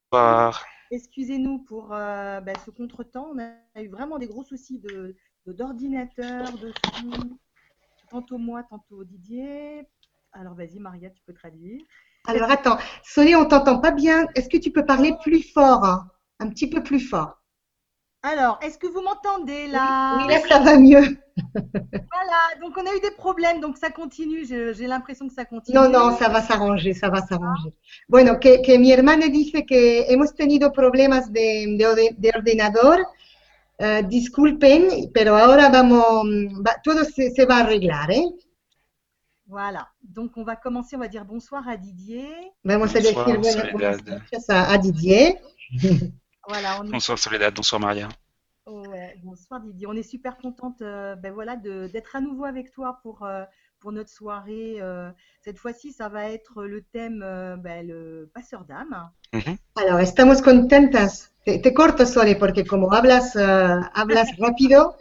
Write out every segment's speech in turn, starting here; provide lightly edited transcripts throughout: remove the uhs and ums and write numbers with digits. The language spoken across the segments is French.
Bonsoir. Excusez-nous pour ce contretemps. On a eu vraiment des gros soucis d'ordinateur, de son, tantôt moi, tantôt Didier. Alors vas-y, Maria, tu peux traduire. Alors attends, Sonia, on t'entend pas bien. Est-ce que tu peux parler plus fort, hein? Un petit peu plus fort. Alors, est-ce que vous m'entendez Oui, là? là, ça va mieux. Voilà, donc on a eu des problèmes, donc ça continue. J'ai l'impression que ça No, continue. no, ça va s'arranger, ça va s'arranger. Bueno, que mi hermana dice que hemos tenido problemas de ordenador. Disculpen, pero ahora vamos, todo se va a arreglar, ¿eh? Voilà, donc on va commencer, on va dire bonsoir à Didier. Vamos a decir Bonsoir buenas Soledad. noches a Didier. Voilà, on est Bonsoir Soledad, bonsoir Maria. Ouais, bonsoir Didier. On est super contente voilà, d'être à nouveau avec toi pour notre soirée. Cette fois-ci, ça va être le thème le passeur d'âme. Mhm. Alors, estamos contentas. Te corto, Sole, porque como hablas rápido,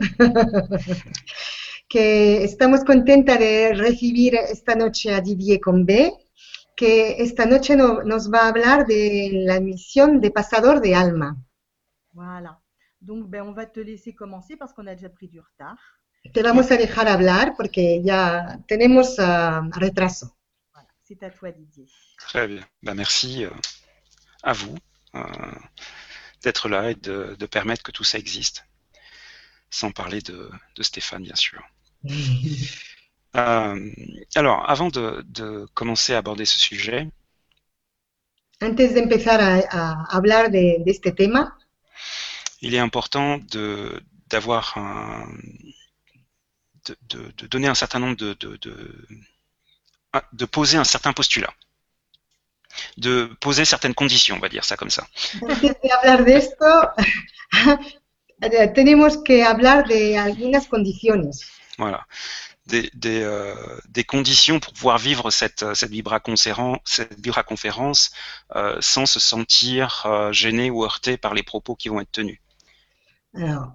que estamos contentas de recibir esta noche a Didier con B, que esta noche nos va a hablar de la misión de pasador de alma. Voilà. Donc, on va te laisser commencer parce qu'on a déjà pris du retard. Te vamos a dejar hablar porque ya tenemos retraso. Voilà, c'est à toi Didier. Très bien. Merci à vous d'être là et de permettre que tout ça existe. Sans parler de Stéphane, bien sûr. Alors, avant de commencer à aborder ce sujet, Antes de empezar a hablar de este tema, il est important d'avoir de donner un certain nombre de poser un certain postulat, de poser certaines conditions, on va dire ça comme ça. antes de hablar de esto, tenemos que hablar de algunas condiciones. Voilà. Des conditions pour pouvoir vivre cette vibraconférence sans se sentir gêné ou heurté par les propos qui vont être tenus. Alors,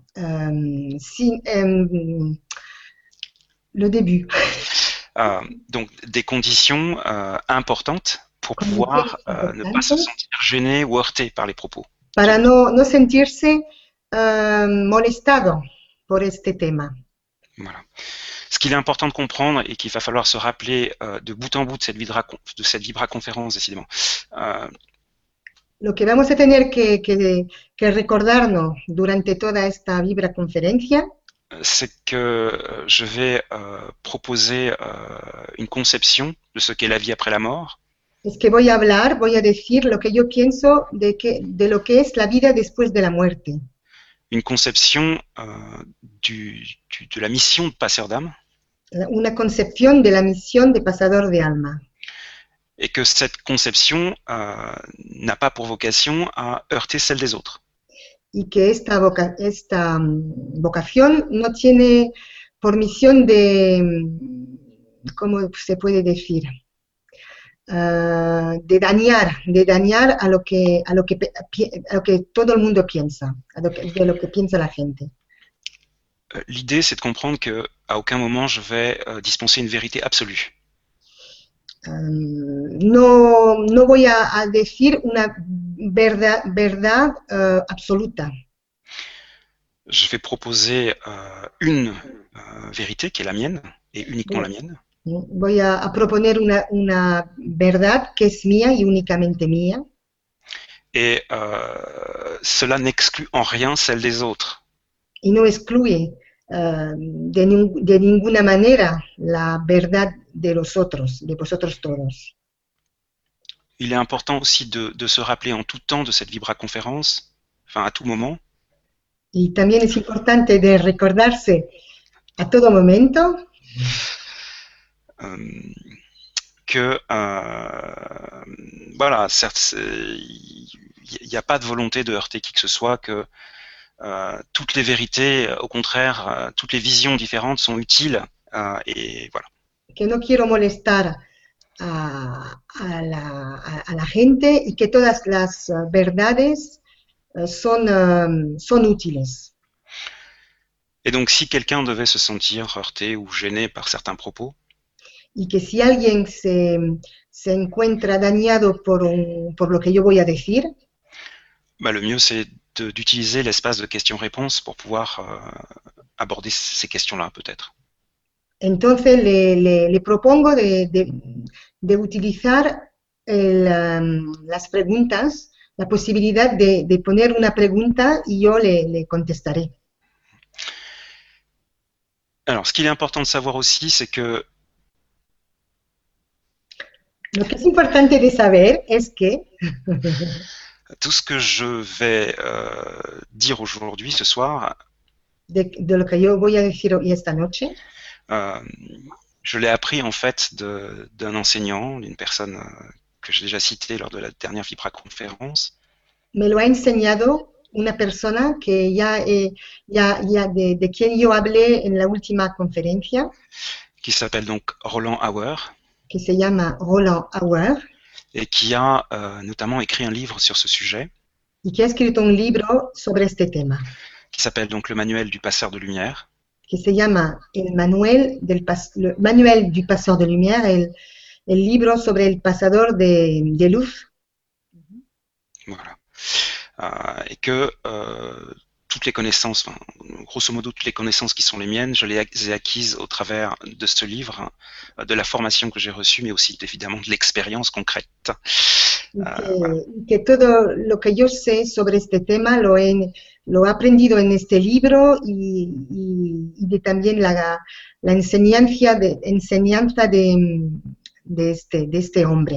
le début. Donc, des conditions importantes pour pouvoir ne pas se sentir gêné ou heurté par les propos. Para no sentirse molestado por este tema. Voilà. Ce qu'il est important de comprendre et qu'il va falloir se rappeler de bout en bout de cette vibraconférence, décidément. Lo que vamos a tener que recordarnos durante toda esta vibraconferencia, c'est que je vais proposer une conception de ce qu'est la vie après la mort. es que voy a decir lo que yo pienso de lo que es la vida después de la muerte. Une conception de la mission de passeur d'âme. Una concepción de la misión de pasador de alma. Et que cette conception n'a pas pour vocation à heurter celle des autres. Y que esta vocación no tiene por misión ¿cómo se puede decir? De dañar a lo que todo el mundo piensa, de lo que piensa la gente. L'idée, c'est de comprendre qu'à aucun moment je vais dispenser une vérité absolue. No voy a decir una verdad absoluta. Je vais proposer une vérité qui est la mienne et uniquement la mienne. Voy a proponer una verdad que es mía y únicamente mía. Et cela n'exclut en rien celle des autres. Y no excluye de ninguna manera la verdad de los otros, de vosotros todos. Il est important aussi de se rappeler en tout temps de cette vibraconférence, enfin à tout moment. Y también es importante de recordarse a todo momento que voilà, certes, il n'y a pas de volonté de heurter qui que ce soit, que toutes les vérités, au contraire, toutes les visions différentes sont utiles et voilà. Que no quiero molestar a la gente y que todas las verdades son útiles. Et donc, si quelqu'un devait se sentir heurté ou gêné par certains propos, y que si alguien se encuentra dañado por lo que yo voy a decir, Le mieux, c'est d'utiliser l'espace de questions-réponses pour pouvoir aborder ces questions-là, peut-être. Entonces le propongo de utilizar las preguntas, la posibilidad de poner una pregunta y yo le contestaré. Alors, ce qu'il est important de savoir aussi, c'est que Lo que es importante de saber es que tout ce que je vais dire aujourd'hui, ce soir, de lo que yo voy a decir hoy esta noche, je l'ai appris en fait d'un enseignant, d'une personne que j'ai déjà citée lors de la dernière Vibra conférence, me lo ha enseñado una persona que de quien yo hablé en la última conferencia, qui s'appelle donc Roland Auer, que se llama Roland Auer, et qui a notamment écrit un livre sur ce sujet, y que ha escrito un libro sobre este tema, qui s'appelle donc Le Manuel du Passeur de Lumière, que se llama le Manuel du Pasteur de Lumière, el libro sobre el pasador de luz. Voilà. Et que toutes les connaissances, grosso modo toutes les connaissances qui sont les miennes, je les ai acquises au travers de ce livre, de la formation que j'ai reçue, mais aussi évidemment de l'expérience concrète. Voilà. Que todo lo que yo sé sobre este tema lo he aprendido en este libro y también la enseñanza de este hombre.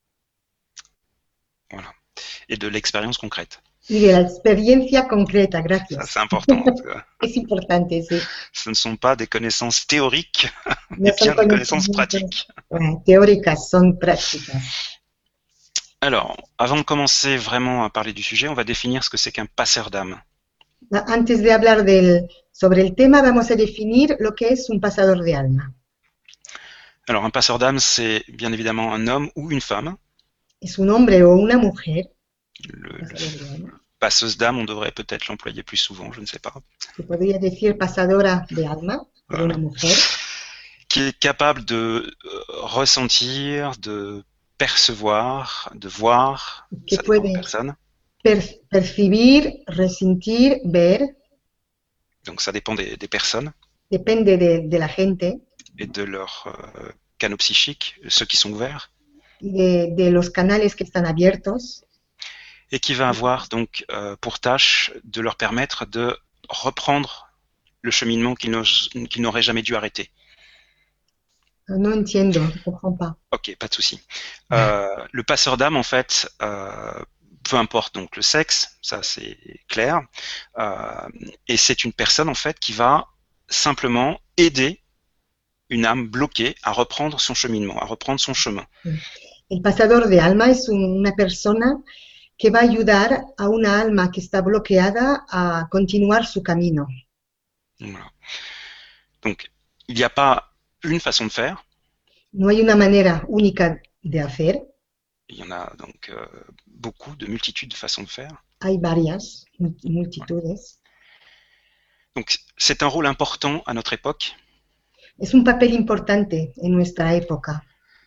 Voilà. Et de l'expérience concrète. Y de la experiencia concreta, gracias. Ça, c'est important. Es importante, sí. Ce ne sont pas des connaissances théoriques, mais bien des connaissances pratiques. Teóricas, son prácticas. Alors, avant de commencer vraiment à parler du sujet, on va définir ce que c'est qu'un passeur d'âme. Antes de hablar sobre el tema, vamos a definir lo que es un pasador de alma. Alors, un passeur d'âme, c'est bien évidemment un homme ou une femme. Es un hombre o una mujer. Passeuse d'âme, on devrait peut-être l'employer plus souvent, je ne sais pas. Se podría decir pasadora de alma, de una mujer. Qui est capable de ressentir, de percevoir, de voir, ça dépend de la personne. Percibir, ressentir, ver. Donc ça dépend des personnes. Depende de la gente. Et de leurs canaux psychiques, ceux qui sont ouverts. Y de los canales que están abiertos. Et qui va avoir donc pour tâche de leur permettre de reprendre le cheminement qu'ils n'auraient jamais dû arrêter. No entiendo, je comprends pas. Ok, pas de souci. Le passeur d'âme, en fait, peu importe donc le sexe, ça c'est clair, et c'est une personne en fait qui va simplement aider une âme bloquée à reprendre son cheminement, à reprendre son chemin. El pasador de alma es una persona que va a ayudar a una alma que está bloqueada a continuar su camino. Voilà. Donc, il n'y a pas une façon de faire. No hay una manera única de hacer. Il y en a donc beaucoup, de multitudes de façons de faire. Hay varias, multitudes. Donc, c'est un rôle important à notre époque. Es un papel importante en nuestra época.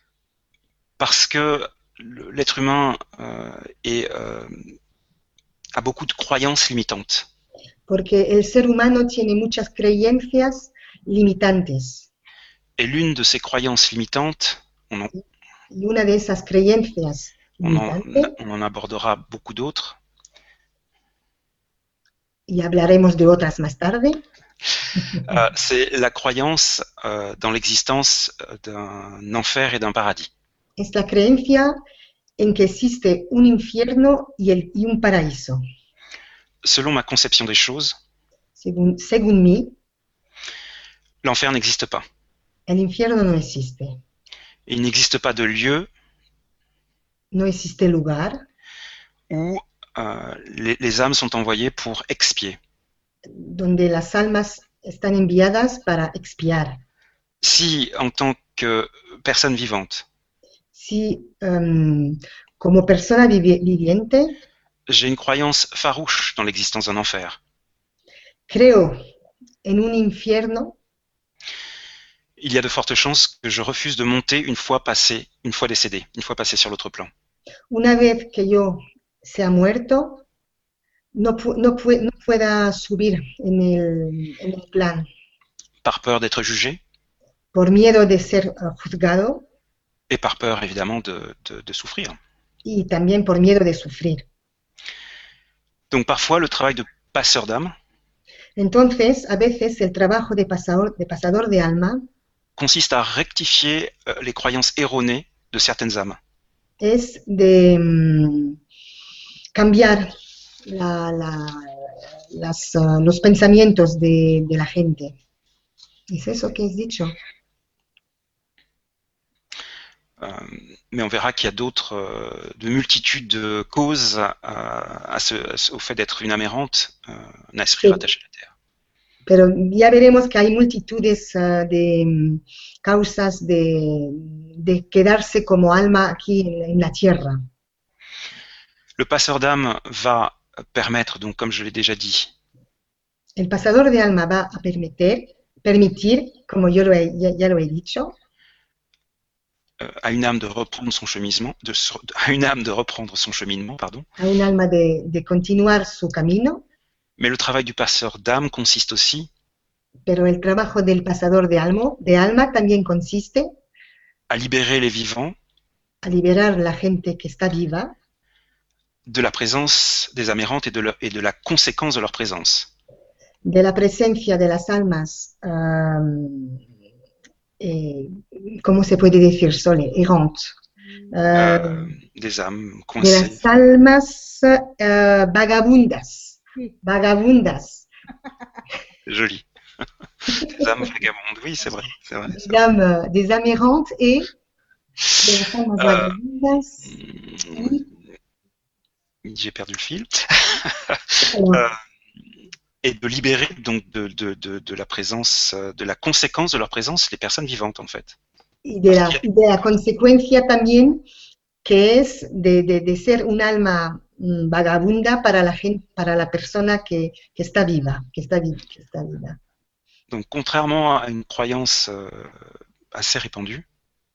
Parce que l'être humain a beaucoup de croyances limitantes. Porque el ser humano tiene muchas creencias limitantes. Et l'une de ces croyances limitantes, y una de esas creencias limitantes, on en abordera beaucoup d'autres. Y hablaremos de otras más tarde. C'est la croyance dans l'existence d'un enfer et d'un paradis. Es la creencia en que existe un infierno y un paraíso. Selon ma conception des choses, según mí, l'enfer n'existe pas. El infierno no existe. Il n'existe pas de lieu no existe lugar où les âmes sont envoyées pour expier. Donde las almas están enviadas para expiar. Si, en tant que personne vivante, si, como persona viviente, j'ai une croyance farouche dans l'existence d'un enfer, creo en un infierno, il y a de fortes chances que je refuse de monter une fois décédé, une fois passé sur l'autre plan. Una vez que yo sea muerto, no pueda subir en el plan par peur d'être jugé por miedo de ser juzgado et par peur évidemment de souffrir. y también por miedo de sufrir. Donc parfois le travail de passeur d'âme Entonces, a veces el trabajo de pasador de alma consiste à rectifier les croyances erronées de certaines âmes. es de cambiar los pensamientos de la gente. ¿Es eso que has dicho? Mais on verra qu'il y a de multitudes de causes au fait d'être une âme errante, un esprit Sí. rattaché à la terre. Pero ya veremos que hay multitudes de causas de quedarse como alma aquí en la tierra. Le passeur d'âme va permettre, donc comme je l'ai déjà dit, El pasador de alma va a permitir, como yo ya lo he dicho, à une âme de reprendre son cheminement, à une âme de reprendre son cheminement, pardon. a un alma de continuar su camino, Mais le travail du passeur d'âme consiste aussi pero el trabajo del pasador de alma también consiste à libérer les vivants a liberar la gente que está viva de la présence des âmes errantes et de la conséquence de leur présence. de la presencia de las almas, ¿cómo se puede decir, Sole? Errantes. Des âmes De coincées. las almas vagabundas. Sí. Vagabundas. Joli. Des âmes vagabondes, oui, c'est vrai. C'est vrai, c'est vrai. Des âmes errantes et de las almas vagabundas. J'ai perdu le fil. Alors, Et de libérer donc de la présence, de la conséquence de leur présence, les personnes vivantes en fait. y de la consecuencia también, que es de ser un alma vagabunda para la gente, para la persona que está viva, que está viva. Donc contrairement à une croyance assez répandue,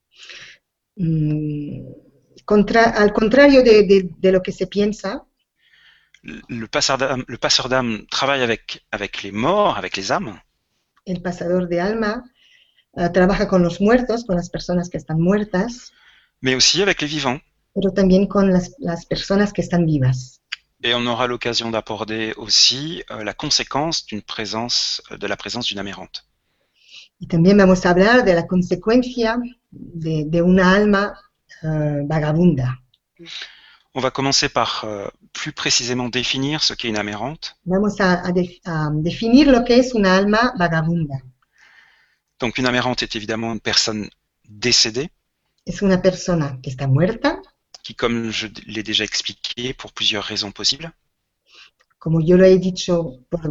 Al contrario de lo que se piensa, le passeur d'âme travaille avec les morts, avec les âmes, el pasador de alma trabaja con los muertos, con las personas que están muertas, mais aussi avec les vivants. pero también con las personas que están vivas. Et on aura l'occasion d'aborder aussi la conséquence de la présence d'une âme errante. Y también vamos a hablar de la consecuencia de una alma vagabunda. On va commencer par plus précisément définir ce qu'est une âme errante. Vamos a definir lo que es una alma vagabunda. Donc une âme errante est évidemment une personne décédée, Es una persona que está muerta, qui, comme je l'ai déjà expliqué, pour plusieurs raisons possibles, como yo lo he dicho,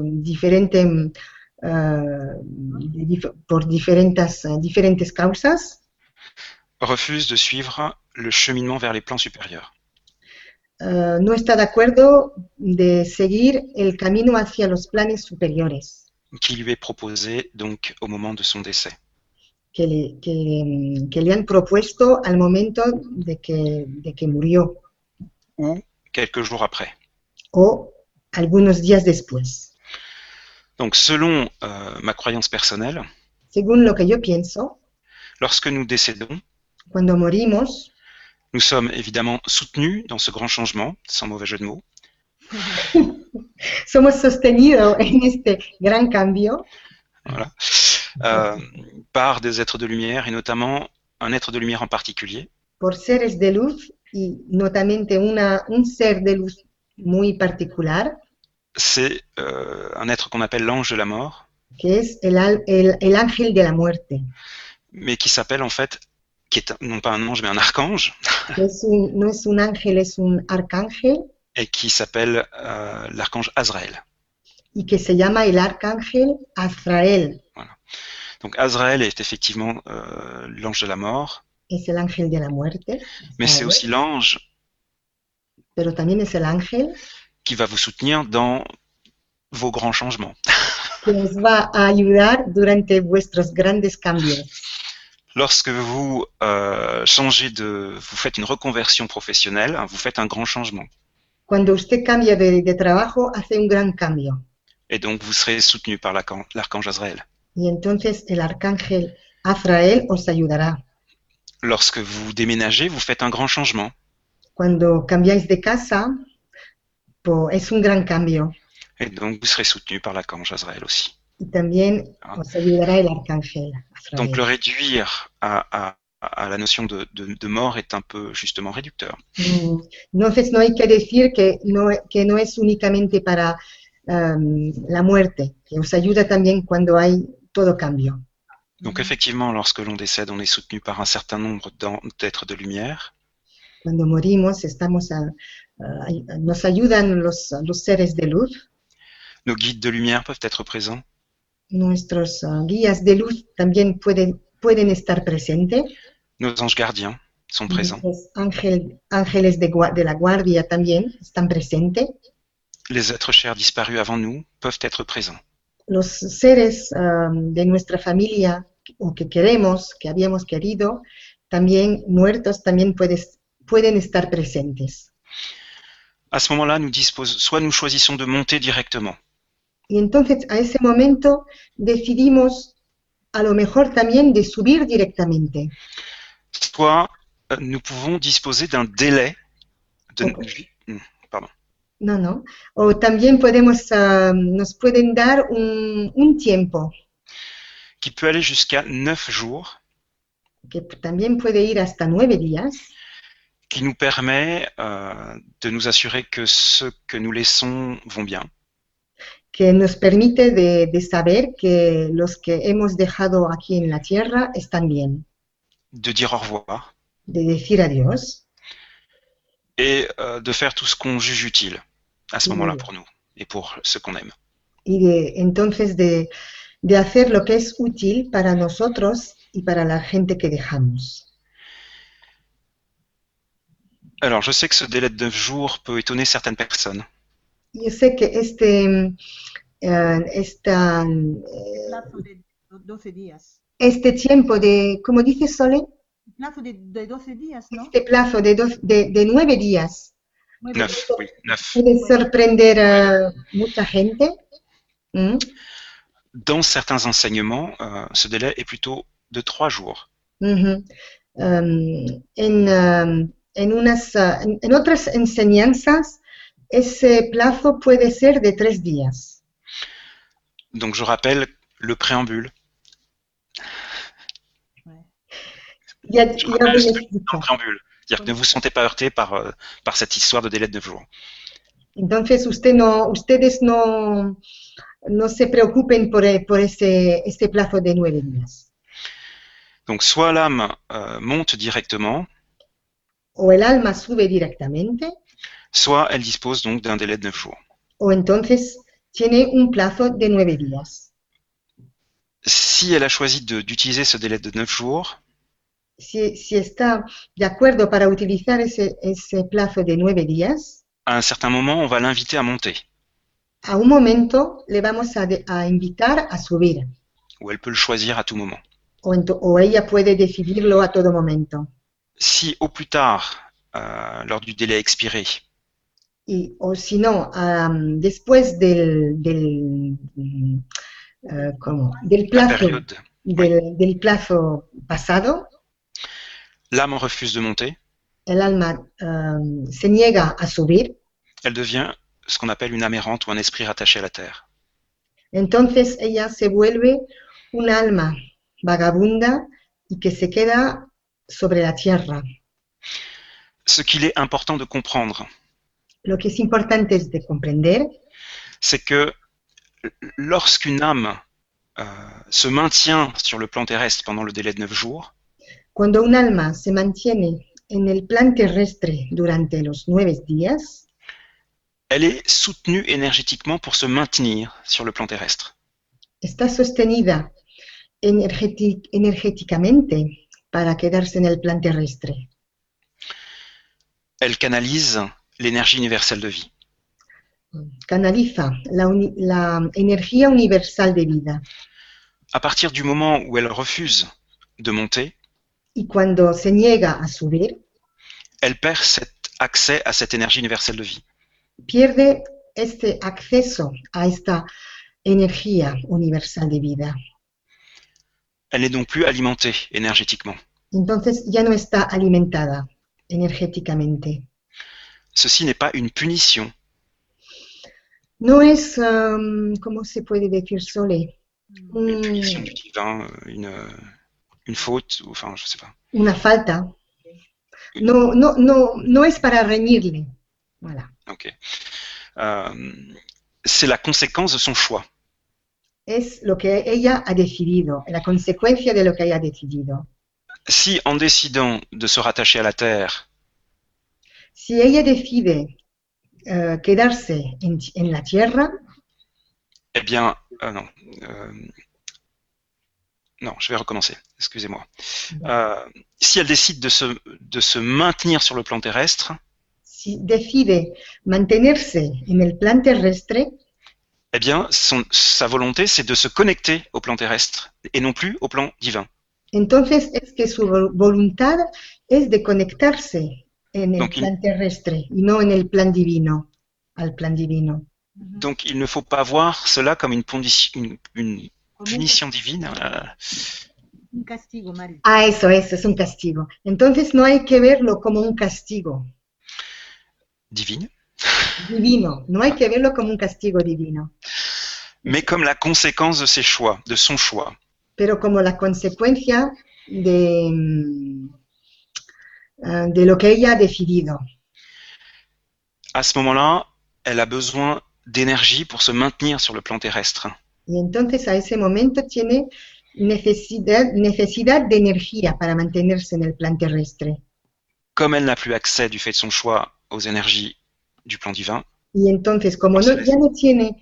por diferentes causas, refuse de suivre le cheminement vers les plans supérieurs. no está de acuerdo de seguir el camino hacia los planes superiores Qui lui est proposé donc au moment de son décès. que le han propuesto al momento de que murió Ou quelques jours après. o algunos días después. Donc selon ma croyance personnelle, Según lo que yo pienso, lorsque nous décédons, cuando morimos, nous sommes évidemment soutenus dans ce grand changement, sans mauvais jeu de mots, somos sostenidos en este gran cambio voilà, par des êtres de lumière, et notamment un être de lumière en particulier, por seres de luz y notamente un ser de luz muy particular, c'est un être qu'on appelle l'ange de la mort, que es el ángel de la muerte. mais qui s'appelle en fait, qui est non pas un ange mais un archange, No es un ángel, es un arcángel, et qui s'appelle l'archange Azraël. y que se llama el arcángel Azrael. Donc Azraël est effectivement l'ange de la mort, Es el ángel de la muerte, mais c'est aussi l'ange pero también es el ángel qui va vous soutenir dans vos grands changements. que os va a ayudar durante vuestros grandes cambios. Lorsque vous vous faites une reconversion professionnelle, vous faites un grand changement. Cuando usted cambia de trabajo, hace un gran cambio. Et donc, vous serez soutenu par l'archange Azraël. Y entonces el arcángel Azrael os ayudará. Lorsque vous déménagez, vous faites un grand changement. Cuando cambiáis de casa, es un gran cambio. Et donc, vous serez soutenu par l'archange Azraël aussi. Y también os ayudará el arcángel Azrael. Donc, le réduire à la notion de mort est un peu justement réducteur. Entonces no hay que decir que no es únicamente para la muerte, que os ayuda también cuando hay todo cambio. Donc effectivement, lorsque l'on décède, on est soutenu par un certain nombre d'êtres de lumière. Cuando morimos, nos ayudan los seres de luz. Nos guides de lumière peuvent être présents. Nuestros guías de luz también pueden estar presentes. Nos anges gardiens sont présents. Los ángeles de la guardia también están presentes. Les êtres chers disparus avant nous peuvent être présents. Los seres de nuestra familia o que queremos, que habíamos querido, también muertos, también pueden estar presentes. À ce moment-là, soit nous choisissons de monter directement. Y entonces, a ese momento, decidimos a lo mejor también de subir directamente. Soit nous pouvons disposer d'un délai de... Pardon. No. O también nos pueden dar un tiempo. Qui peut aller jusqu'à 9 jours. Que también puede ir hasta 9 días. Qui nous permet de nous assurer que ceux que nous laissons vont bien. Que nos permite de saber que los que hemos dejado aquí en la tierra están bien. De dire au revoir. De decir adiós. Et de faire tout ce qu'on juge utile à ce moment-là pour nous et pour ceux qu'on aime. Y entonces de hacer lo que es útil para nosotros y para la gente que dejamos. Alors, je sais que ce délai de 9 jours peut étonner certaines personnes. Yo sé que este tiempo de, como dice Sole, plazo de 12 días, ¿no? Este plazo de 9 días. 9, oui, 9. Puede sorprender a mucha gente. Dans certains enseignements, ce délai est plutôt de 3 jours. En otras enseñanzas, ese plazo puede ser de 3 días. Donc je rappelle le préambule. Ya le préambule. C'est-à-dire que ne vous sentez pas heurté par cette histoire de délai de 9 jours. Entonces ustedes no se preocupen por este plazo de 9 días. Donc soit l'âme monte directement, o el alma sube directamente, soit elle dispose donc d'un délai de 9 jours. O entonces tiene un plazo de 9 días. Si elle a choisi d'utiliser ce délai de 9 jours, si está de acuerdo para utilizar ese plazo de 9 días, à un certain moment, on va l'inviter à monter. A un momento le vamos a invitar a subir. Ou elle peut le choisir à tout moment. O ella puede decidirlo a todo momento. Si au plus tard, lors du délai expiré, o si no, después del plazo pasado, l'âme refuse de monter, el alma se niega a subir, elle devient ce qu'on appelle une âme errante ou un esprit rattaché à la terre. Entonces ella se vuelve un alma vagabunda y que se queda sobre la tierra. Ce qu'il est important de comprendre, lo que es importante es de comprender, c'est que lorsqu'une âme se maintient sur le plan terrestre pendant le délai de 9 jours, cuando un alma se mantiene en el plan terrestre durante los 9 días, elle est soutenue énergétiquement pour se maintenir sur le plan terrestre. Está sostenida energéticamente para quedarse en el plan terrestre. Elle canalise l'énergie universelle de vie. Canaliza la energía universal de vida. À partir du moment où elle refuse de monter, y cuando se niega a subir, elle perd cet accès à cette énergie universelle de vie. pierde este acceso a esta energía universal de vida. Elle n'est donc plus alimentée énergétiquement. Entonces ya no está alimentada energéticamente. Ceci n'est pas une punition, No es, ¿cómo se puede decir, Sole? une punition du divin, une faute, ou, enfin, je sais pas. Una falta. No es para reñirle. Voilà. Ok. C'est la conséquence de son choix. Es lo que ella ha decidido, la consecuencia de lo que ella ha decidido. Si en décidant de se rattacher à la terre, Si ella decide quedarse en la tierra, eh bien, non, je vais recommencer, excusez-moi. Si elle décide de se maintenir sur le plan terrestre, si decide mantenerse en el plan terrestre, eh bien, sa volonté, c'est de se connecter au plan terrestre et non plus au plan divin. entonces es que su voluntad es de conectarse en el Donc, plan terrestre y no en el plan divino, al plan divino. Donc, il ne faut pas voir cela comme une punition divine. Un castigo, Mari. Ah, eso es un castigo. Entonces no hay que verlo como un castigo Divine, divino, no hay que verlo como un castigo divino, mais comme la conséquence de ses choix, de son choix. pero como la consecuencia de lo que ella ha decidido. À ce moment-là, elle a besoin d'énergie pour se maintenir sur le plan terrestre. Y entonces a ese momento tiene necesidad de energía para mantenerse en el plan terrestre. Comme elle n'a plus accès du fait de son choix aux énergies du plan divin, Y entonces, como ya no tiene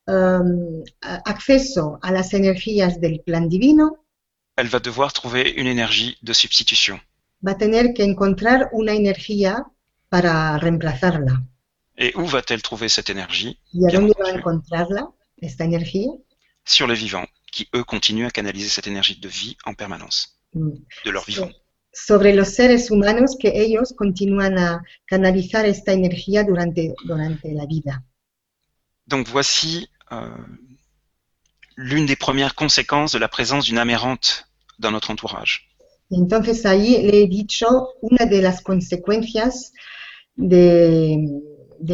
acceso a las energías del plan divino, elle va devoir trouver une énergie de substitution. va a tener que encontrar una energía para reemplazarla. Et où va-t-elle trouver cette énergie? ¿Y a Bien dónde va a entendu, encontrarla, esta energía? sur les vivants, qui eux continuent à canaliser cette énergie de vie en permanence, de leur vivant. Sobre los seres humanos que ellos continúan a canalizar esta energía durante la vida. Donc voici l'une des premières conséquences de la présence d'une âme errante dans notre entourage. Entonces ahí le he dicho una de las consecuencias de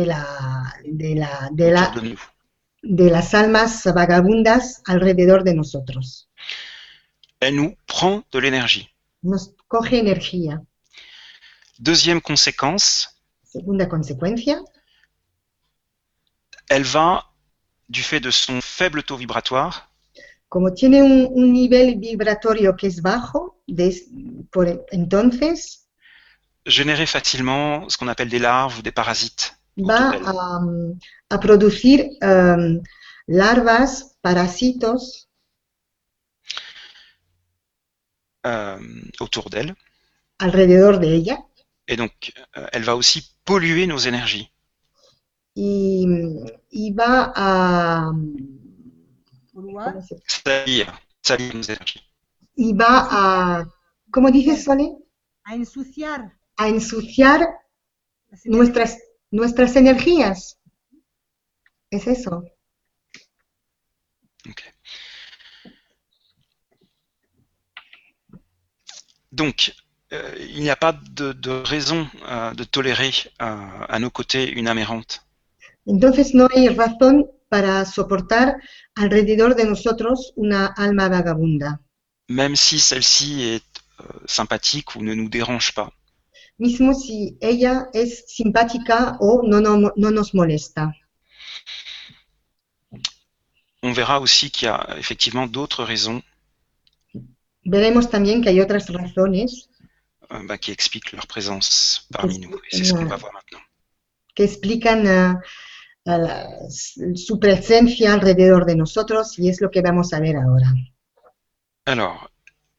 las almas vagabundas alrededor de nosotros. Elle nous prend de l'énergie. Nos coge energía. Deuxième conséquence, Segunda consecuencia, elle va, du fait de son faible taux vibratoire, como tiene un nivel vibratorio que es bajo, entonces générer facilement ce qu'on appelle des larves ou des parasites va a producir larvas, parásitos autour d'elle. Alrededor de ella. Et donc, elle va aussi polluer nos énergies. Y va a salir nos énergies. Y va a, ¿cómo dices, Sole? A ensuciar. A ensuciar nuestras energías. Es eso. Okay. Donc, il n'y a pas de raison de tolérer à nos côtés une âme errante. Entonces no hay razón para soportar alrededor de nosotros una alma vagabunda. Même si celle-ci est sympathique ou ne nous dérange pas. Mismo si ella es simpática o no nos molesta. On verra aussi qu'il y a effectivement d'autres raisons Veremos también que hay otras razones qui expliquent leur présence parmi nous. Et c'est ce qu'on va voir maintenant. Que explican su presencia alrededor de nosotros y es lo que vamos a ver ahora. Alors,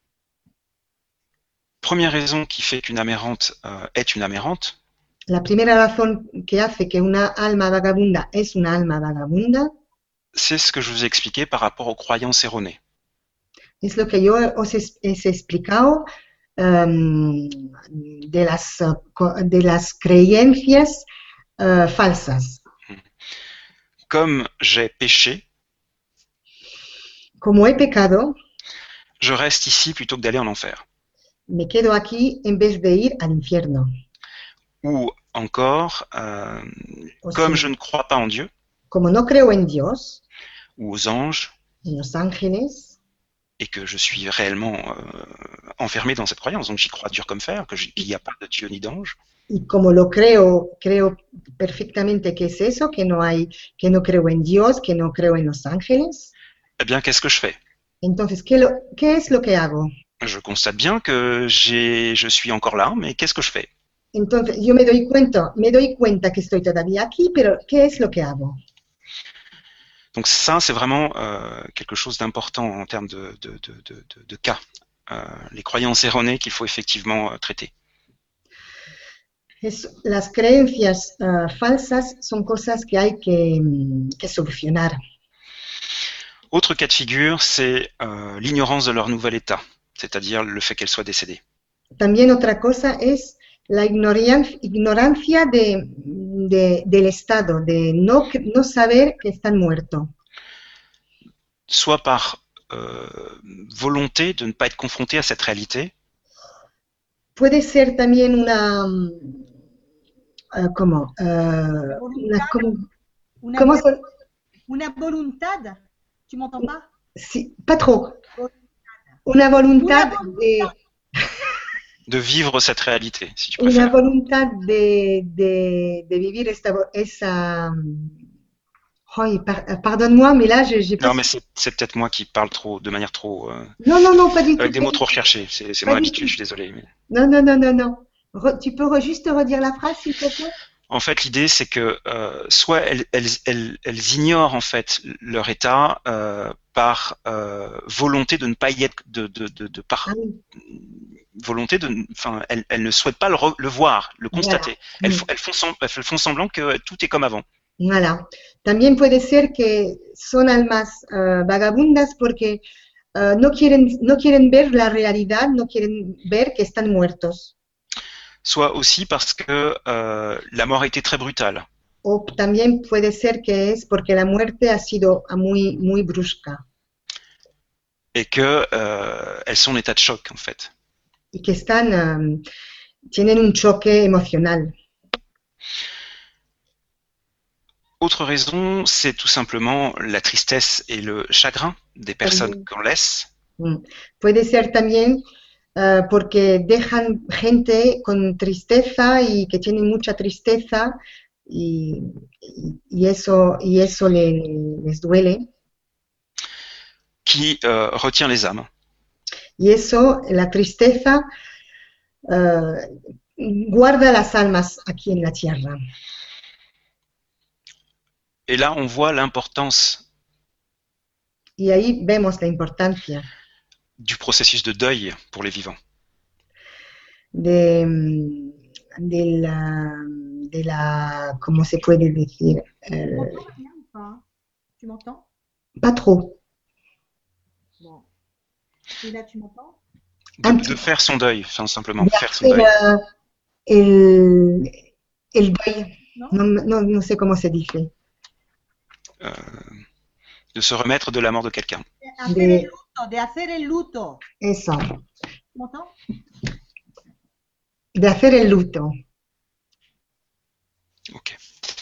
première raison qui fait qu'une âme errante est une âme errante. La primera razón que hace que una alma vagabunda es una alma vagabunda. C'est ce que je vous ai expliqué par rapport aux croyances erronées. Es lo que yo os he explicado de las creencias falsas. comme j'ai péché, como he pecado, je reste ici plutôt que d'aller en enfer. me quedo aquí en vez de ir al infierno. Ou encore, O comme si, je ne crois pas en Dieu como no creo en Dios, ou aux anges, en los ángeles, et que je suis réellement enfermé dans cette croyance, donc j'y crois dur comme fer, qu'il n'y a pas de Dieu ni d'ange, y como lo creo, creo perfectamente que es eso, que no creo en Dios, que no creo en los ángeles. eh bien, qu'est-ce que je fais? Entonces, ¿qué es lo que hago? Je constate bien que je suis encore là, mais qu'est-ce que je fais? Entonces, yo me doy cuenta que estoy todavía aquí, pero ¿qué es lo que hago? Donc ça, c'est vraiment quelque chose d'important en termes de cas. Les croyances erronées qu'il faut effectivement traiter. Las creencias falsas son cosas que hay que solucionar. Autre cas de figure, c'est l'ignorance de leur nouvel état, c'est-à-dire le fait qu'elles soient décédées. También otra cosa es la ignorancia del estado, de no saber que están muertos. Soit par volonté de ne pas être confronté à cette réalité, Puede ser también ¿cómo? Una, ¿Cómo se- una voluntad. Tu m'entends pas? sí, pas trop. Una voluntad de vivre cette réalité, si tu una préfères. voluntad de vivir esa. Ay, pardonne-moi, mais là, j'ai pas. Non, mais c'est peut-être moi qui parle de manière trop, Non, pas du tout. avec des mots trop recherchés. C'est mon habitude, je suis désolé. Mais... Non. Tu peux juste redire la phrase, s'il te plaît? En fait, l'idée, c'est que soit elles ignorent en fait leur état par volonté de ne pas y être, par volonté enfin, elles ne souhaitent pas le voir, le constater. Voilà. Elles font semblant que tout est comme avant. Voilà. También puede ser que son almas vagabundas porque no quieren ver la realidad, no quieren ver que están muertos. Soit aussi parce que la mort a été très brutale. O también puede ser que es porque la muerte ha sido muy brusca. Et que elles sont en état de choc, en fait. Y que tienen un choque emocional. Autre raison, c'est tout simplement la tristesse et le chagrin des personnes qu'on laisse. Puede ser también porque dejan gente con tristeza y que tienen mucha tristeza y eso les duele. Qui retient les âmes. Y eso, la tristeza, guarda las almas aquí en la tierra. Et là, on voit l'importance y ahí vemos la importancia du processus de deuil pour les vivants. De la ¿cómo se puede decir? Tu m'entends? Pas trop. Bon. Et là, tu m'entends? De faire son deuil, enfin, simplement, faire son deuil. El deuil, no sé cómo se dice. De se remettre de la mort de quelqu'un. De hacer el luto. Eso. Tu m'entends? De hacer el luto. Ok.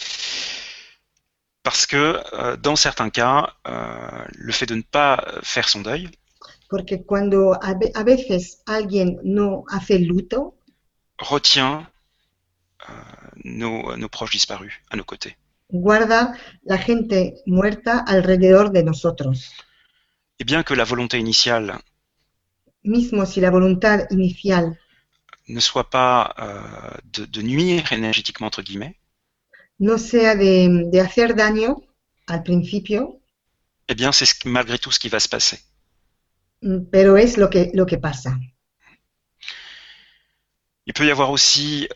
Parce que dans certains cas, le fait de ne pas faire son deuil, porque cuando a veces alguien no hace el luto, retient nos proches disparus à nos côtés. Guarda la gente muerta alrededor de nosotros. Et bien que la volonté initiale, mismo si la voluntad inicial ne soit pas de nuire énergétiquement entre guillemets, no sea de hacer daño al principio, eh bien c'est malgré tout ce qui va se passer. Pero es lo que pasa. Il peut y avoir aussi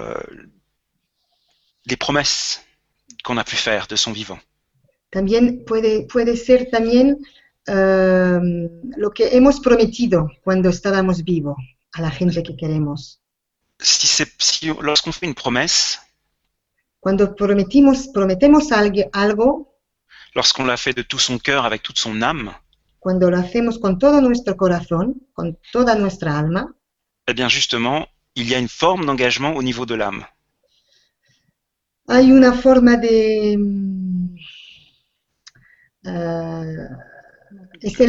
des promesses qu'on a pu faire de son vivant. También puede ser también lo que hemos prometido cuando estábamos vivos a la gente que queremos. Lorsqu'on fait une promesse, cuando prometemos algo, Lorsqu'on l'a fait de tout son cœur, avec toute son âme, cuando lo hacemos con todo nuestro corazón, con toda nuestra alma, eh bien justement, il y a une forme d'engagement au niveau de l'âme. hay una forma de... es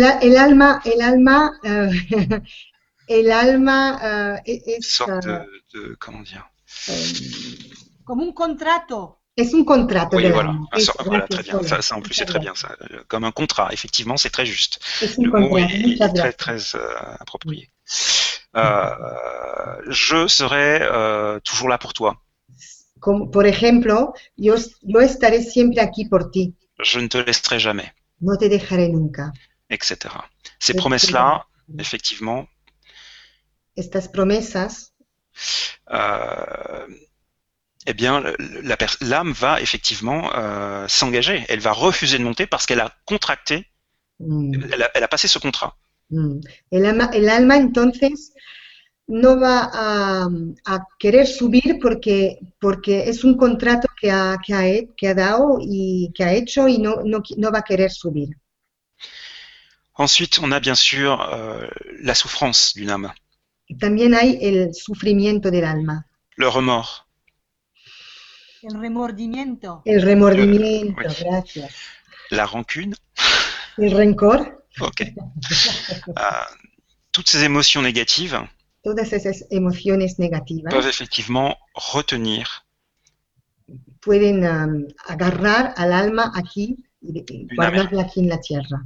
el alma Une sorte comment dire? Comme un contrato. es un contrato Oui, del voilà. alma. Voilà, très bien. Sonia. Ça en plus, c'est très bien. Ça. Comme un contrat, effectivement, c'est très juste. Es un Le mot contrato. est Muchas très, gracias. très approprié. Je serai toujours là pour toi. Como, por ejemplo, yo estaré siempre aquí por ti. Je ne te laisserai jamais, No te dejaré nunca. etc. Ces promesses-là, effectivement, Estas promesas, eh bien, l'âme va effectivement s'engager. Elle va refuser de monter parce qu'elle a contracté, elle a passé ce contrat. el alma entonces no va a querer subir porque es un contrato que ha dado y que ha hecho y no va a querer subir. Ensuite, on a bien sûr la souffrance d'une âme. Y también hay el sufrimiento del alma. Le remords. El remordimiento. El remordimiento, Oui. gracias. La rancune. El rencor. Ok. Toutes ces émotions négatives Todas esas emociones negativas peuvent effectivement retenir pueden agarrar al alma aquí y guardarla aquí en la tierra.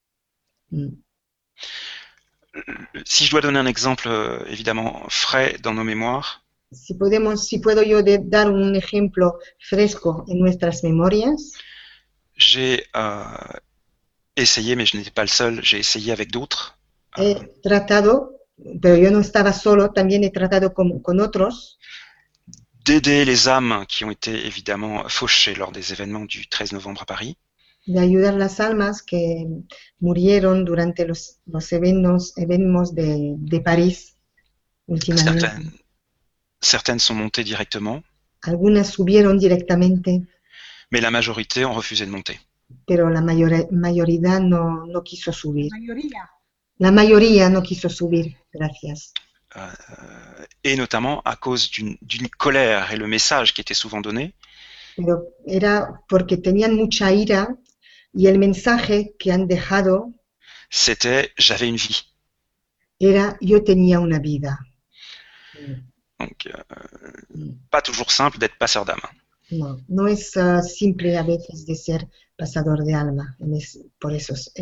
Si je dois donner un exemple évidemment frais dans nos mémoires, si puedo yo dar un ejemplo fresco en nuestras memorias. J'ai essayé, mais je n'étais pas le seul, j'ai essayé avec d'autres. He tratado, pero yo no estaba solo, también he tratado con otros. D'aider les âmes qui ont été évidemment fauchées lors des événements du 13 novembre à Paris. De ayudar las almas que murieron durante los eventos de París últimamente. Certaines sont montées directement. Algunas subieron directamente. Mais la majorité ont refusé de monter. Pero la mayoría no quiso subir. La mayoría no quiso subir, gracias. Et notamment à cause d'une colère et le message qui était souvent donné. Pero era porque tenían mucha ira y el mensaje que han dejado c'était j'avais une vie. Era yo tenía una vida. Donc, pas toujours simple d'être passeur d'âme. No es simple a veces de ser pasador de alma por esos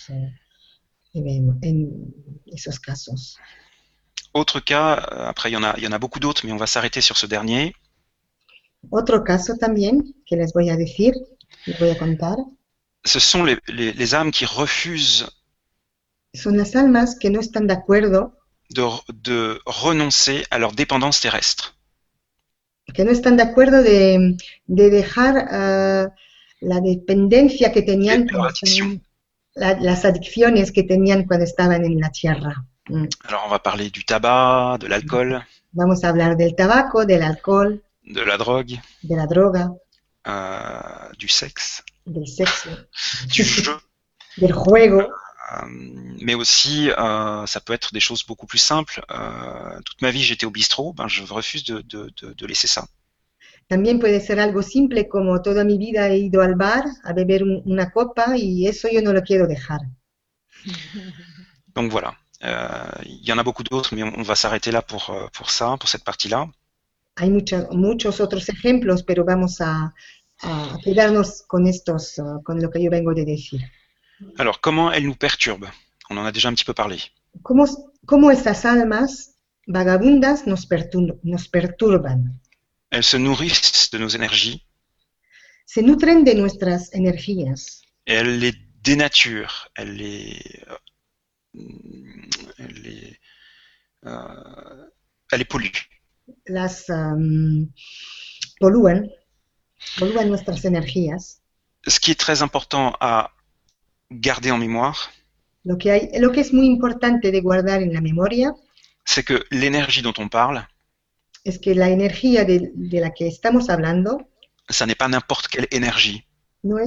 casos. Autre cas, après il y en a beaucoup d'autres, mais on va s'arrêter sur ce dernier. Otro caso también que les voy a decir, les voy a contar. Ce sont les âmes qui refusent. Son las almas que no están de acuerdo. De renoncer à leur dépendance terrestre. Que no están de acuerdo de dejar la dependencia que tenían las adicciones que tenían cuando estaban en la tierra. Alors on va parler du tabac, de l'alcool. Vamos a hablar del tabaco, del alcohol. De la drogue. De la droga. Du sexe. Del sexo. Du jeu. Del juego. Mais aussi, ça peut être des choses beaucoup plus simples. Toute ma vie, j'étais au bistrot, je refuse de laisser ça. También puede ser algo simple, como toda mi vida he ido al bar a beber una copa y eso yo no lo quiero dejar. Donc voilà, il y en a beaucoup d'autres, mais on va s'arrêter là pour ça, pour cette partie-là. Hay muchos otros ejemplos, pero vamos a quedarnos con estos, con lo que yo vengo de decir. Alors, comment elles nous perturbent? On en a déjà un petit peu parlé. ¿Cómo estas almas vagabundas nos perturban? Elles se nourrissent de nos énergies. Se nutren de nuestras energías. Et elles les dénaturent, elles les polluent. Las polúan nuestras energías. Ce qui est très important à garder en mémoire, lo que es muy importante de guardar en la memoria, c'est que l'énergie dont on parle, es que la energía de la que estamos hablando, ça n'est pas n'importe quelle énergie. No es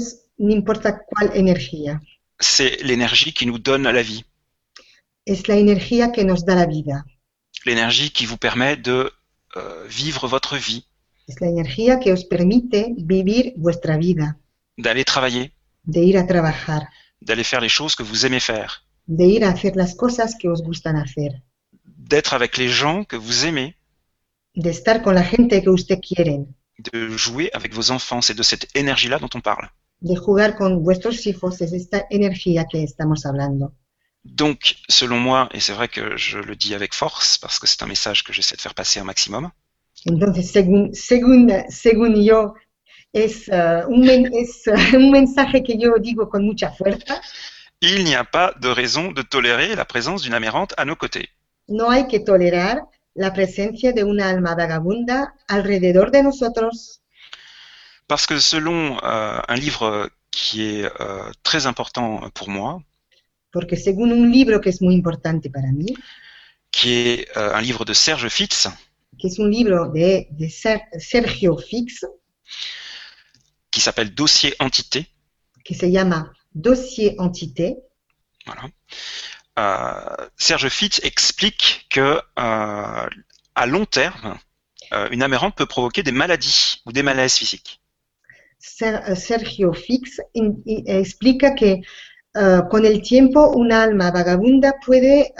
no importa cuál energía. C'est l'énergie qui nous donne la vie, Es la energía que nos da la vida. l'énergie qui vous permet de vivre votre vie, Es la energía que os permite vivir vuestra vida, d'aller travailler, de ir a trabajar, d'aller faire les choses que vous aimez faire, de ir a hacer las cosas que os gustan hacer, d'être avec les gens que vous aimez, de estar con la gente que usted quiere, de jouer avec vos enfants. C'est de cette énergie-là dont on parle. de jugar con vuestros hijos. Es esta energía que estamos hablando. Donc, selon moi, et c'est vrai que je le dis avec force, parce que c'est un message que j'essaie de faire passer un maximum, Entonces, según yo, es un mensaje que yo digo con mucha fuerza. il n'y a pas de raison de tolérer la présence d'une amérante à nos côtés. No hay que tolerar la presencia de una alma vagabunda alrededor de nosotros, Parce que selon un livre qui est très important pour moi, porque según un libro que es muy importante para mí, qui est un livre de Serge Fitz, que es un libro de Sergio Fix, qui s'appelle Dossier Entité, que se llama Dossier Entité, voilà. Serge Fitz explique que à long terme, une amérante peut provoquer des maladies ou des malaises physiques. Sergio Fix explica que con el tiempo una alma vagabunda puede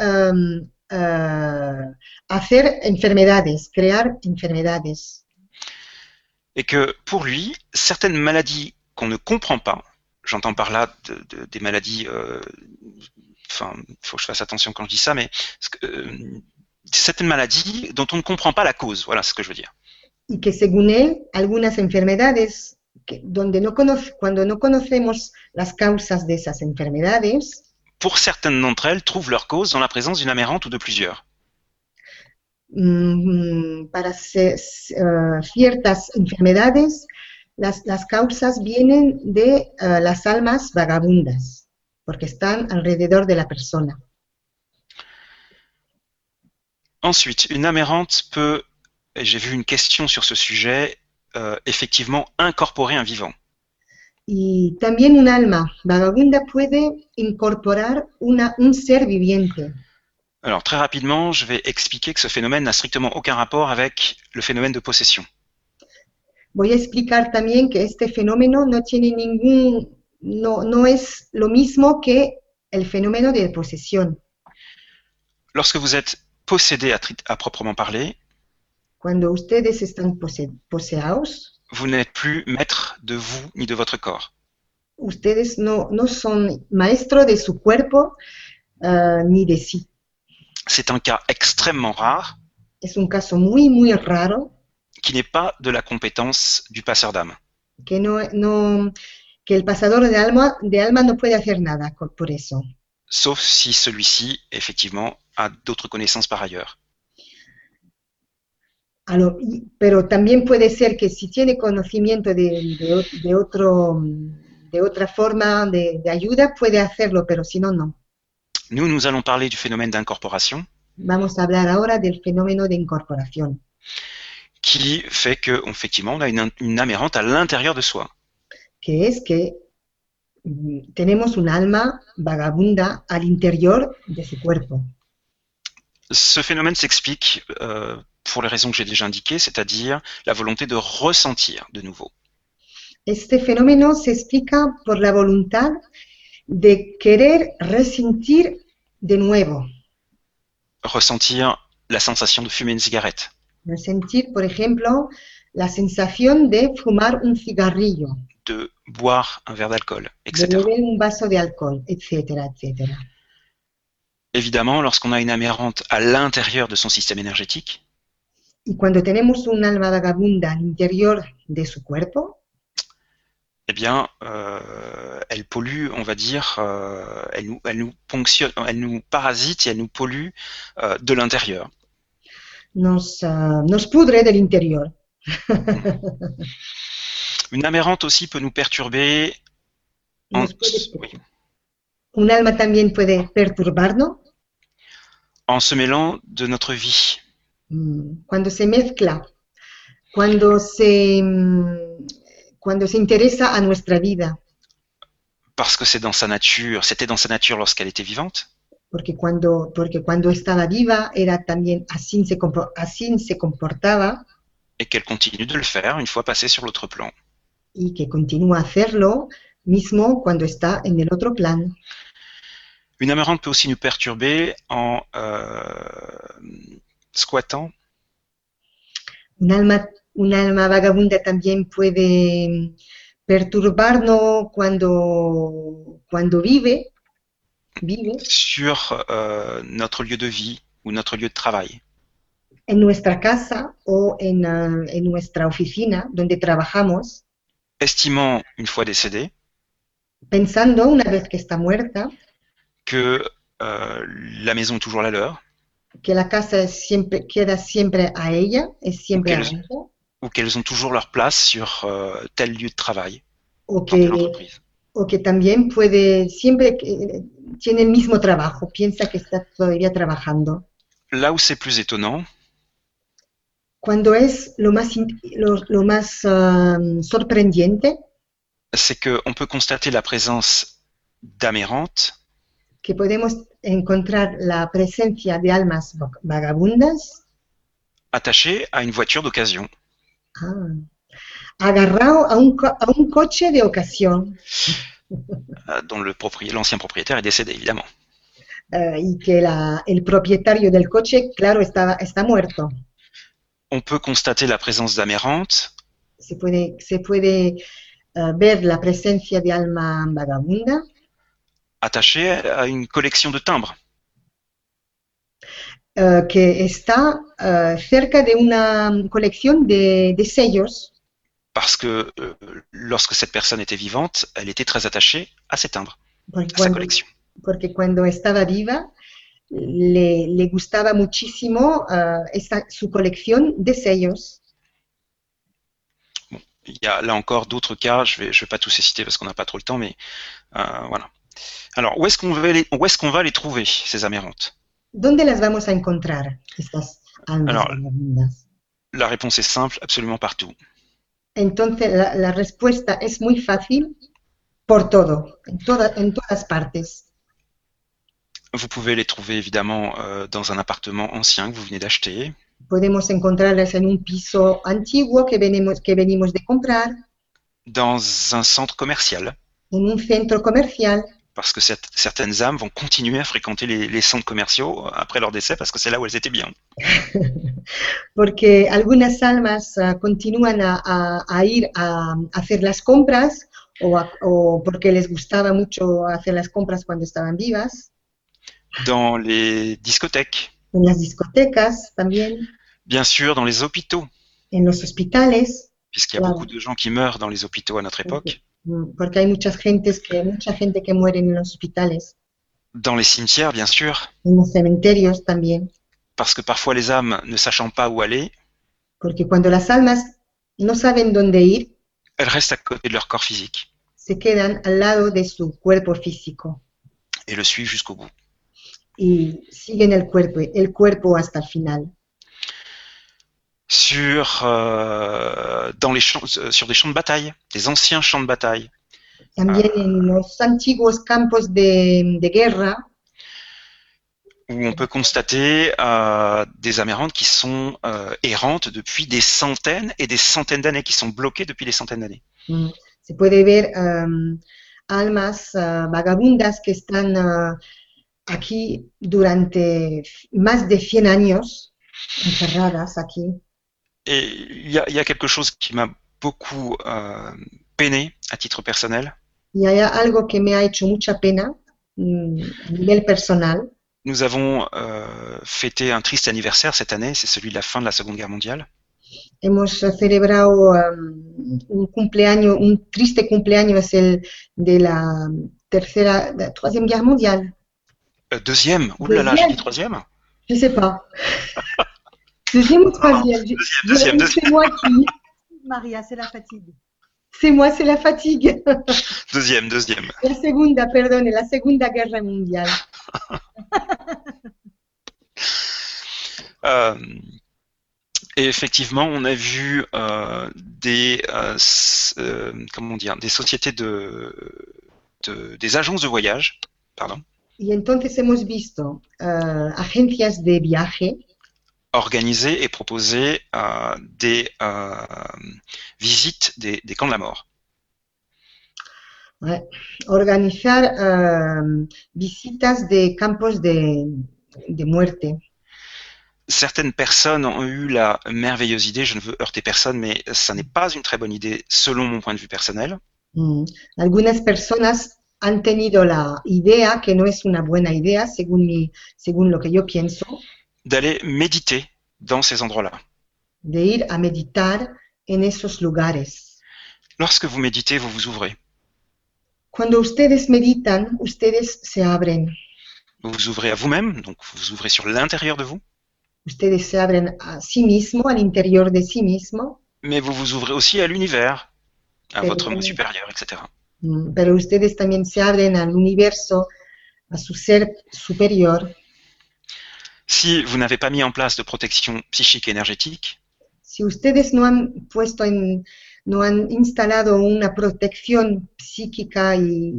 hacer enfermedades, crear enfermedades. Et que pour lui, certaines maladies qu'on ne comprend pas, j'entends par là des maladies, enfin, il faut que je fasse attention quand je dis ça, mais certaines maladies dont on ne comprend pas la cause, voilà ce que je veux dire. Y que según él, algunas enfermedades cuando no conocemos las causas de esas enfermedades, pour certaines d'entre elles, trouvent leur cause dans la présence d'une amérante ou de plusieurs. Para ciertas enfermedades, las causas vienen de las almas vagabundas, porque están alrededor de la persona. Ensuite, une amérante peut, et j'ai vu une question sur ce sujet, effectivement incorporer un vivant. Y también un alma vagabunda puede incorporar un ser viviente. Alors très rapidement, je vais expliquer que ce phénomène n'a strictement aucun rapport avec le phénomène de possession. Voy a explicar también que este fenómeno no es lo mismo que el fenómeno de posesión. Lorsque vous êtes possédé à proprement parler, cuando ustedes están poseados, vous n'êtes plus maître de vous ni de votre corps. Ustedes no son maestro de su cuerpo ni de sí. C'est un cas extrêmement rare. Es un caso muy, muy raro. Qui n'est pas de la compétence du passeur d'âme. Que el pasador de alma no puede hacer nada por eso. Sauf si celui-ci, effectivement, a d'autres connaissances par ailleurs. Pero también puede ser que si tiene conocimiento de otra forma de ayuda, puede hacerlo, pero si no, no. Nous allons parler du phénomène d'incorporation. Vamos a hablar ahora del fenómeno de incorporación. Qui fait que, effectivement, on a une amérante à l'intérieur de soi. Que es que tenemos un alma vagabunda al interior de su cuerpo. Ce phénomène s'explique pour les raisons que j'ai déjà indiquées, c'est-à-dire la volonté de ressentir de nouveau. Este fenómeno se explica por la voluntad de querer ressentir de nuevo. Ressentir la sensation de fumer une cigarette. Ressentir, por ejemplo, la sensación de fumar un cigarrillo. De boire un verre d'alcool, etc. De beber un vaso de alcohol, etcétera, etcétera. Évidemment, lorsqu'on a une amérante à l'intérieur de son système énergétique, y cuando tenemos un alma vagabunda al interior de su cuerpo, eh bien, elle pollue, on va dire, elle nous ponctionne, elle nous parasite et elle nous pollue de l'intérieur. Nos pudre del interior. Une amérante aussi peut nous perturber. Oui. Un alma también puede perturbarnos. En se mêlant de notre vie. Cuando se mezcla, cuando se interesa a nuestra vida. Parce que c'est dans sa nature, c'était dans sa nature lorsqu'elle était vivante, porque cuando estaba viva era también así se comportaba et qu'elle continue de le faire une fois passée sur l'autre plan. y que continúa a hacerlo mismo cuando está en el otro plan. Une âme errante peut aussi nous perturber en squattant, Un alma, un alma vagabunda también puede perturbarnos cuando vive sur notre lieu de vie ou notre lieu de travail, en nuestra casa o en nuestra oficina donde trabajamos, estimant, une fois décédé, pensando una vez que está muerta, que la maison est toujours la leur, que la casa queda siempre a ella, es siempre a qu'elles- ella, ou qu'elles ont toujours leur place sur tel lieu de travail, o dans telle que, entreprise. o que también tiene el mismo trabajo, piensa que está todavía trabajando. Là où c'est plus étonnant, Cuando es lo más sorprendente, c'est qu'on peut constater la présence d'âmes errantes que podemos encontrar la presencia de almas vagabundas attachées à une voiture d'occasion. agarrado a un coche de ocasión Dont l'ancien propriétaire est décédé, évidemment. y que el propietario del coche, claro, está muerto. On peut constater la présence d'âmes errantes Se puede ver la presencia de alma vagabunda attachées à une collection de timbres. que está cerca de una colección de sellos, Parce que lorsque cette personne était vivante, elle était très attachée à ses timbres, porque à sa collection. porque cuando estaba viva le gustaba muchísimo su colección de sellos. Bon, il y a là encore d'autres cas, je vais pas tous les citer parce qu'on n'a pas trop le temps, mais voilà. Alors, où est-ce qu'on va les trouver, ces âmes errantes? ¿Dónde las vamos a encontrar, estas almas Alors, vagabundas? La réponse est simple, absolument partout. Entonces, la respuesta es muy fácil, por todo, en todas partes. Vous pouvez les trouver évidemment dans un appartement ancien que vous venez d'acheter, Podemos encontrarlas en un piso antiguo que venimos de comprar, dans un centre commercial, en un centro comercial, parce que certaines âmes vont continuer à fréquenter les centres commerciaux après leur décès parce que c'est là où elles étaient bien. porque algunas almas continúan a ir a hacer las compras o porque les gustaba mucho hacer las compras cuando estaban vivas, Dans les discothèques, en las discotecas también, bien sûr dans les hôpitaux, en los hospitales, puisqu'il y a Claro. beaucoup de gens qui meurent dans les hôpitaux à notre époque, porque hay mucha gente que muere en los hospitales, dans les cimetières, bien sûr, en los cementerios también, parce que parfois les âmes, ne sachant pas où aller, porque cuando las almas no saben dónde ir, elles restent à côté de leur corps physique se quedan al lado de su cuerpo físico et le suivent jusqu'au bout. y siguen el cuerpo hasta el final. Sur des champs de bataille, des anciens champs de bataille, También en los antiguos campos de guerra, où on peut constater des âmes errantes qui sont errantes depuis des centaines et des centaines d'années, qui sont bloquées depuis des centaines d'années. se puede ver almas vagabundas que están aquí durante más de 100 años, encerradas aquí. Et il y a quelque chose qui m'a beaucoup peiné à titre personnel. Y hay algo que me ha hecho mucha pena a nivel personal. Nous avons fêté un triste anniversaire cette année, c'est celui de la fin de la Seconde Guerre mondiale. Hemos celebrado un triste cumpleaños, es el de la Troisième Guerre mondiale. Deuxième? Ouh là là, j'ai dit troisième? Je sais pas. Deuxième ou troisième? Deuxième. C'est moi qui. Maria, c'est la fatigue. C'est moi, c'est la fatigue. Deuxième. La Segunda Guerra mondiale. Et effectivement, on a vu des sociétés des agences de voyage, pardon, Y entonces hemos visto agencias de viaje organiser et proposer des visites des camps de la mort. organizar visitas de campos de muerte. Certaines personnes ont eu la merveilleuse idée, je ne veux heurter personne, mais ça n'est pas une très bonne idée selon mon point de vue personnel, Algunas personas han tenido la idea, que no es una buena idea, según lo que yo pienso, d'aller méditer dans ces endroits-là. de ir a meditar en esos lugares. Lorsque vous méditez, vous vous ouvrez. Cuando ustedes meditan, ustedes se abren. Vous vous ouvrez à vous-même, donc vous vous ouvrez sur l'intérieur de vous, Ustedes se abren a sí mismo, al interior de sí mismo, mais vous vous ouvrez aussi à l'univers, à Pero- votre moi supérieur, etc. pero ustedes también se abren al universo, a su ser superior. Si vous n'avez pas mis en place de protection psychique et énergétique, Si ustedes no han no han instalado una protección psíquica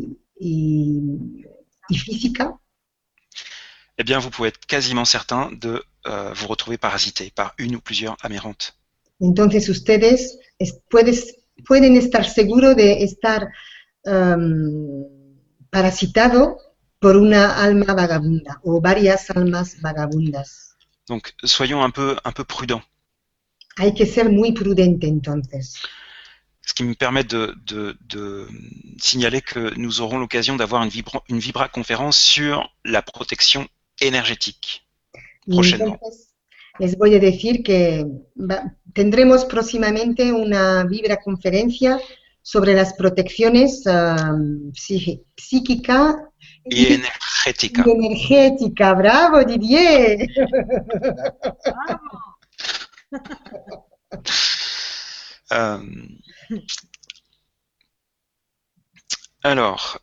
y física, eh bien vous pouvez être quasiment certain de vous retrouver parasité par une ou plusieurs amérantes. entonces ustedes pueden estar seguros de estar parasitado por una alma vagabunda o varias almas vagabundas. Donc soyons un peu prudents. Hay que ser muy prudente entonces. Ce qui me permet de signaler que nous aurons l'occasion d'avoir une vibra-conférence sur la protection énergétique Y prochainement. entonces les voy a decir que tendremos próximamente una vibra conferencia sobre las protecciones psíquica Et énergética. y energética. ¡Bravo, Didier! Alors,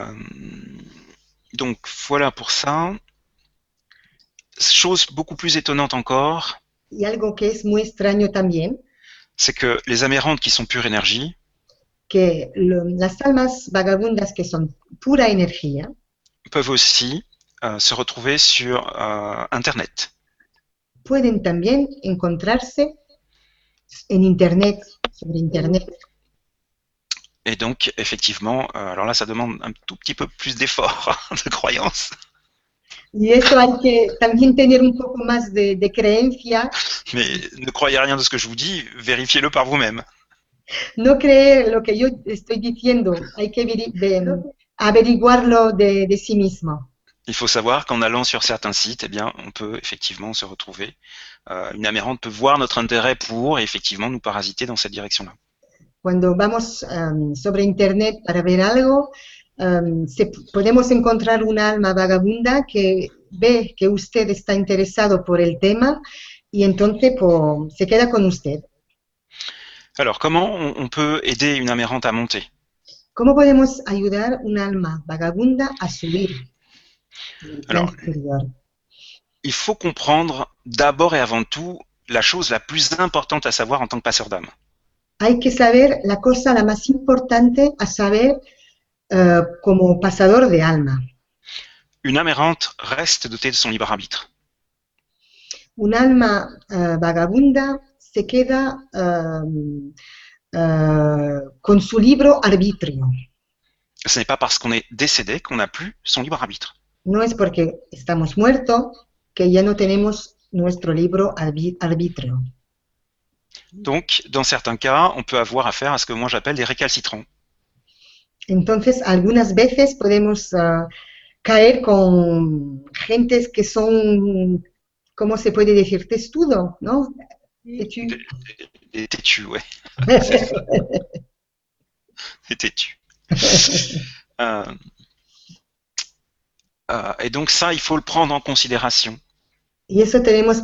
donc voilà pour ça. Chose beaucoup plus étonnante encore, Y algo que es muy extraño también, c'est que les amérantes qui sont pure énergie que las almas vagabundas que son pura energía peuvent aussi se retrouver sur Internet. pueden también encontrarse en Internet, sobre Internet. Et donc, effectivement, alors là, ça demande un tout petit peu plus d'effort de croyance. Y eso hay que también tener un poco más de creencia. Mais ne croyez rien de ce que je vous dis, vérifiez-le par vous-même. No creer lo que yo estoy diciendo, hay que averiguarlo de sí mismo. Il faut savoir qu'en allant sur certains sites, eh bien, on peut effectivement se retrouver. Une amérante peut voir notre intérêt pour et effectivement nous parasiter dans cette direction-là. Cuando vamos sobre Internet para ver algo, podemos encontrar una alma vagabunda que ve que usted está interesado por el tema y entonces se queda con usted. Alors, comment on peut aider une amérante à monter? ¿Cómo podemos ayudar una alma vagabunda a subir? Alors, il faut comprendre d'abord et avant tout la chose la plus importante à savoir en tant que passeur d'âme. Hay que saber la cosa la más importante a saber como pasador de alma. Une âme errante reste dotée de son libre arbitre. Un alma vagabunda se queda con su libre arbitrio. Ce n'est pas parce qu'on est décédé qu'on n'a plus son libre arbitre. No es porque estamos muertos que ya no tenemos nuestro libre arbitrio. Donc, dans certains cas, on peut avoir affaire à ce que moi j'appelle des récalcitrants. Entonces, algunas veces podemos caer con gentes que son, ¿cómo se puede decir? Testudo, ¿no? Des têtus, ouais. Des têtus. Et donc ça, il faut le prendre en considération. Y eso tenemos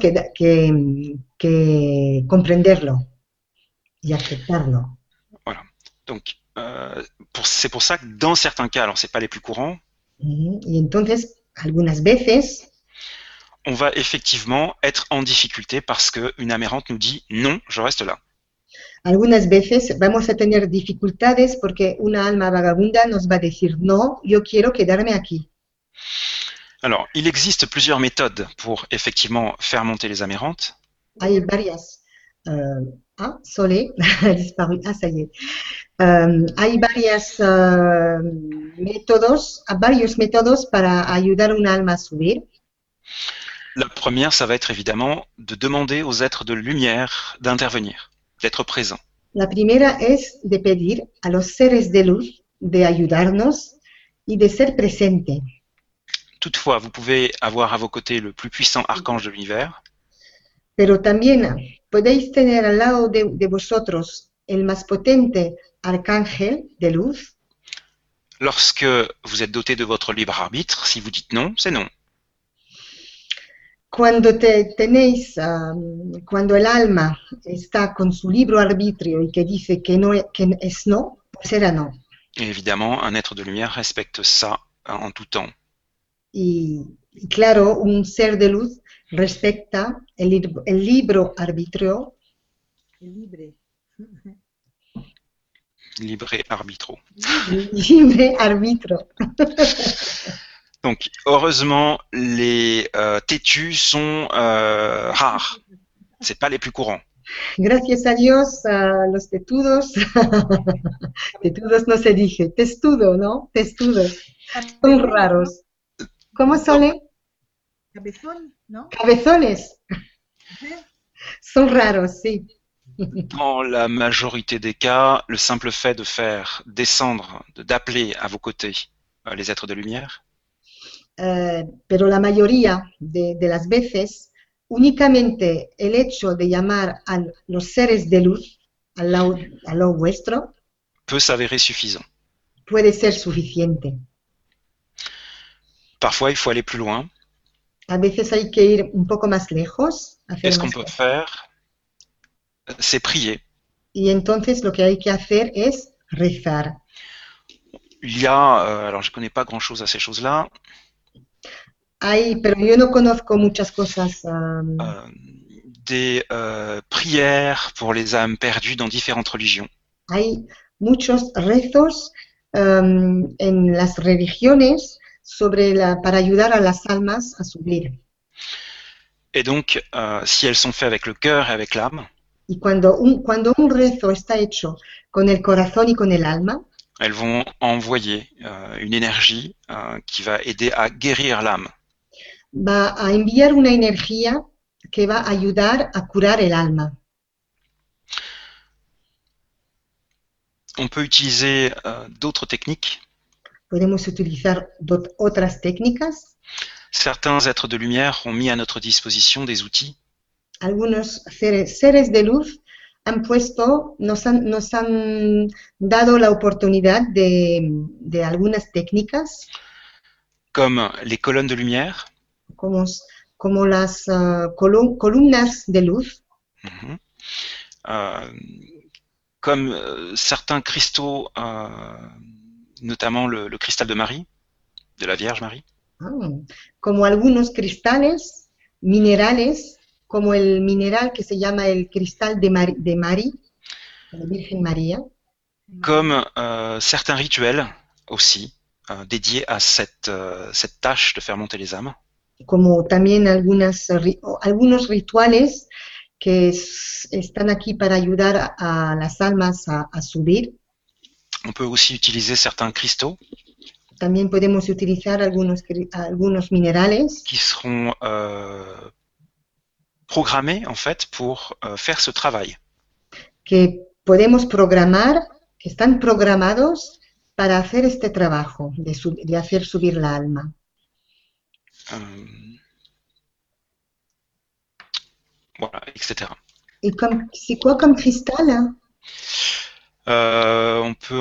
que comprenderlo y aceptarlo. Voilà. Donc, c'est pour ça que dans certains cas, alors c'est pas les plus courants, Y entonces, algunas veces, on va effectivement être en difficulté parce qu'une âme errante nous dit non, je reste là. Algunas veces vamos a tener dificultades porque una alma vagabunda nos va a decir, no, yo quiero quedarme aquí. Alors, il existe plusieurs méthodes pour effectivement faire monter les âmes errantes. Hay varias. Solé ha disparu. Ah, ça y est. Hay varios métodos para ayudar a una alma a subir. La première, ça va être évidemment de demander aux êtres de lumière d'intervenir, d'être présents. La primera es de pedir a los seres de luz de ayudarnos y de ser presente. Toutefois, vous pouvez avoir à vos côtés le plus puissant archange de l'univers. Pero también podéis tener al lado de vosotros el más potente arcángel de luz. Lorsque vous êtes doté de votre libre arbitre, si vous dites non, c'est non. Cuando cuando el alma está con su libre arbitrio y que dice que no que es no, pues será no. Et évidemment, un être de lumière respecte ça en tout temps. Y claro, un ser de luz respecta el libre arbitrio. Libre arbitro. Libre arbitro. Donc, heureusement, les têtus sont rares. C'est pas les plus courants. Gracias a Dios, los tetudos, tetudos no se dice, testudo, ¿no? Testudos, son raros. ¿Cómo son? Cabezón, ¿no? Cabezones. Son raros, sí. Dans la majorité des cas, le simple fait de faire descendre, d'appeler à vos côtés les êtres de lumière, pero la mayoría de las veces, únicamente el hecho de llamar a los seres de luz al lado vuestro peut s'avérer suffisant. puede ser suficiente. Parfois, il faut aller plus loin. A veces hay que ir un poco más lejos. Et ce qu'on peut faire, c'est prier. Y entonces lo que hay que hacer es rezar. Il y a, alors je connais pas grand-chose à ces choses-là, Pero yo no conozco muchas cosas. des prières pour les âmes perdues dans différentes religions. Hay muchos rezos en las religiones para ayudar a las almas a subir. Et donc, si elles sont faites avec le cœur et avec l'âme, Y cuando un rezo está hecho con el corazón y con el alma, elles vont envoyer une énergie qui va aider à guérir l'âme. va a enviar una energía que va a ayudar a curar el alma. On peut utiliser d'autres techniques. Podemos utilizar otras técnicas. Certains êtres de lumière ont mis à notre disposition des outils Algunos seres de luz nos han dado la oportunidad de algunas técnicas, comme les colonnes de lumière, como las columnas de luz, comme certains cristaux, notamment le cristal de Marie, de la Vierge Marie. como algunos cristales, minerales, como el mineral que se llama el cristal de Marie, de la Virgen María. Comme certains rituels aussi, dédiés à cette tâche de faire monter les âmes. Como también algunos rituales que están aquí para ayudar a las almas a subir. On peut aussi utiliser certains cristaux. También podemos utilizar algunos minerales qui seront programmés en fait pour faire ce travail. que podemos programar, que están programados para hacer este trabajo de hacer subir la alma. Voilà, etc. Et c'est quoi comme cristal, hein? On peut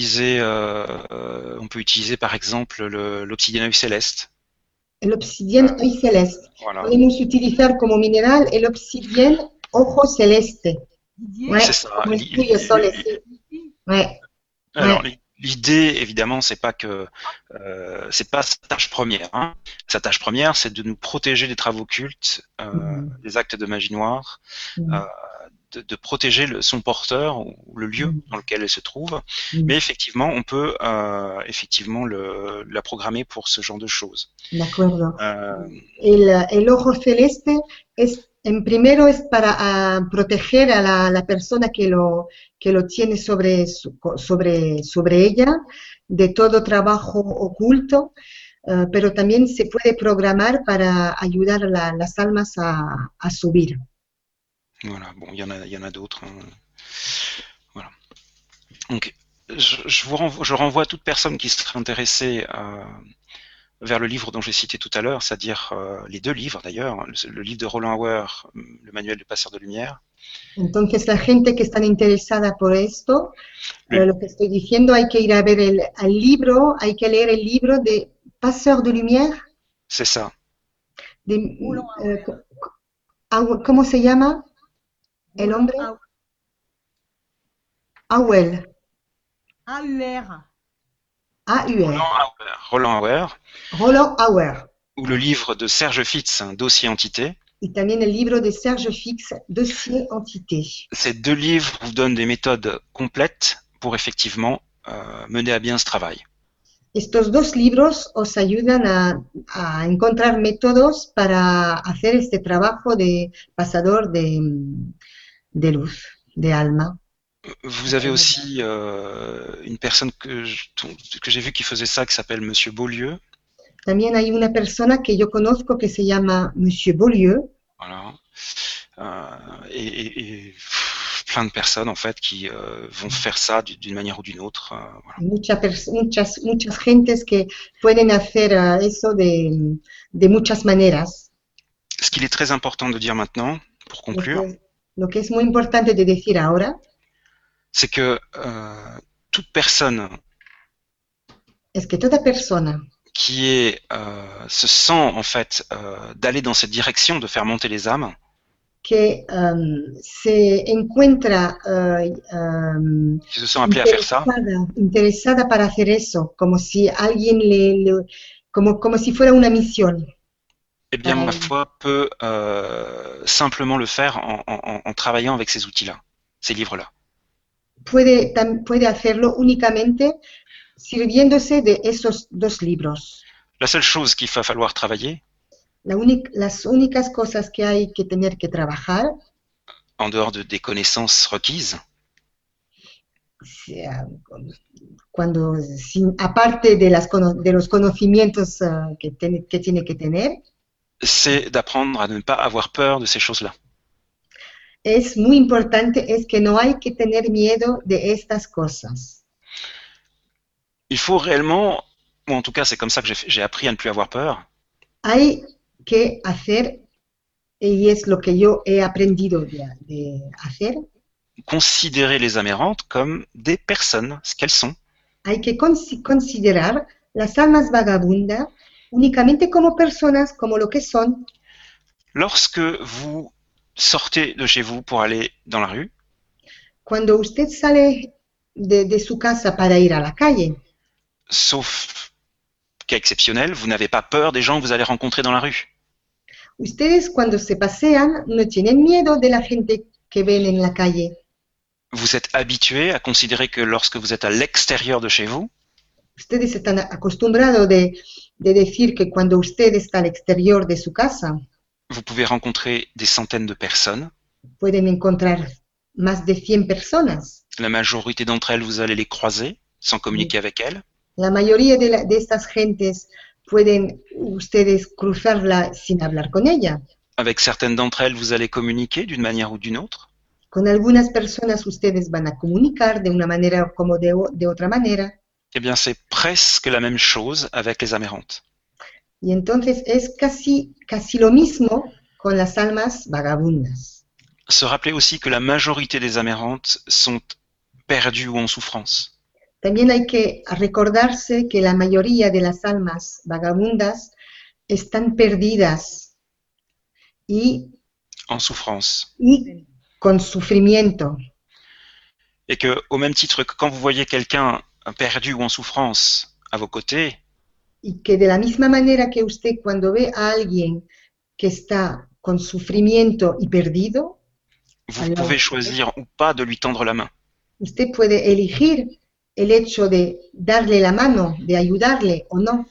utiliser par exemple l'obsidienne œil céleste. El obsidian œil celeste. Voilà. Podemos utilizar como mineral el obsidian ojo celeste. Ouais, c'est ça. como el tuyo, Sole, sí. Ouais. Alors, l'idée, évidemment, c'est pas sa tâche première. Hein. Sa tâche première, c'est de nous protéger des travaux occultes, des actes de magie noire, de protéger son porteur ou le lieu dans lequel elle se trouve. Mais effectivement, on peut effectivement la programmer pour ce genre de choses. De acuerdo. El ojo celeste en primero es para proteger a la persona que lo tiene sobre ella de todo trabajo oculto, pero también se puede programar para ayudar a las almas a subir. Voilà, bon, il y en a d'autres. Hein. Voilà. Donc, je renvoie toute personne qui serait intéressée vers le livre dont j'ai cité tout à l'heure, c'est-à-dire les deux livres d'ailleurs, le livre de Roland Hauer, le manuel du passeur de lumière. Entonces, la gente que está interesada por esto, lo que estoy diciendo, hay que ir a ver el libro, hay que leer el libro de Passeur de Lumière. C'est ça. ¿Cómo se llama el hombre? Auer. AUR. Roland Hauer. Roland Hauer. Ou le livre de Serge Fitz, Dossier Entité. Y también el libro de Serge Fitz, Dossier Entité. Ces deux livres vous donnent des méthodes complètes pour effectivement mener à bien ce travail. Estos dos libros os ayudan a encontrar métodos para hacer este trabajo de pasador de luz, de alma. Vous avez aussi une personne que j'ai vue qui faisait ça, qui s'appelle Monsieur Beaulieu. También hay una persona que yo conozco que se llama Monsieur Beaulieu. Voilà. Et plein de personnes en fait qui vont faire ça d'une manière ou d'une autre. Voilà. Muchas gentes que pueden hacer eso de muchas maneras. Ce qu'il est très important de dire maintenant, pour conclure, lo que es muy importante de decir ahora, c'est que toute personne es que toda persona qui se sent en fait d'aller dans cette direction, de faire monter les âmes, que se encuentra qui se sent appelé à faire ça, interesada para hacer eso, como si alguien como si fuera una misión. Eh bien, ma foi, peut simplement le faire en travaillant avec ces outils-là, ces livres-là. Puede hacerlo únicamente sirviéndose de esos dos libros. La seule chose qu'il va falloir travailler, las únicas cosas que hay que tener que trabajar, en dehors des connaissances requises, aparte de los conocimientos que tiene que tener, c'est d'apprendre à ne pas avoir peur de ces choses-là. Es muy importante, es que no hay que tener miedo de estas cosas. Il faut réellement, ou en tout cas c'est comme ça que j'ai appris à ne plus avoir peur. Hay que hacer, y es lo que yo he aprendido de hacer, considérer les amérantes comme des personnes, ce qu'elles sont. Hay que considerar las almas vagabundas únicamente como personas, como lo que son. Lorsque vous sortez de chez vous pour aller dans la rue, cuando usted sale de su casa para ir a la calle, sauf cas exceptionnel, vous n'avez pas peur des gens que vous allez rencontrer dans la rue. Ustedes cuando se pasean no tienen miedo de la gente que ven en la calle. Vous êtes habitué à considérer que lorsque vous êtes à l'extérieur de chez vous, ustedes están acostumbrados de decir que cuando usted está al exterior de su casa, vous pouvez rencontrer des centaines de personnes. Pueden encontrar más de 100 personas. La majorité d'entre elles, vous allez les croiser sans communiquer avec elles. La mayoría de estas gentes pueden ustedes cruzarla sin hablar con ella. Avec certaines d'entre elles, vous allez communiquer d'une manière ou d'une autre. Con algunas personas ustedes van a comunicar de una manera como de otra manera. Eh bien, c'est presque la même chose avec les amérantes. Y entonces es casi lo mismo con las almas vagabundas. Se rappeler aussi que la majorité des amérantes sont perdues ou en souffrance. También hay que recordarse que la mayoría de las almas vagabundas están perdidas y en souffrance. Y con sufrimiento. Et que, au même titre que quand vous voyez quelqu'un perdu ou en souffrance à vos côtés, y que de la misma manera que usted cuando ve a alguien que está con sufrimiento y perdido, Vous Alors, pouvez choisir ou pas de lui tendre la main. usted puede elegir el hecho de darle la mano, de ayudarle o no.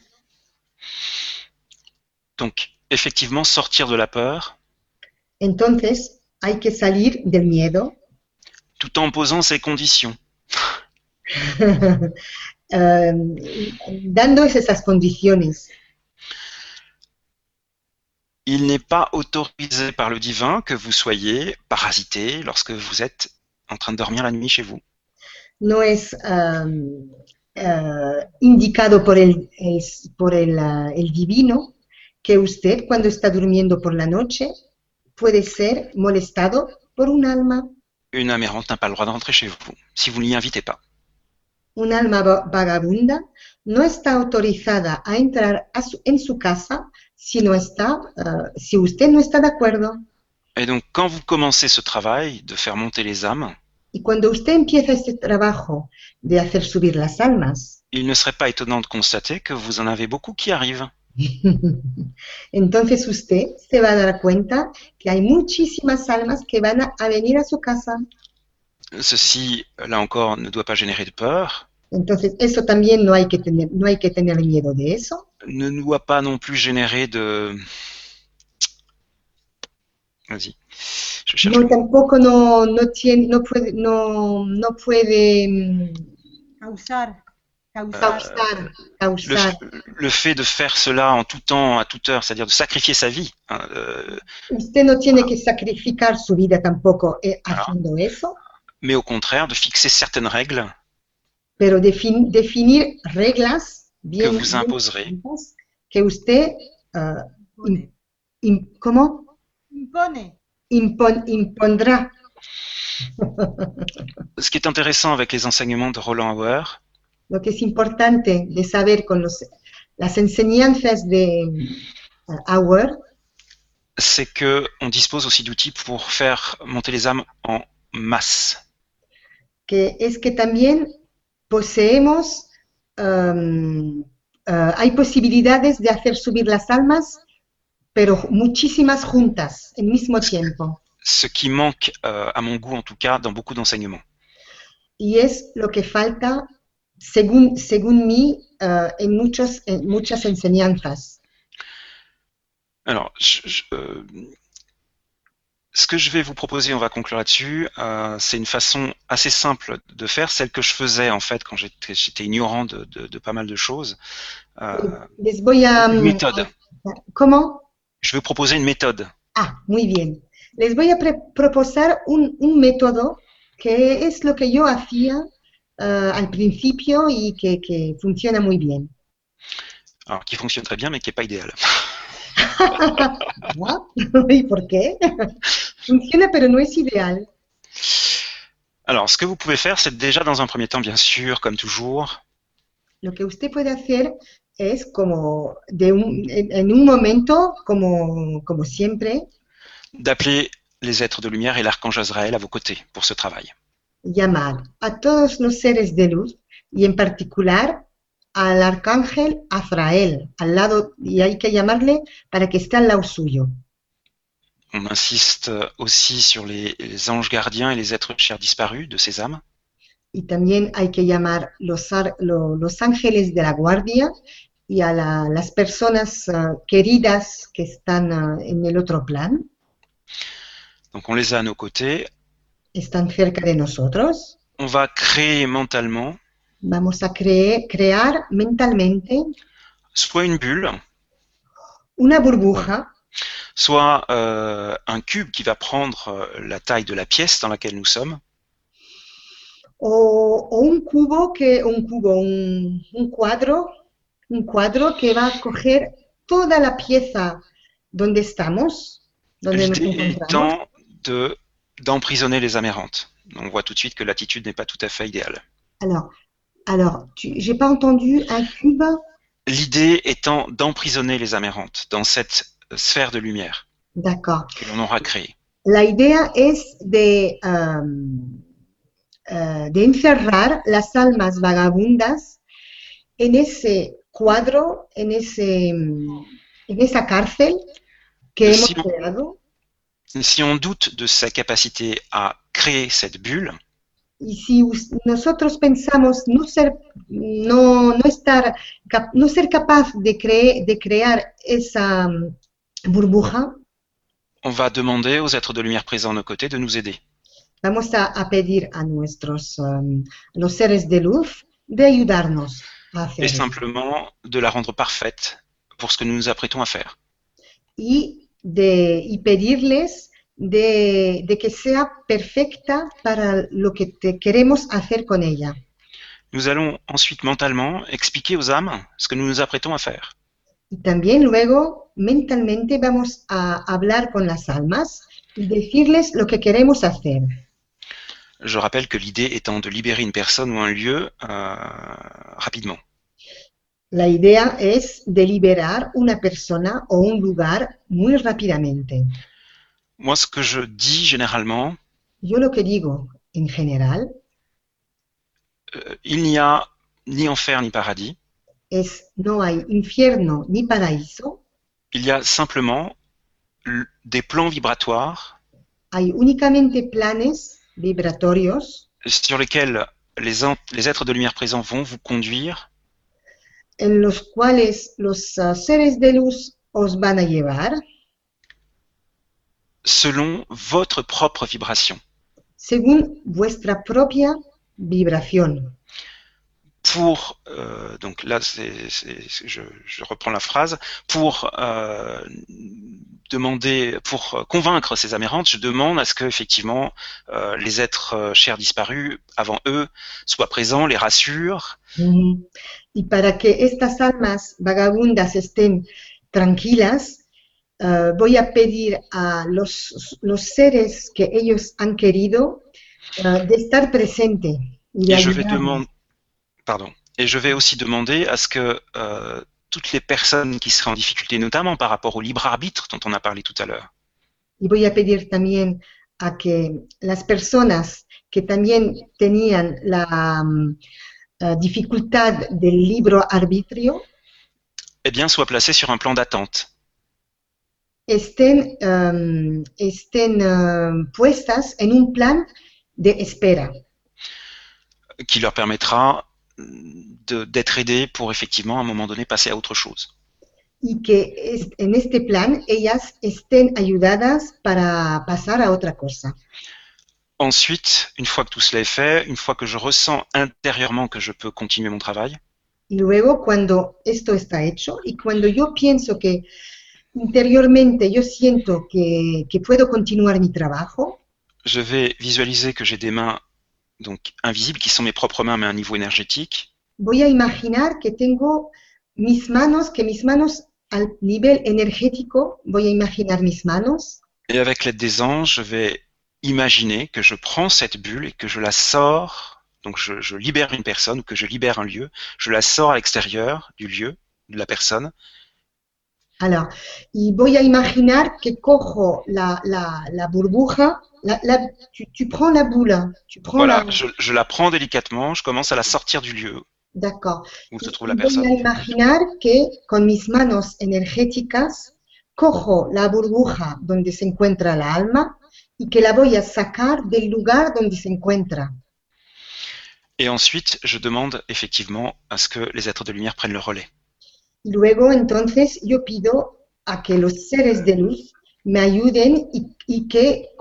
Donc, effectivement, sortir de la peur, Entonces, hay que salir del miedo, tout en posant ses conditions. dando esas condiciones. Il n'est pas autorisé par le divin que vous soyez parasité lorsque vous êtes en train de dormir la nuit chez vous. No es indicado por el divino que usted, cuando está durmiendo por la noche, puede ser molestado por un alma. Une âme errante n'a pas le droit de rentrer chez vous si vous ne l'y invitez pas. Un alma vagabunda no está autorizada a entrar en su casa si usted no está de acuerdo. Et donc, quand vous commencez ce travail de faire monter les âmes, Y cuando usted empieza este trabajo de hacer subir las almas, il ne serait pas étonnant de constater que vous en avez beaucoup qui arrivent. entonces usted se va a dar cuenta que hay muchísimas almas que van a venir a su casa. Ceci, là encore, ne doit pas générer de peur, Entonces eso también no hay que tener miedo de eso. ne doit pas non plus générer de... Vas-y, je cherche. No, tampoco no puede Causar. causar. Le fait de faire cela en tout temps, à toute heure, c'est-à-dire de sacrifier sa vie, Usted no tiene que sacrificar su vida tampoco haciendo eso, mais au contraire de fixer certaines règles pero definir reglas que bien vous imposerez. que usted ¿cómo? Impone. Impondrá. Ce qui est intéressant avec les enseignements de Roland Hauer, Lo que es importante de saber con las enseñanzas de Auer, c'est que on dispose aussi d'outils pour faire monter les âmes en masse. que es que también poseemos, hay posibilidades de hacer subir las almas, pero muchísimas juntas, al mismo tiempo. Ce qui manque, à mon goût en tout cas, dans beaucoup d'enseignements. Y es lo que falta, según mí, en muchas enseñanzas. Alors, ce que je vais vous proposer, on va conclure là-dessus, c'est une façon assez simple de faire, celle que je faisais en fait quand j'étais ignorant de pas mal de choses. Les voy a... Une méthode. ¿Cómo? Je vais vous proposer une méthode. Ah, muy bien. Les voy a proponer un método que es lo que yo hacía al principio y que funciona muy bien. Alors, qui fonctionne très bien, mais qui n'est pas idéal. ¿Y por qué? Funciona, pero no es ideal. Alors, ce que vous pouvez faire, c'est déjà dans un premier temps, bien sûr, comme toujours, Lo que usted puede hacer es como en un momento, como siempre, d'appeler les êtres de lumière et l'archange Azraël à vos côtés pour ce travail. llamar a todos los seres de luz y en particular al arcángel Azrael al lado, y hay que llamarle para que esté al lado suyo. On insiste aussi sur les anges gardiens et les êtres chers disparus de ces âmes. Y también hay que llamar los ángeles de la guardia y a las personas queridas que están en el otro plan, Donc on les a à nos côtés. están cerca de nosotros. On va créer mentalement Vamos a crear mentalmente soit une bulle, una burbuja, soit un cube qui va prendre la taille de la pièce dans laquelle nous sommes, o un cuadro que va a coger toda la pieza donde estamos, donde nos l'idée encontramos. étant d'emprisonner les âmes errantes. On voit tout de suite que l'attitude n'est pas tout à fait idéale. Alors, j'ai pas entendu un cube. L'idée étant d'emprisonner les âmes errantes dans cette sphère de lumière D'accord. que l'on aura créée. La idea es de encerrar las almas vagabundas en ese cuadro, en esa cárcel que hemos creado. Si on doute de sa capacité à créer cette bulle, Y si nosotros pensamos no ser capaz de crear esa burbuja, on va demander aux êtres de lumière présents à nos côtés de nous aider. vamos a pedir a los seres de luz de ayudarnos a Et hacerlo. simplement de la rendre parfaite pour ce que nous nous apprêtons à faire. Y pedirles de que sea perfecta para lo que queremos hacer con ella. Nous allons ensuite mentalement expliquer aux âmes ce que nous nous apprêtons à faire. Y también luego mentalmente vamos a hablar con las almas y decirles lo que queremos hacer. Je rappelle que l'idée étant de libérer une personne ou un lieu rapidement. La idea es de liberar una persona o un lugar muy rápidamente. Moi, ce que je dis généralement, Yo lo que digo en general il n'y a ni enfer ni paradis. es no hay infierno ni paraíso, Il y a simplement des plans vibratoires hay únicamente planes vibratorios sur lesquels les êtres de lumière présents vont vous conduire en los cuales los seres de luz os van a llevar selon votre propre vibration. según vuestra propia vibración. Pour, donc là, je reprends la phrase, pour pour convaincre ces amérantes, je demande à ce que effectivement les êtres chers disparus avant eux soient présents, les rassurent. Y para que estas almas vagabundas estén tranquilas, voy a pedir a los seres que ellos han querido de estar presente. Y Et je vais aussi demander à ce que toutes les personnes qui seraient en difficulté, notamment par rapport au libre arbitre dont on a parlé tout à l'heure. Y voy a pedir también a que las personas que también tenían la dificultad del libre arbitrio, eh bien, soient placées sur un plan d'attente. Estén puestas en un plan de espera. Qui leur permettra d'être aidées pour effectivement à un moment donné passer à autre chose. Y que en este plan ellas estén ayudadas para pasar a otra cosa. Ensuite, une fois que tout cela est fait, une fois que je ressens intérieurement que je peux continuer mon travail, y luego cuando esto está hecho y cuando yo pienso que interiormente yo siento que puedo continuar mi trabajo, je vais visualiser que j'ai des mains donc invisibles qui sont mes propres mains mais à un niveau énergétique. Voy a imaginar que tengo mis manos al nivel energético, voy a imaginar mis manos. Et avec l'aide des anges, je vais imaginer que je prends cette bulle et que je la sors, donc je libère une personne ou que je libère un lieu, je la sors à l'extérieur du lieu, de la personne. Alors, y voy a imaginar que cojo la burbuja, tu prends la boule. Voilà, je la prends délicatement, je commence à la sortir du lieu. D'accord. Où se trouve la personne. Voy a imaginar que con mis manos energéticas cojo la burbuja donde se encuentra la alma y que la voy a sacar del lugar donde se encuentra. Et ensuite, je demande effectivement à ce que les êtres de lumière prennent le relais. Y luego, entonces, yo pido a que los seres de luz me ayuden y que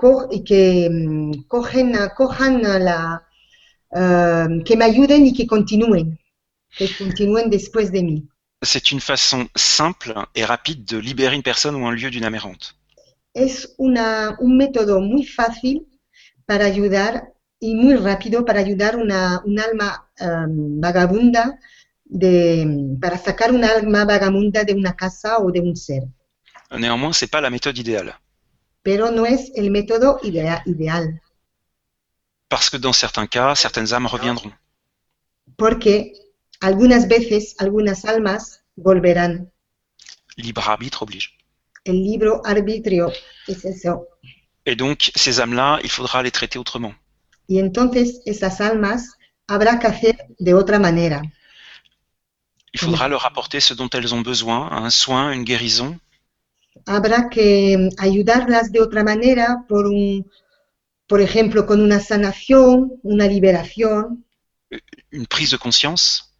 que me ayuden y que continúen después de mí. C'est une façon simple et rapide de libérer une personne ou un lieu d'une amérante. Es un método muy fácil para ayudar y muy rápido para ayudar un alma vagabunda, para sacar un alma vagabunda de una casa o de un ser. Néanmoins, c'est pas la méthode idéale. Pero no es el método ideal. Parce que dans certains cas, certaines âmes reviendront. Porque algunas veces, algunas almas volverán. Libre arbitre oblige. El libre arbitrio es eso. Et donc, ces âmes-là, il faudra les traiter autrement. Y entonces, esas almas habrá que hacer de otra manera. Il faudra leur apporter ce dont elles ont besoin, un soin, une guérison. habrá que ayudarlas de otra manera, por ejemplo, con una sanación, una liberación, une prise de conscience,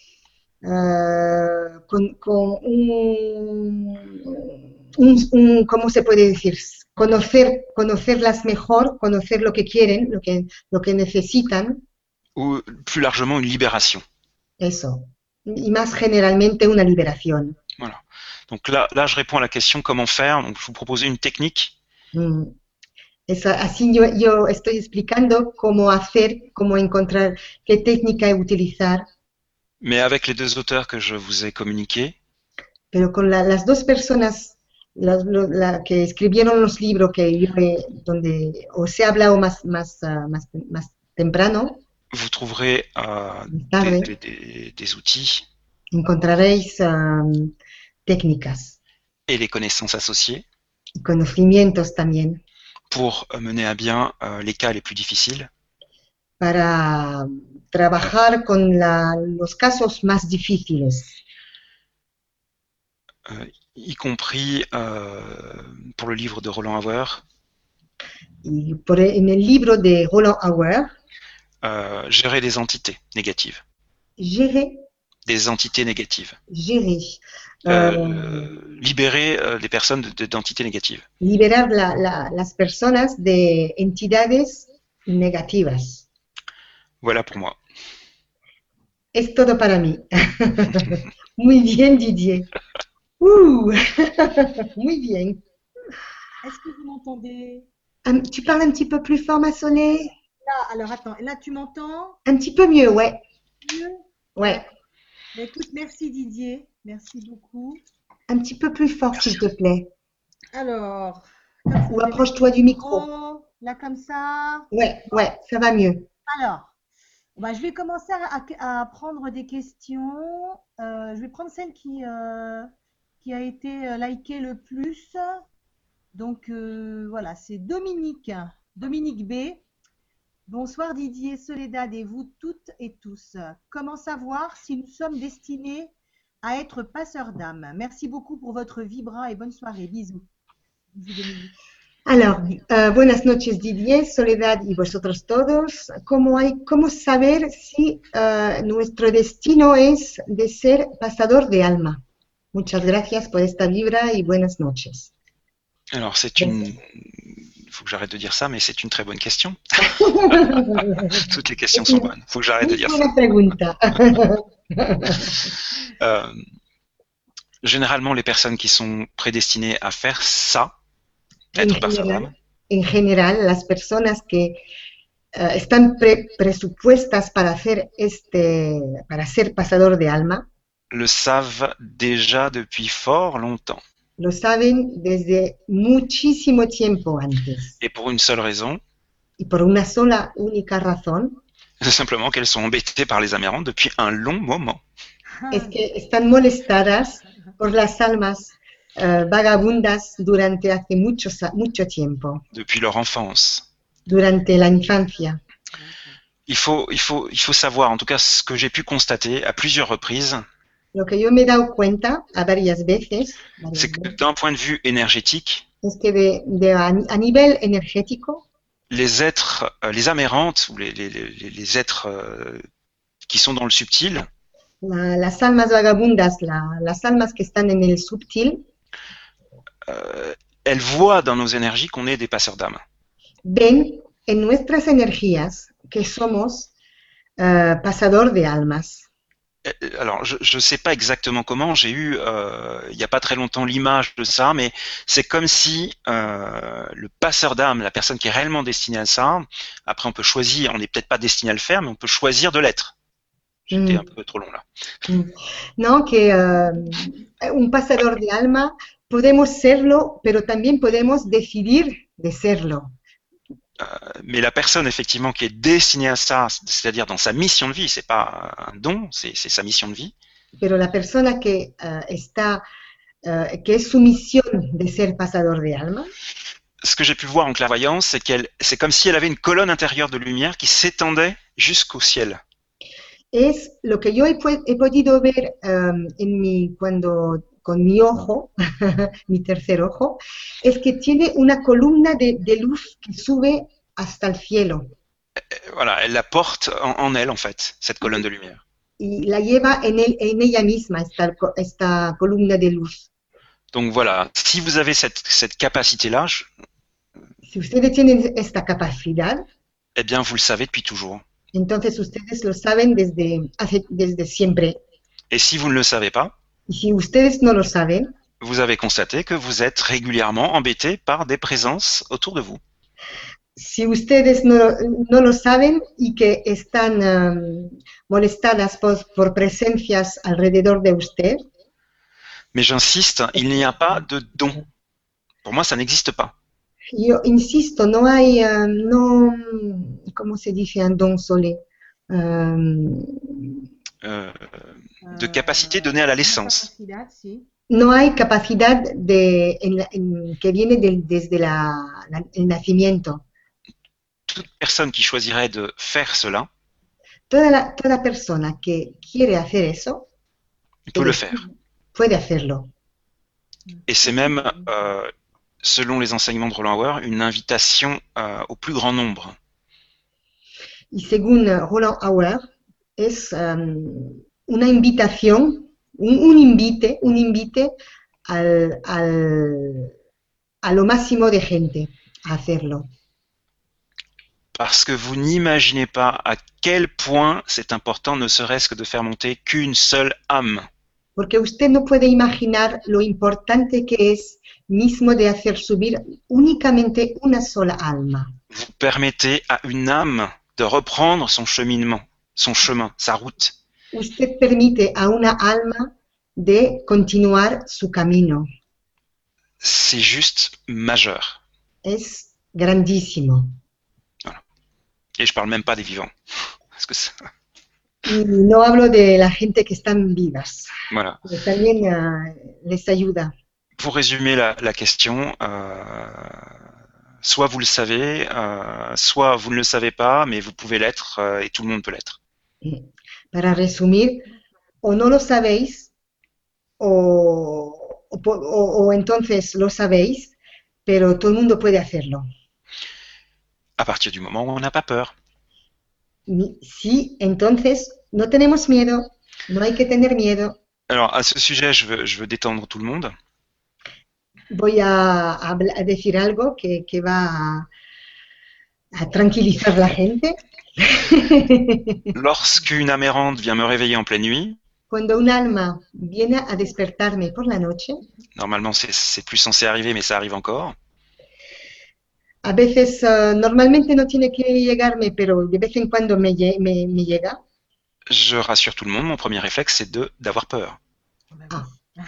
con ¿cómo se puede decir? Conocerlas mejor, conocer lo que quieren, lo que necesitan, ou plus largement une libération. eso. Y más generalmente una liberación. Voilà. Donc là, je réponds à la question comment faire. Donc, je vous proposais une technique. Así yo estoy explicando cómo hacer, cómo encontrar, qué técnica utilizar. Mais avec les deux auteurs que je vous ai communiqués, Pero con las dos personas que escribieron los libros donde os he hablado más temprano, vous trouverez tarde, des outils encontraréis técnicas et les connaissances associées y conocimientos también pour mener à bien les cas les plus difficiles. para trabajar con los casos más difíciles. Y compris pour le livre de Roland Hauer. Y en el libro de Roland Hauer, gérer des entités négatives. Gérer des entités négatives. Gérer. Libérer les personnes d'entités négatives. Liberar las personas de entidades negativas. Voilà pour moi. Es todo para mí. Muy bien, Didier. Muy bien. Est-ce que vous m'entendez? Tu parles un petit peu plus fort, ma Soleil? Là, alors attends, là tu m'entends? Un petit peu mieux, ouais. Mieux? Ouais. Mais écoute, merci Didier, merci beaucoup. Un petit peu plus fort, s'il te plaît. Alors. Ou approche-toi du micro. Là, comme ça. Ouais, ça va mieux. Alors, je vais commencer à prendre des questions. Je vais prendre celle qui a été likée le plus. Donc, voilà, c'est Dominique. Dominique B. Bonsoir Didier, Soledad et vous toutes et tous. Comment savoir si nous sommes destinés à être passeurs d'âme? Merci beaucoup pour votre vibra et bonne soirée. Bisous. Alors, buenas noches Didier, Soledad y vosotros todos. ¿Cómo saber si nuestro destino es de ser pasador de alma? Muchas gracias por esta vibra y buenas noches. Alors, il faut que j'arrête de dire ça, mais c'est une très bonne question. Toutes les questions sont bonnes. Il faut que j'arrête de dire ça. Généralement, les personnes qui sont prédestinées à faire ça, être passeur d'âme. En général, las personas que están presupuestas para ser pasador de alma, le savent déjà depuis fort longtemps. Lo saben desde muchísimo tiempo antes. Et pour une seule raison. Y por una sola, única razón. C'est simplement qu'elles sont embêtées par les Amérantes depuis un long moment. Es que están molestadas por las almas vagabundas durante hace mucho tiempo. Depuis leur enfance. Durante la infancia. Il faut savoir, en tout cas ce que j'ai pu constater à plusieurs reprises. Lo que yo me he dado cuenta a varias veces, c'est que d'un point de vue énergétique, es que a nivel energético, les êtres, les amérantes ou les êtres qui sont dans le subtil, las almas vagabundas, las almas que están en el subtil, elles voient dans nos énergies qu'on est des passeurs d'âme. Ven en nuestras energías que somos pasador de almas. Alors, je ne sais pas exactement comment, j'ai eu, il n'y a pas très longtemps, l'image de ça, mais c'est comme si le passeur d'âme, la personne qui est réellement destinée à ça, après on peut choisir, on n'est peut-être pas destiné à le faire, mais on peut choisir de l'être. J'étais un peu trop long là. No, que un pasador de alma, podemos serlo, pero también podemos decidir de serlo. Mais la personne effectivement qui est destinée à ça, c'est-à-dire dans sa mission de vie, c'est pas un don, c'est sa mission de vie. Pero la persona que que es su misión de ser pasador de alma. Ce que j'ai pu voir en clairvoyance, c'est comme si elle avait une colonne intérieure de lumière qui s'étendait jusqu'au ciel. Es lo que yo he podido ver cuando con mi ojo, mi tercer ojo, es que tiene una columna de luz que sube hasta el cielo Voilà, elle la porte en elle, en fait, cette colonne de lumière. y la lleva en ella misma, esta columna de luz. Donc voilà, si vous avez cette capacité-là, Si ustedes tienen esta capacidad, eh bien, vous le savez depuis toujours. entonces ustedes lo saben desde siempre. Et si vous ne le savez pas, Y si ustedes no lo saben, vous avez constaté que vous êtes régulièrement embêté par des présences autour de vous. si ustedes no lo saben y que están molestadas por presencias alrededor de usted, Mais j'insiste, il n'y a pas de don. Pour moi, ça n'existe pas. yo insisto, no hay, ¿cómo se dice en don sole? De capacité donnée à la naissance. Capacidad, sí. No hay capacidad que viene desde el nacimiento. Toute personne qui choisirait de faire cela Toda persona que quiere hacer eso peut le faire. puede hacerlo. Et c'est même, selon les enseignements de Roland Hauer, une invitation au plus grand nombre. Y según Roland Hauer, es una invitación, un invite a lo máximo de gente a hacerlo. Parce que vous n'imaginez pas à quel point c'est important, ne serait-ce que de faire monter qu'une seule âme. Porque usted no puede imaginar lo importante que es mismo de hacer subir únicamente una sola alma. Vous permettez à une âme de reprendre son cheminement, son chemin, sa route. Usted permite a una alma de continuar su camino. C'est juste majeur. Es grandísimo. Et je parle même pas des vivants. Parce que ça, Y no hablo de la gente que están vivas, voilà. que también les ayuda. Pour résumer la question, soit vous le savez, soit vous ne le savez pas, mais vous pouvez l'être et tout le monde peut l'être. Para resumir, o no lo sabéis, o entonces lo sabéis, pero todo el mundo puede hacerlo. À partir du moment où on n'a pas peur. Sí, entonces no tenemos miedo, no hay que tener miedo. Alors à ce sujet, je veux détendre tout le monde. Voy a decir algo que va a tranquilizar la gente. Lorsqu'une âme errante vient me réveiller en pleine nuit, Cuando un alma viene a despertarme por la noche, normalement c'est plus censé arriver, mais ça arrive encore. a veces normalmente no tiene que llegarme, pero de vez en cuando me llega. Je rassure tout le monde, mon premier réflexe c'est d'avoir peur. Ah.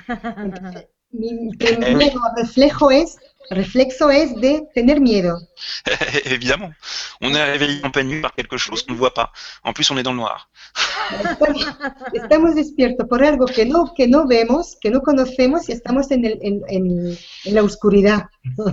Mi primer reflexo es de tener miedo. Évidemment, on est réveillé en pleine nuit par quelque chose qu'on ne voit pas. En plus, on est dans le noir. Estamos despiertos por algo que no vemos, que no conocemos y estamos en la oscuridad.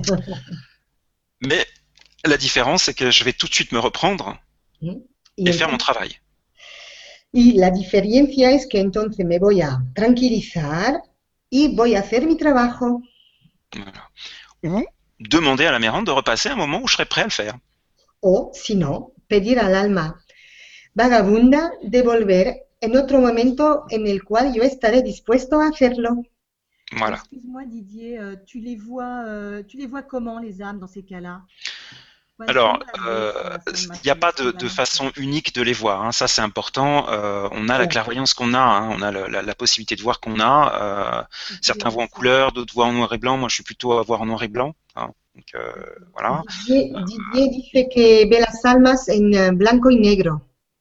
Mais la différence, c'est que je vais tout de suite me reprendre et faire mon travail. Y la diferencia es que entonces me voy a tranquilizar y voy a hacer mi trabajo. Voilà. Ou demander à la mérante de repasser un moment où je serai prêt à le faire. O, si no, pedir al alma vagabunda de volver en otro momento en el cual yo estaré dispuesto a hacerlo. Voilà. Excuse-moi Didier, tu les vois comment les âmes dans ces cas-là? Alors, il n'y a pas de façon unique de les voir, hein. Ça c'est important. On a la clairvoyance qu'on a, hein. On a la possibilité de voir qu'on a. Certains voient en couleur, d'autres voient en noir et blanc. Moi je suis plutôt à voir en noir et blanc, hein. Donc, voilà. Didier dice que ve las almas en blanco y negro.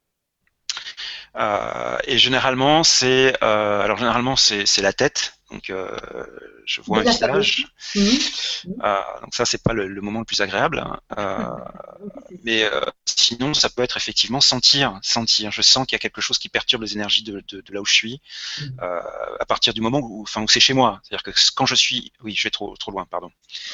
Et généralement c'est la tête. Donc je vois un visage. Donc ça c'est pas le moment le plus agréable. Mais sinon ça peut être effectivement sentir. Je sens qu'il y a quelque chose qui perturbe les énergies de là où je suis. À partir du moment où c'est chez moi. C'est-à-dire que quand je suis, oui, je vais trop loin, pardon.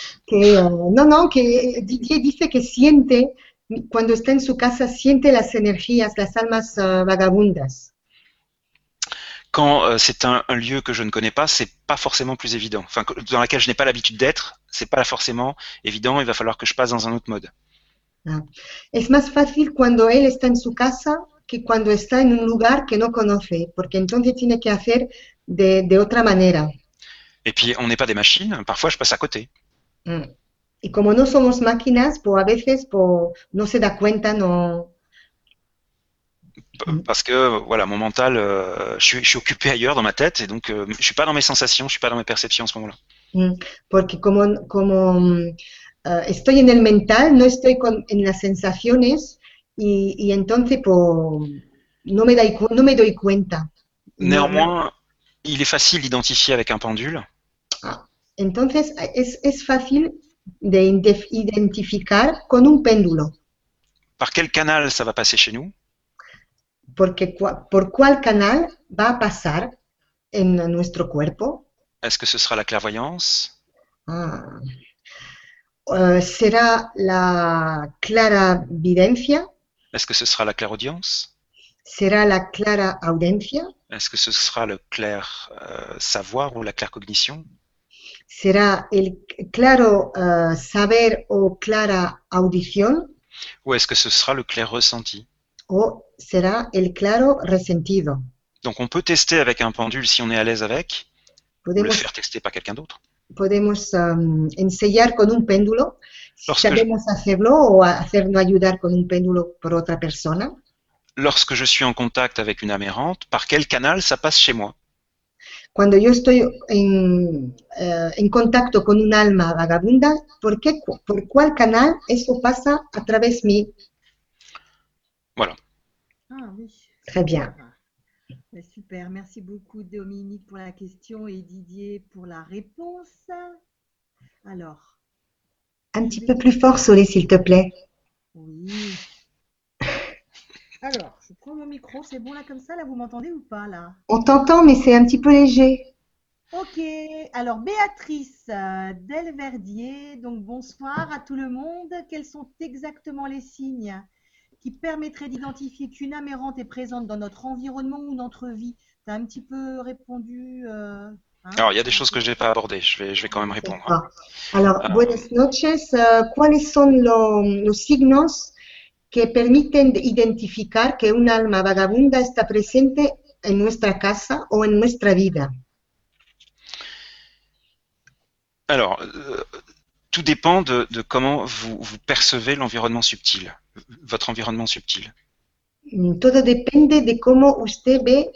Que Didier dice que siente cuando está en su casa, siente las energías, las almas vagabundas. quand c'est un lieu que je ne connais pas, c'est pas forcément plus évident. Enfin, dans laquelle je n'ai pas l'habitude d'être, c'est pas forcément évident. Il va falloir que je passe dans un autre mode. Ah. Es más fácil cuando él está en su casa que cuando está en un lugar que no conoce, porque entonces tiene que hacer de otra manera. Et puis, on n'est pas des machines. Parfois, je passe à côté. Mm. Y como no somos máquinas, pues a veces pues, no se da cuenta, no. Parce que voilà, mon mental, je suis occupé ailleurs dans ma tête, et donc je suis pas dans mes sensations, je suis pas dans mes perceptions en ce moment-là. Mm. Porque como estoy en el mental, no estoy en las sensaciones y entonces pues, no me doy cuenta. Néanmoins, il est facile d'identifier avec un pendule. Entonces es fácil de identificar con un péndulo. Par quel canal ça va passer chez nous? Porque por cuál canal va a pasar en nuestro cuerpo. Est-ce que ce sera la clairvoyance? ¿Será la claravidencia? Est-ce que ce sera la clairaudience? ¿Será la claraudiencia? Est-ce que ce sera le clair savoir ou la claircognition? ¿Será el claro saber o clara audición? Ou est-ce que ce sera le clair ressenti? ¿O será el claro resentido? Donc on peut tester avec un pendule si on est à l'aise avec, ou le faire tester par quelqu'un d'autre. Podemos ensayar con un péndulo, si Lorsque sabemos hacerlo o hacernos ayudar con un péndulo por otra persona. Lorsque je suis en contact avec une âme errante, par quel canal ça passe chez moi? Cuando yo estoy en contacto con un alma vagabunda, ¿por cuál canal eso pasa a través de mí? Voilà. Ah oui. Très bien. Super, merci beaucoup Dominique pour la question et Didier pour la réponse. Alors. Un petit peu plus fort, Solé, s'il te plaît. Oui. Alors, je prends mon micro, c'est bon là comme ça, là vous m'entendez ou pas là? On t'entend, mais c'est un petit peu léger. Ok, alors Béatrice Delverdier, donc bonsoir à tout le monde. Quels sont exactement les signes qui permettraient d'identifier qu'une âme errante est présente dans notre environnement ou notre vie? Tu as un petit peu répondu. Alors, il y a des choses que je n'ai pas abordées, je vais quand même répondre. Alors, buenas noches. ¿Cuáles son los signos que permiten identificar que un alma vagabunda está presente en nuestra casa o en nuestra vida? Alors, tout dépend de comment vous percevez l'environnement subtil, votre environnement subtil. Todo depende de cómo usted ve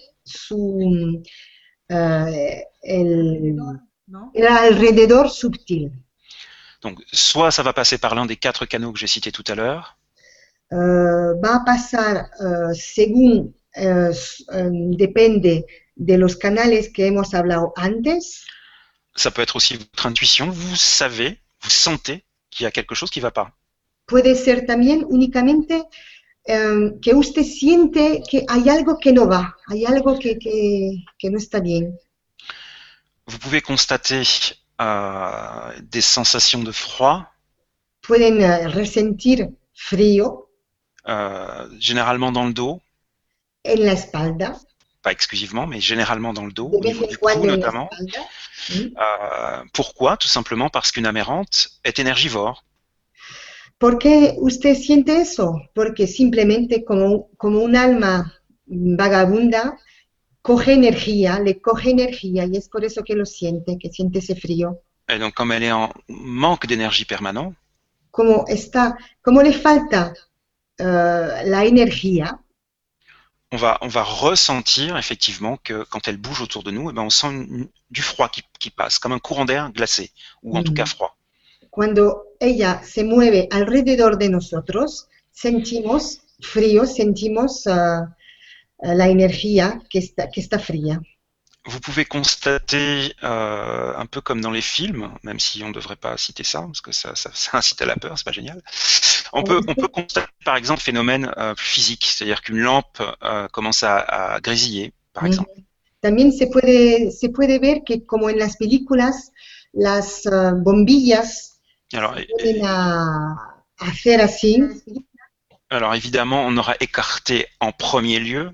el alrededor subtil. Donc, soit ça va passer par l'un des 4 canaux que j'ai cités tout à l'heure. Va a pasar según depende de los canales que hemos hablado antes. Ça peut être aussi votre intuition. Vous savez, vous sentez qu'il y a quelque chose qui ne va pas. Puede ser también únicamente que usted siente que hay algo que no va, hay algo que no está bien. Vous pouvez constater des sensations de froid. Pueden ressentir frío. Généralement dans le dos. En la espalda. Pas exclusivement, mais généralement dans le dos, au niveau du cou notamment. Pourquoi? Tout simplement parce qu'une âme errante est énergivore. ¿Por qué usted siente eso? Porque simplemente como un alma vagabunda coge energía, le coge energía y es por eso que lo siente, que siente ese frío. Et donc comme elle est en manque d'énergie permanent. Como le falta la energía. On va ressentir effectivement que quand elle bouge autour de nous, eh ben on sent du froid qui passe, comme un courant d'air glacé, ou en tout cas froid. Cuando ella se mueve alrededor de nosotros, sentimos frío, sentimos la energía que está fría. Vous pouvez constater, un peu comme dans les films, même si on ne devrait pas citer ça, parce que ça incite à la peur, c'est pas génial. On peut constater par exemple un phénomène physique, c'est-à-dire qu'une lampe commence à grésiller, par exemple. También se puede ver que como en las películas, las bombillas vienen a hacer así. Alors évidemment, on aura écarté en premier lieu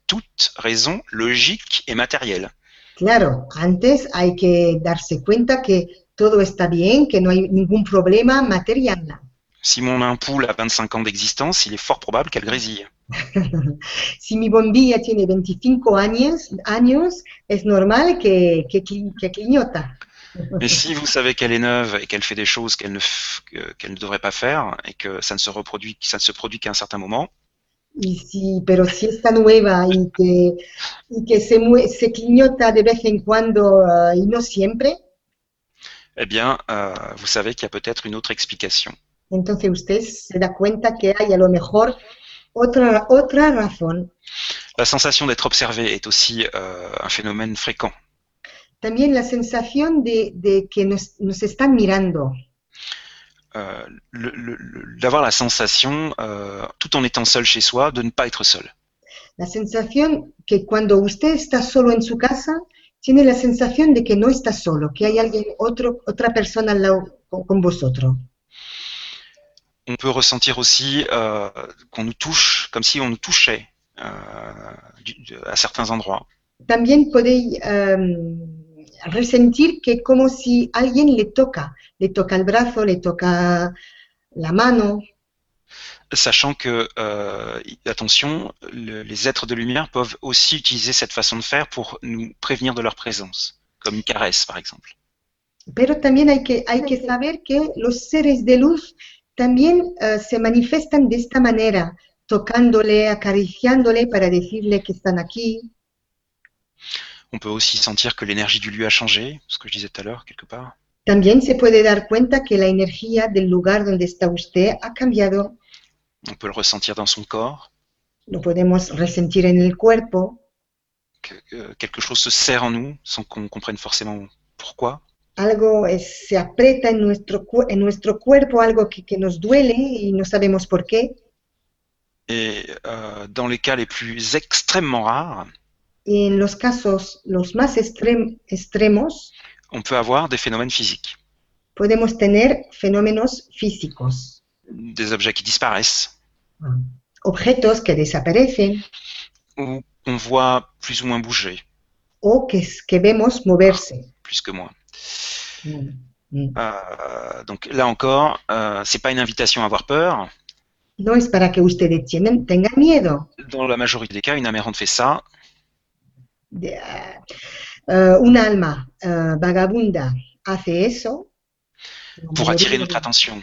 toute raison logique et matérielle. Claro, antes hay que darse cuenta que todo está bien, que no hay ningún problema material. Si mon ampoule a 25 ans d'existence, il est fort probable qu'elle grésille. Si mi bombilla tiene 25 años, es normal que cliñota. Mais si vous savez qu'elle est neuve et qu'elle fait des choses qu'elle ne devrait pas faire et que ça ne se produit qu'à un certain moment, Pero si está nueva y que se cliñota de vez en cuando y no siempre, eh bien, vous savez qu'il y a peut-être une autre explication. entonces usted se da cuenta que hay a lo mejor otra razón. La sensation d'être observé est aussi un phénomène fréquent. También la sensación de que nos están mirando. D'avoir la sensation, tout en étant seul chez soi, de ne pas être seul. La sensación que cuando usted está solo en su casa, tiene la sensación de que no está solo, que hay otra persona al lado con vosotros. On peut ressentir aussi qu'on nous touche, comme si on nous touchait à certains endroits. También podéis ressentir que como si alguien le toca el brazo, le toca la mano. Sachant que, attention, les êtres de lumière peuvent aussi utiliser cette façon de faire pour nous prévenir de leur présence, comme une caresse par exemple. Pero también hay que saber que los seres de luz también se manifiestan de esta manera, tocándole, acariciándole para decirle que están aquí. On peut aussi sentir que l'énergie du lieu a changé, ce que je disais tout à l'heure, quelque part. También se puede dar cuenta que la energía del lugar donde está usted ha cambiado. On peut le ressentir dans son corps. Lo podemos ressentir en el cuerpo. Que quelque chose se serre en nous sans qu'on comprenne forcément pourquoi. Algo se aprieta en nuestro cuerpo, algo que nos duele y no sabemos por qué. Et dans les cas les plus extrêmement rares, y en los casos los más extremos, on peut avoir des phénomènes physiques. Podemos tener fenómenos físicos. Des objets qui disparaissent. Objetos que desaparecen. Ou on voit plus ou moins bouger. O que vemos moverse. Plus que moins. Donc là encore, c'est pas une invitation à avoir peur. No es para que ustedes tengan miedo. Dans la majorité des cas, une amérante fait ça. Una alma vagabunda hace eso. Pour attirer notre attention.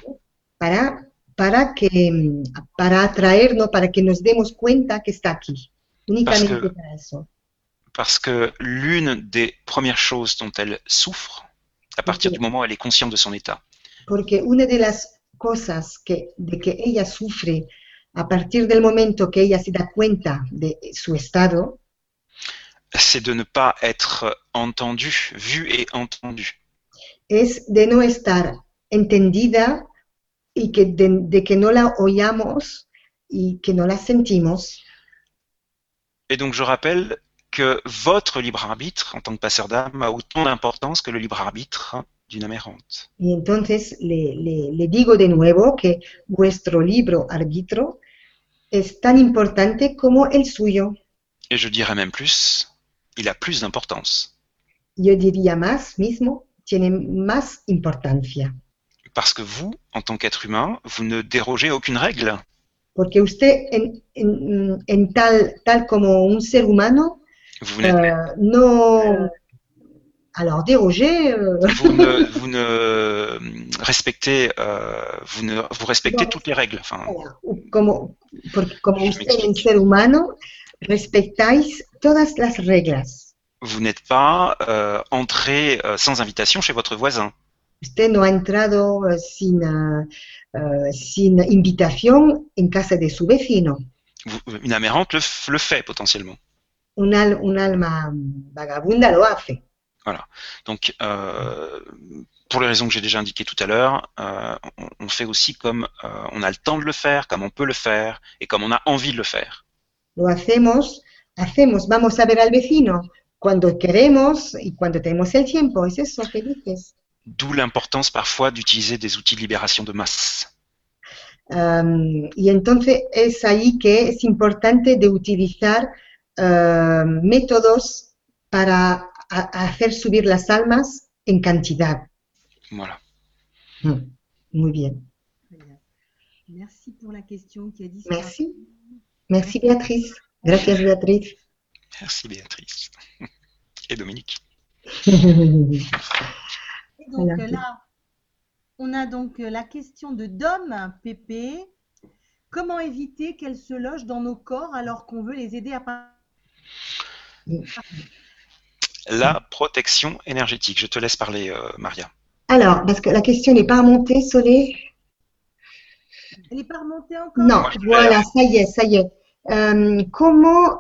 Para atraernos, para que nos demos cuenta que está aquí. Únicamente para eso. Parce que l'une des premières choses dont elle souffre, à partir du moment où elle est consciente de son état. Porque una de las cosas de que ella sufre a partir del momento que ella se da cuenta de su estado, c'est de ne pas être entendue, vue et entendue. Es de no estar entendida y de que no la oyamos y que no la sentimos. Et donc je rappelle que votre libre arbitre en tant que passeur d'âme a autant d'importance que le libre arbitre d'une amérante. Y entonces le digo de nuevo que vuestro libre arbitro es tan importante como el suyo. Et je dirais même plus, il a plus d'importance. Yo diría más mismo, tiene más importancia. Parce que vous, en tant qu'être humain, vous ne dérogez à aucune règle. Porque usted, tal como un ser humano, no... Alors, déroger... Vous respectez toutes les règles. Enfin, como usted, un ser humano, respetáis todas las reglas. Vous n'êtes pas entré sans invitation chez votre voisin. Usted no ha entrado sin invitación en casa de su vecino. Une amérante le fait potentiellement. Un alma vagabunda lo hace. Voilà. Donc, pour les raisons que j'ai déjà indiquées tout à l'heure, on fait aussi comme on a le temps de le faire, comme on peut le faire et comme on a envie de le faire. Lo hacemos, vamos a ver al vecino cuando queremos y cuando tenemos el tiempo. ¿Es eso que dices? D'où l'importance parfois d'utiliser des outils de libération de masse. Y entonces es ahí que es importante de utilizar métodos para hacer subir las almas en cantidad. Voilà. Muy bien. Très bien. Merci pour la question qui a disparu. Merci. Merci Béatrice. Gracias Béatrice. Merci Béatrice. Et Dominique. Et donc Voilà. là, on a donc la question de Dom Pépé. Comment éviter qu'elles se logent dans nos corps alors qu'on veut les aider à partir? La protection énergétique. Je te laisse parler, Maria. Alors, parce que la question n'est pas remontée, Solé. Elle n'est pas remontée encore? Non, Moi, je voilà, ça y est, ça y est. Comment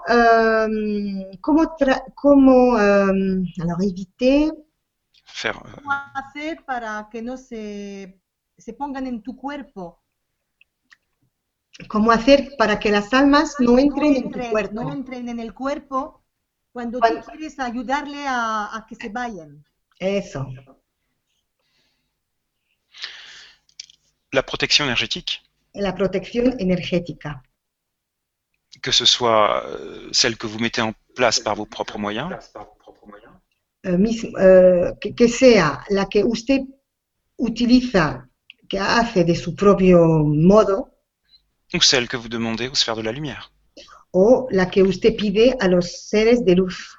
alors éviter, Faire, ¿Cómo hacer para que no se pongan en tu cuerpo? cómo hacer para que las almas no entren en tu cuerpo? No entren en el cuerpo cuando Cuando- tú quieres ayudarle a que se vayan. Eso, la protection énergétique, la protección energética. que ce soit celle que vous mettez en place par vos propres moyens, Que sea la que usted utiliza, que hace de su propio modo, ou celle que vous demandez aux sphères de la lumière. o la que usted pide a los seres de luz.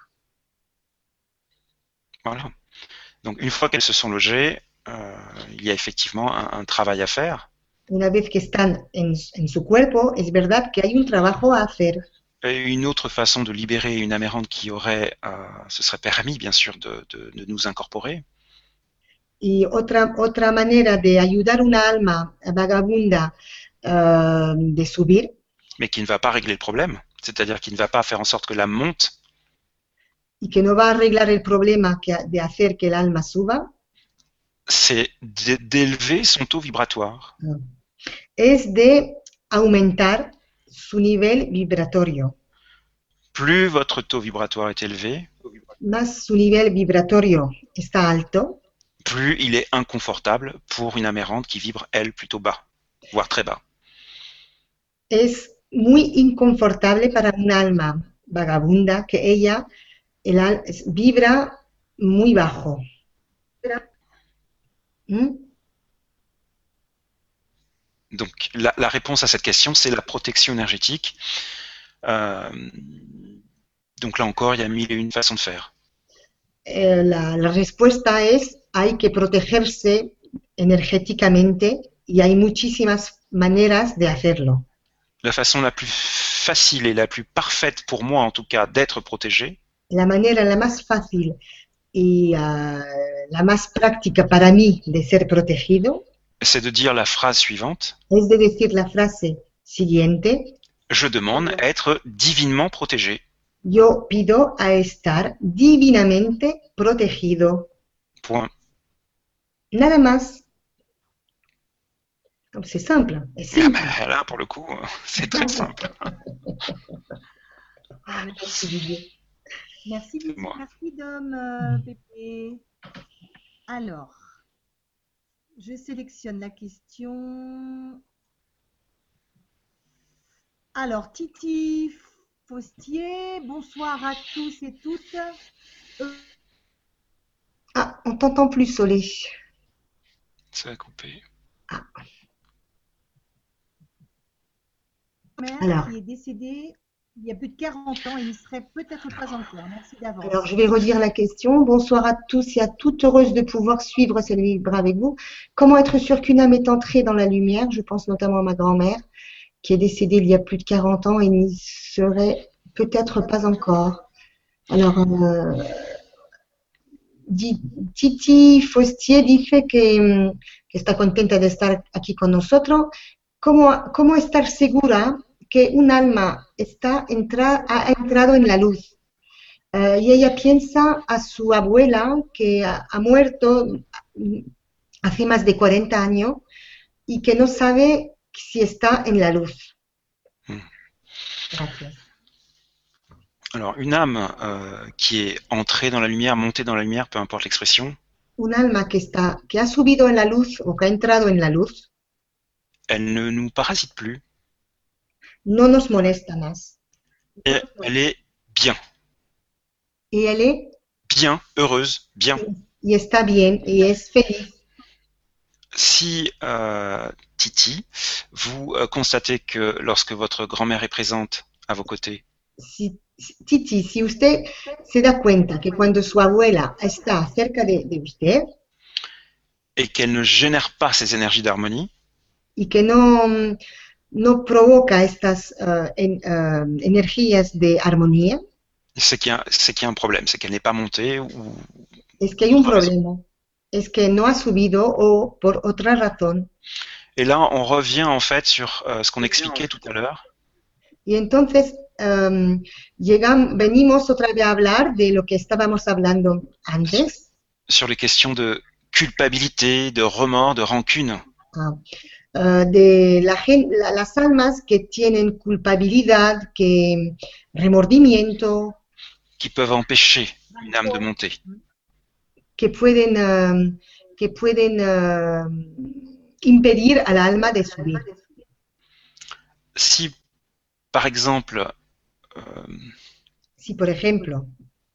Voilà. Donc une fois qu'elles se sont logées, il y a effectivement un travail à faire. Una vez que están en su cuerpo, es verdad que hay un trabajo a hacer. Et une autre façon de libérer une âme errante qui aurait, ce serait permis bien sûr de nous incorporer, Y otra manera de ayudar una alma vagabunda de subir, mais qui ne va pas régler le problème, c'est-à-dire qui ne va pas faire en sorte que l'âme monte, y que no va a arreglar el problema de hacer que el alma suba, c'est d'élever son taux vibratoire. es de aumentar su nivel vibratorio. Plus votre taux vibratoire est élevé, Más su nivel vibratorio está alto, plus il est inconfortable pour une âme errante qui vibre, elle, plutôt bas, voire très bas. es muy inconfortable para un alma vagabunda que ella vibra muy bajo. ¿Mm? Donc la réponse à cette question, c'est la protection énergétique. Donc là encore, il y a mille et une façons de faire. La respuesta es hay que protegerse energéticamente y hay muchísimas maneras de hacerlo. La façon la plus facile et la plus parfaite pour moi, en tout cas, d'être protégé, La manera la más fácil y la más práctica para mí de ser protegido c'est de dire la phrase suivante. es de decir la frase siguiente: Je demande à être divinement protégé. yo pido a estar divinamente protegido. Point. Nada más. C'est simple. Es Ah simple. ben, là, pour le coup, c'est très simple. Merci, Moi. merci Dom Pépé. Alors, je sélectionne la question. Alors, Titi Faustier, bonsoir à tous et toutes. Ah, on t'entend plus, Solé. Ça va couper. Mère Alors. qui est décédée il y a plus de 40 ans et il serait peut-être pas encore. Merci d'avance. Alors, je vais redire la question. Bonsoir à tous et à toutes, heureuse de pouvoir suivre cette libre avec vous. Comment être sûr qu'une âme est entrée dans la lumière? Je pense notamment à ma grand-mère, qui est décédée il y a plus de 40 ans et n'y serait peut-être pas encore. Alors, Titi Faustier dice que está contenta de estar aquí con nosotros. ¿Cómo estar segura que un alma ha entrado en la luz? Y ella piensa a su abuela que ha muerto hace más de 40 años y que no sabe si está en la luz. Gracias. Alors, une âme qui est entrée dans la lumière, montée dans la lumière, peu importe l'expression, Un alma que ha subido en la luz o que ha entrado en la luz elle ne nous parasite plus. no nos molesta más. Et elle est bien, y él est bien, heureuse, bien. y está bien y es feliz. Si Titi, vous constatez que lorsque votre grand-mère est présente à vos côtés, Titi, si usted se da cuenta que cuando su abuela está cerca de usted et qu'elle ne génère pas ces énergies d'harmonie, y que no provoca estas energías de armonía, c'est qu'il y a un problème, c'est qu'elle n'est pas montée ou es que hay un autre raison. problema. Es que no ha subido o por otra razón. Et là, on revient en fait sur ce qu'on expliquait tout à l'heure, Y entonces venimos otra vez a hablar de lo que estábamos hablando antes, sur les questions de culpabilité, de remords, de rancune. de las almas que tienen culpabilidad, remordimiento, qui peuvent empêcher une âme de monter. que pueden impedir al alma de subir. Si, par exemple, Si, por ejemplo,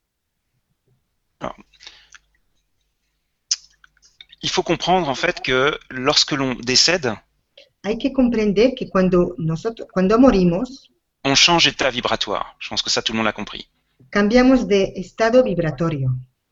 il faut comprendre en fait que lorsque l'on décède, hay que comprender que cuando morimos, on change d'état vibratoire. Je pense que ça, tout le monde l'a compris. cambiamos de estado vibratorio.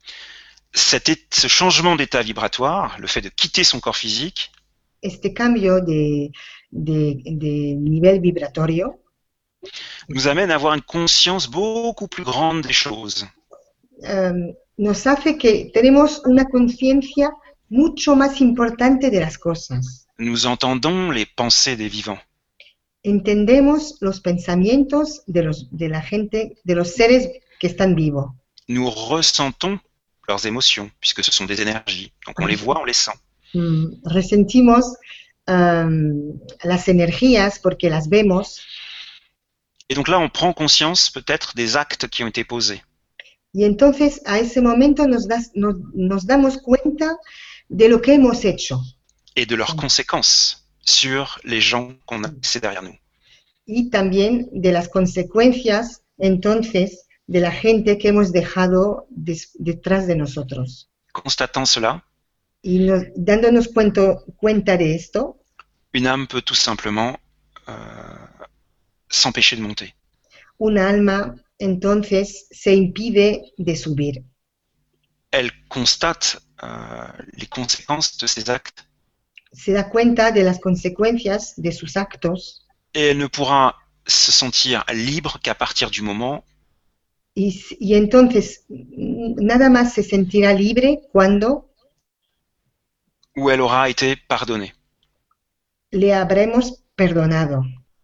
Ce changement d'état vibratoire, le fait de quitter son corps physique, Este cambio de nivel vibratorio nous amène à avoir une conscience beaucoup plus grande des choses. nos hace que tenemos una conciencia mucho más importante de las cosas. Nous entendons les pensées des vivants. Entendemos los pensamientos de la gente, de los seres que están vivos. Nous ressentons leurs émotions, puisque ce sont des énergies. Donc on les voit, on les sent. Resentimos las energías porque las vemos. Et donc là, on prend conscience peut-être des actes qui ont été posés. Y entonces a ese momento nos damos cuenta de lo que hemos hecho. Et de leurs conséquences sur les gens qu'on a laissés derrière nous. Y también de las consecuencias, entonces, de la gente que hemos dejado detrás de nosotros. Constatant cela, Y dándonos cuenta de esto, une âme peut tout simplement s'empêcher de monter. una alma entonces se impide de subir. Elle constate les conséquences de ses actes Se da cuenta de las consecuencias de sus actos et elle ne pourra se sentir libre qu'à partir du moment y entonces nada más se sentirá libre cuando où elle aura été pardonnée. le habremos perdonado.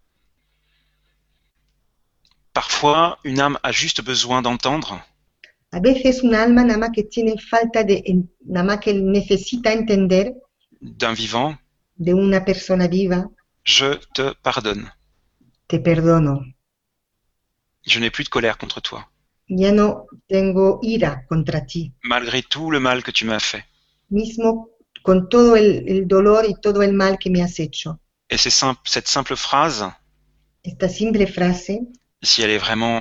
Parfois, une âme a juste besoin d'entendre A veces una alma nada más que tiene nada más que necesita entender d'un vivant de una persona viva: « Je te pardonne. te perdono. Je n'ai plus de colère contre toi, Ya no tengo ira contra ti, malgré tout le mal que tu m'as fait. » mismo con todo el dolor y todo el mal que me has hecho. Et cette simple phrase, Esta simple frase, si elle est vraiment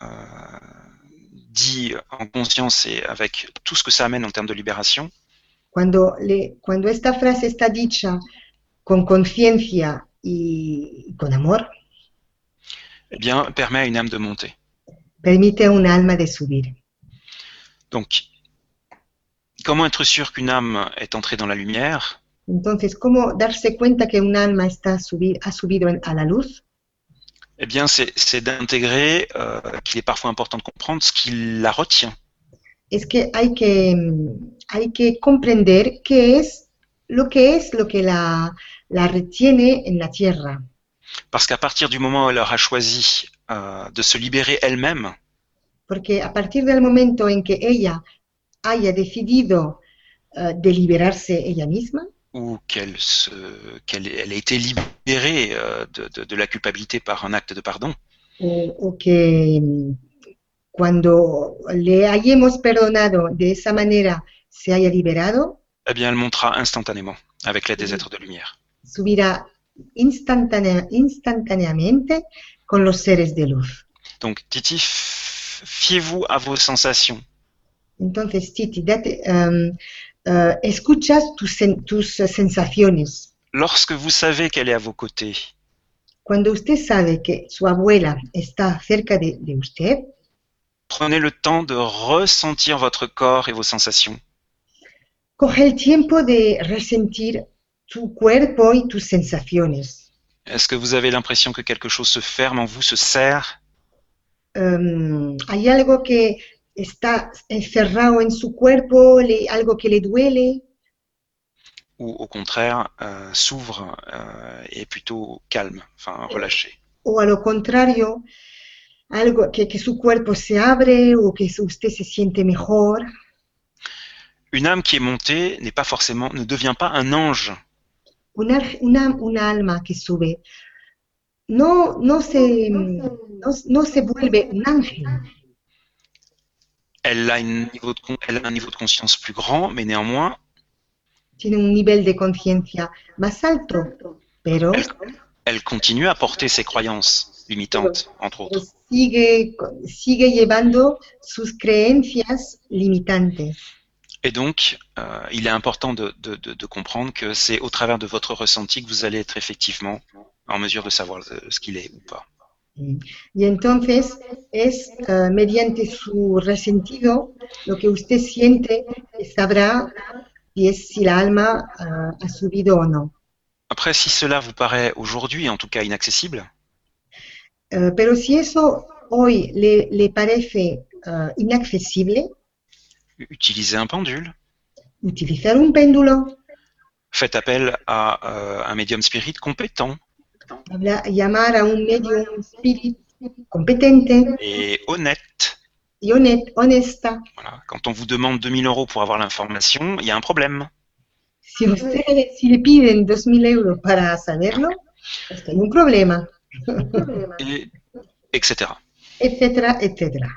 dite en conscience et avec tout ce que ça amène en termes de libération, cuando esta frase está dicha con conciencia y con amor, eh bien, permet à une âme de monter. permite a una alma de subir. Donc, comment être sûr qu'une âme est entrée dans la lumière? Entonces, ¿cómo darse cuenta que un alma ha subido a la luz? Eh bien, c'est d'intégrer qu'il est parfois important de comprendre ce qui la retient. Es que hay que comprender qué es lo que la retiene en la tierra. Parce qu'à partir du moment où elle aura choisi de se libérer elle-même, Porque a partir del momento en que ella haya decidido de liberarse ella misma, ou qu'elle a été libérée de la culpabilité par un acte de pardon, o que cuando le hayamos perdonado de esa manera se haya liberado, eh bien, elle montera instantanément avec l'aide des êtres de lumière. subirá instantáneamente con los seres de luz. Donc, Titi, fiez-vous à vos sensations. Entonces, Titi, escuchas tus sensaciones. Lorsque vous savez qu'elle est à vos côtés, Cuando usted sabe que su abuela está cerca de usted, prenez le temps de ressentir votre corps et vos sensations. coge el tiempo de resentir tu cuerpo y tus sensaciones. Est-ce que vous avez l'impression que quelque chose se ferme en vous, se serre? ¿Hay algo que está encerrado en su cuerpo, algo que le duele? Ou au contraire, s'ouvre et est plutôt calme, enfin relâché? O a lo contrario, algo que su cuerpo se abre o que usted se siente mejor. Une âme qui est montée n'est pas forcément, ne devient pas un ange. Una alma que sube no se vuelve un ángel. Elle a un niveau de conscience plus grand, mais néanmoins, Tiene un nivel de conciencia más alto, pero elle continue à porter ses croyances limitantes, entre autres. sigue llevando sus creencias limitantes. Et donc, il est important de comprendre que c'est au travers de votre ressenti que vous allez être effectivement en mesure de savoir ce qu'il est ou pas. Y entonces es mediante su resentido lo que usted siente que sabrá si la alma ha subido o no. Après, si cela vous paraît aujourd'hui, en tout cas, inaccessible, Pero si eso hoy le parece inaccesible, utilisez un pendule, utilizar un péndulo, faites appel à un médium spirit compétent llamar a un medium spirit competente et honnête. y honesta. Voilà. Quand on vous demande 2000 € pour avoir l'information, il y a un problème. Si le piden 2.000 euros para saberlo, es que hay un problema, Et, etc. etcétera, etcétera.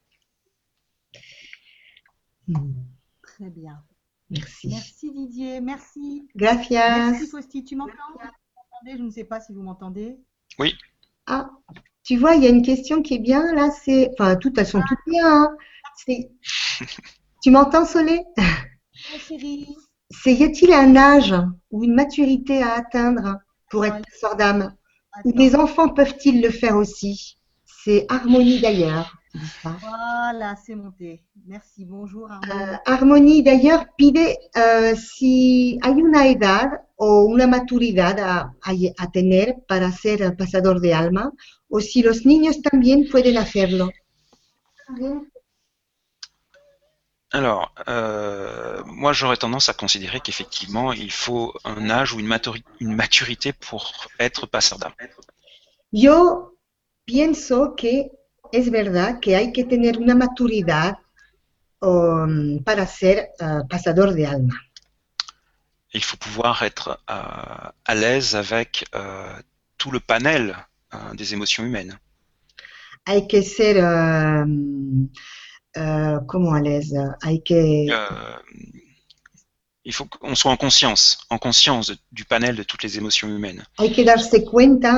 Très bien. Merci. Merci Didier, merci. Gracias. Merci Fausti, tu m'entends? Je ne sais pas si vous m'entendez. Oui. Ah, tu vois, il y a une question qui est bien là, enfin, toutes elles sont toutes bien. Hein. Tu m'entends, Solé? Oh, chérie. Y a-t-il un âge ou une maturité à atteindre pour être passeur d'âme? Ou les enfants peuvent-ils le faire aussi? C'est Harmonie d'ailleurs qui dit ça. Voilà, c'est monté. Merci, bonjour Harmonie. Harmonie d'ailleurs pide si hay una edad o una maturidad a tener para ser pasador de alma o si los niños también pueden hacerlo. Alors, moi j'aurais tendance à considérer qu'effectivement il faut un âge ou une maturité pour être passeur d'âme. Yo pienso que es verdad que hay que tener una maturidad para ser pasador de alma. Il faut pouvoir être à l'aise avec tout le panel des émotions humaines. Hay que ser como à l'aise. Il faut qu'on soit en conscience du panel de toutes les émotions humaines. Hay que darse cuenta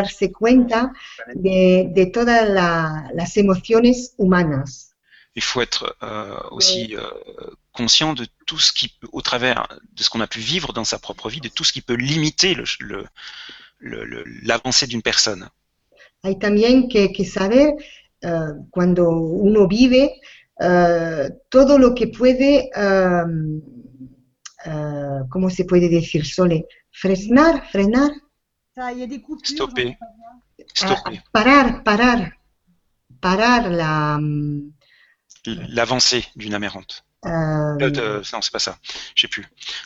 de todas las emociones humanas. Il faut être aussi conscient de tout ce qui, au travers de ce qu'on a pu vivre dans sa propre vie, de tout ce qui peut limiter l'avancée d'une personne. Hay también que saber cuando uno vive todo lo que puede, ¿cómo se puede decir, Sole? Frenar. Ça, il y a des coupures. Stopper. Parar l'avancée d'une âme errante. Non, c'est pas ça. J'ai plus.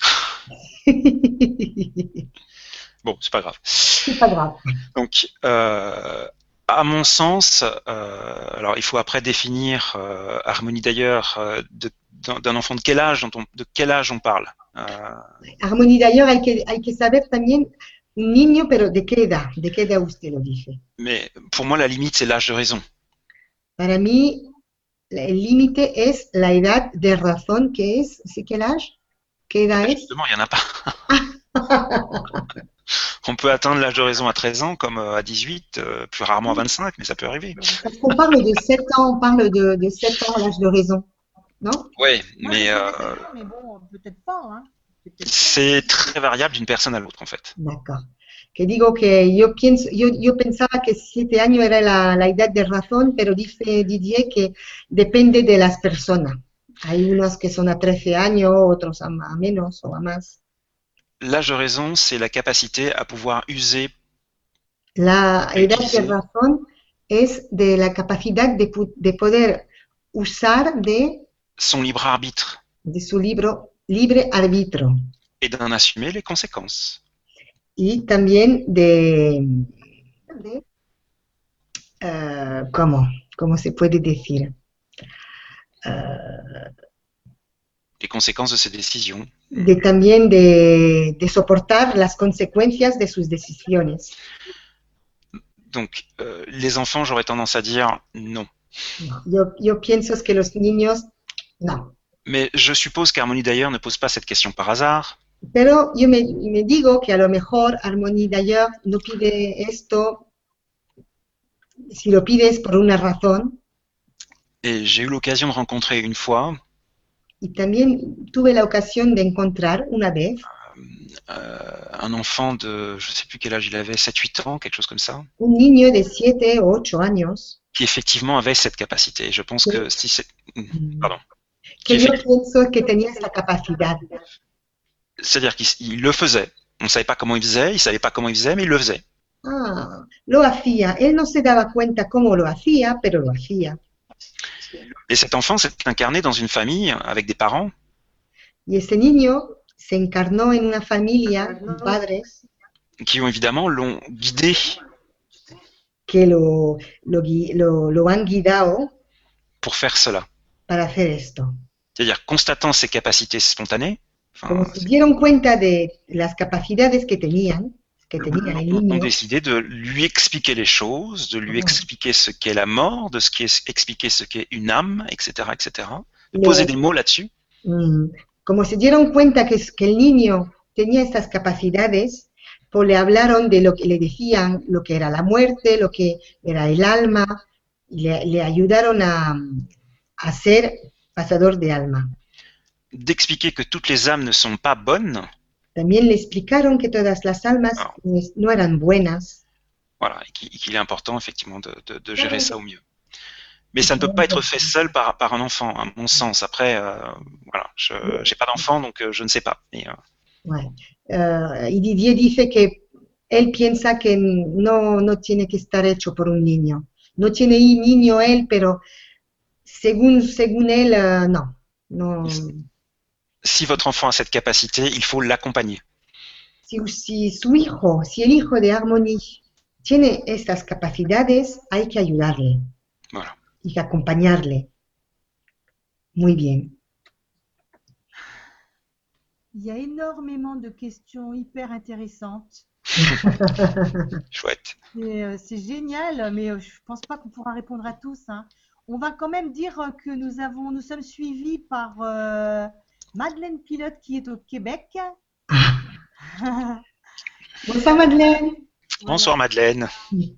Bon, c'est pas grave. C'est pas grave. Donc, à mon sens, alors il faut après définir Harmonie d'ailleurs d'un enfant de quel âge on parle. Harmonie d'ailleurs, hay que saber también un niño, pero de qué edad usted lo dice. Mais pour moi, la limite, c'est l'âge de raison. Para mí, el límite es la edad de razón, que es, ¿sí quel âge? ¿Qué edad es? Justement, il n'y en a pas. On peut atteindre l'âge de raison à 13 ans comme à 18, plus rarement à 25, mais ça peut arriver. Parce qu'on parle de 7 ans, on parle de 7 ans, l'âge de raison, non? Oui, Moi, mais je dirais 7 ans, mais bon, peut-être pas, hein. C'est peut-être pas. c'est très variable d'une personne à l'autre en fait. D'accord. Que digo que yo pensaba que 7 años era la edad de razón, pero dice Didier que depende de las personas. Hay unos que son a 13 años, otros a menos o a más. L'âge de raison, c'est la capacité à pouvoir user, La edad de Utiliser. razón es de la capacidad de poder usar son libre arbitre de su libre arbitrio et d'en assumer les conséquences. y también ¿cómo se puede decir? Les conséquences de ses décisions. También de soportar las consecuencias de sus decisiones. Donc, les enfants, j'aurais tendance à dire non. No, yo pienso que los niños, no. Mais je suppose qu'Harmonie d'ailleurs ne pose pas cette question par hasard. Pero yo me digo que a lo mejor Harmonie d'ailleurs no pide esto, si lo pide es por una razón. Et j'ai eu l'occasion de rencontrer une fois Y también tuve la ocasión de encontrar una vez un enfant de, je ne sais plus quel âge il avait, 7-8 ans, quelque chose comme ça, un niño de 7 o 8 años qui effectivement avait cette capacité. Je pense que si c'est... Pardon. que yo pienso que tenía esa capacidad. C'est-à-dire qu'il le faisait. On ne savait pas comment il faisait, il ne savait pas comment il faisait, mais il le faisait. Ah, lo hacía. Él no se daba cuenta cómo lo hacía, pero lo hacía. Et cet enfant s'est incarné dans une famille avec des parents Y ese niño se encarnó en una familia con padres qui ont évidemment l'ont guidé que lo han guiado pour faire cela. para hacer esto. C'est-à-dire constatant ses capacités spontanées, Como se dieron cuenta de las capacidades que tenía el ont niño, décidé de lui expliquer les choses, de lui expliquer ce qu'est la mort, de expliquer ce qu'est une âme, etc., etc. De poser des mots là-dessus. Como se dieron cuenta que el niño tenía estas capacidades, pues le hablaron de lo que le decían, lo que era la muerte, lo que era el alma, y le ayudaron a ser pasador de alma. D'expliquer que toutes les âmes ne sont pas bonnes. También le explicaron que todas las almas no eran buenas. Voilà, et qu'il est important effectivement de gérer ça au mieux. Mais ça ne peut pas être fait seul par un enfant, à mon sens. Après, voilà, je n'ai pas d'enfant, donc je ne sais pas. Mais, Ouais. Y Didier dice que él piensa que no tiene que estar hecho por un niño. No tiene niño él, pero según él, no. Si votre enfant a cette capacité, il faut l'accompagner. Si el hijo de Harmonie tiene estas capacidades, hay que ayudarle. Voilà. Y acompañarle. Muy bien. Il y a énormément de questions hyper intéressantes. Chouette. C'est génial, mais je ne pense pas qu'on pourra répondre à tous, hein. On va quand même dire que nous sommes suivis par Madeleine Pilote qui est au Québec. Bonsoir Madeleine. Bonsoir Madeleine.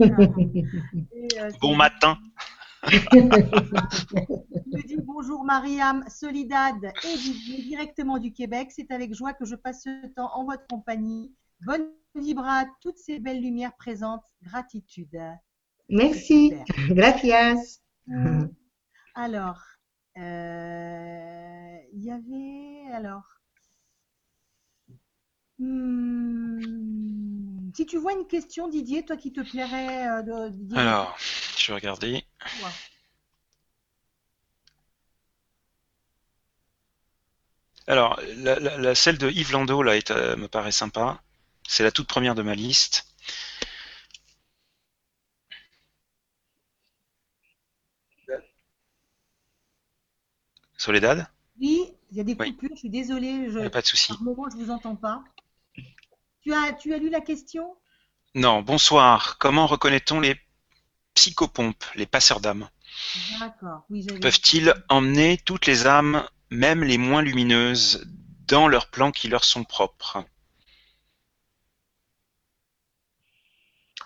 Bon matin. Je dis bonjour Mariam, Soledad et Didier directement du Québec. C'est avec joie que je passe ce temps en votre compagnie. Bonne vibra, toutes ces belles lumières présentes. Gratitude. Merci. Gracias. Alors, il y avait si tu vois une question, Didier, toi qui te plairait de dire. Alors, je vais regarder. Ouais. Alors, celle de Yves Landau là, me paraît sympa. C'est la toute première de ma liste. Soledad? Oui, il y a des coupures, je suis désolée. Pas de souci. Par moment, je ne vous entends pas. Tu as lu la question? Non, bonsoir. Comment reconnaît-on les psychopompes, les passeurs d'âmes? D'accord, oui, j'avais. Peuvent-ils emmener toutes les âmes, même les moins lumineuses, dans leurs plans qui leur sont propres?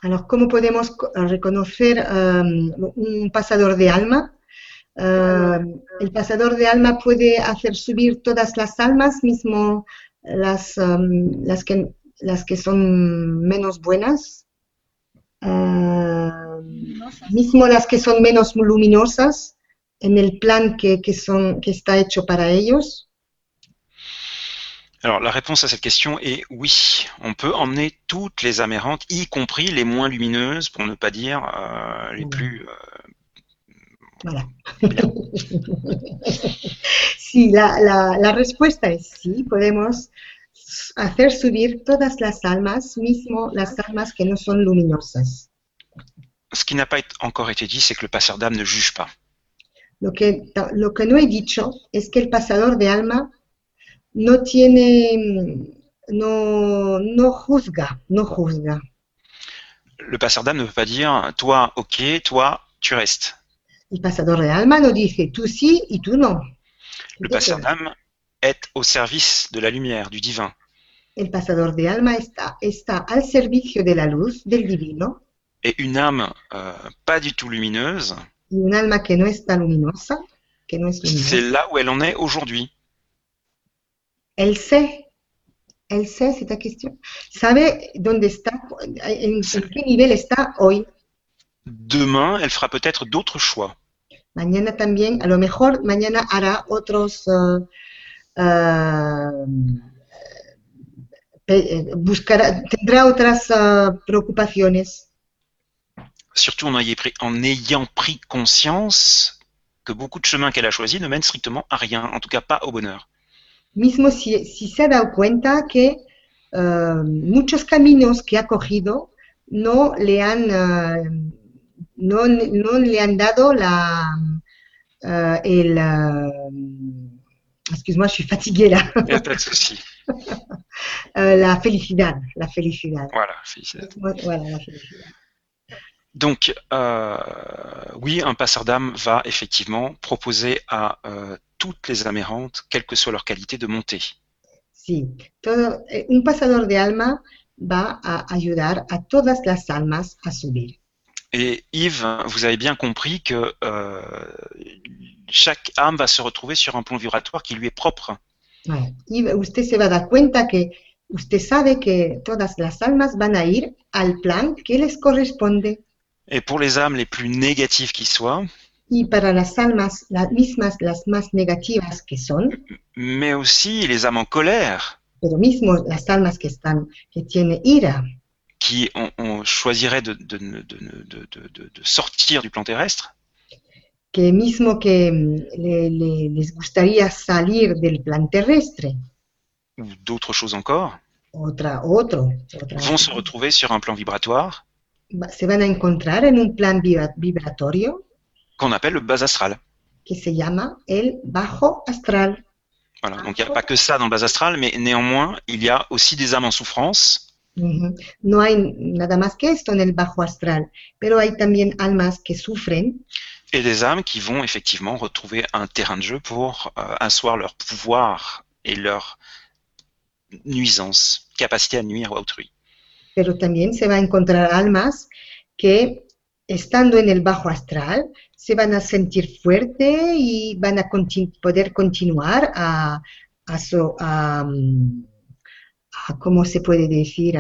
Alors, ¿cómo podemos reconocer un pasador de alma? El pasador de alma puede hacer subir todas las almas, mismo las que son menos buenas, mismo las que son menos luminosas, en el plan que está hecho para ellos. Alors, la réponse à cette question est oui. On peut emmener toutes les âmes errantes, y compris les moins lumineuses, pour ne pas dire les plus... Voilà. Sí, la respuesta es sí, podemos hacer subir todas las almas, mismo las almas que no son luminosas. Ce qui n'a pas encore été dit, c'est que le passeur d'âme ne juge pas. Lo que no he dicho es que el pasador de alma no juzga. Le passeur d'âme ne peut pas dire toi, ok, toi, tu restes. El pasador de alma no dice tú sí y tú no. Le passeur d'âme est au service de la lumière, du divin. El pasador de alma está al servicio de la luz, del divino. Et une âme pas du tout lumineuse, Y un alma que no está luminosa, c'est là où elle en est aujourd'hui. Elle sait, c'est ta question. Sabe dónde está, en qué nivel está hoy. Demain, elle fera peut-être d'autres choix. Mañana también, a lo mejor mañana hará otros, tendrá otras preocupaciones. Surtout en ayant pris conscience que beaucoup de chemins qu'elle a choisis ne mènent strictement à rien, en tout cas pas au bonheur. Mismo si se ha dado cuenta que muchos caminos que ha cogido no le han dado excuse-moi, je suis fatiguée là. Il n'y a pas de souci. La felicidad. Voilà, felicidad. Voilà, la felicidad. Donc, oui, un passeur d'âme va effectivement proposer à toutes les âmes errantes, quelle que soit leur qualité, de monter. Sí, un pasador de alma va a ayudar a todas las almas a subir. Et Yves, vous avez bien compris que chaque âme va se retrouver sur un plan vibratoire qui lui est propre. Ouais. Y usted se va a dar cuenta que usted sabe que todas las almas van a ir al plan que les corresponde. Et pour les âmes les plus négatives qui soient, y para las almas, las mismas, las más negativas que son, mais aussi les âmes en colère, pero mismo las almas que tienen ira, qui choisiraient de sortir du plan terrestre, que mismo que les gustaría salir del plan terrestre, ou d'autres choses encore, vont se retrouver sur un plan vibratoire, se van a encontrar en un plan vibratorio qu'on appelle le bas astral. Que se llama el bajo astral. Voilà, donc il n'y a pas que ça dans le bas astral, mais néanmoins, il y a aussi des âmes en souffrance. No hay nada más que esto en el bajo astral, pero hay también almas que sufren. Et des âmes qui vont effectivement retrouver un terrain de jeu pour asseoir leur pouvoir et leur nuisance, capacité à nuire à autrui. Pero también se va a encontrar almas que, estando en el bajo astral, se van a sentir fuerte y van a poder continuar a ¿cómo se puede decir?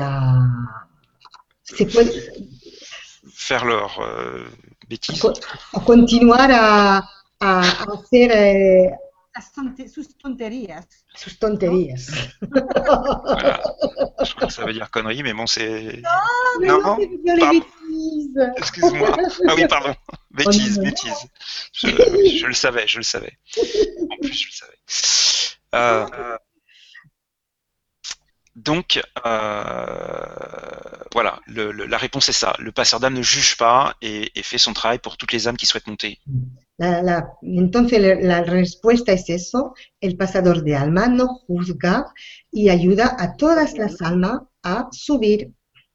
Faire leur bêtise. A continuar a hacer sus tonterías. Sus tonterías. Voilà. Je crois que ça veut dire connerie, mais bon, c'est... Non, les bêtises. Excuse-moi. Ah oui, pardon. Bêtise. Je le savais. En plus, je le savais. Donc, voilà, la réponse est ça. Le passeur d'âme ne juge pas et fait son travail pour toutes les âmes qui souhaitent monter. Entonces la respuesta es eso, el pasador de alma no juzga y ayuda a todas las almas a subir.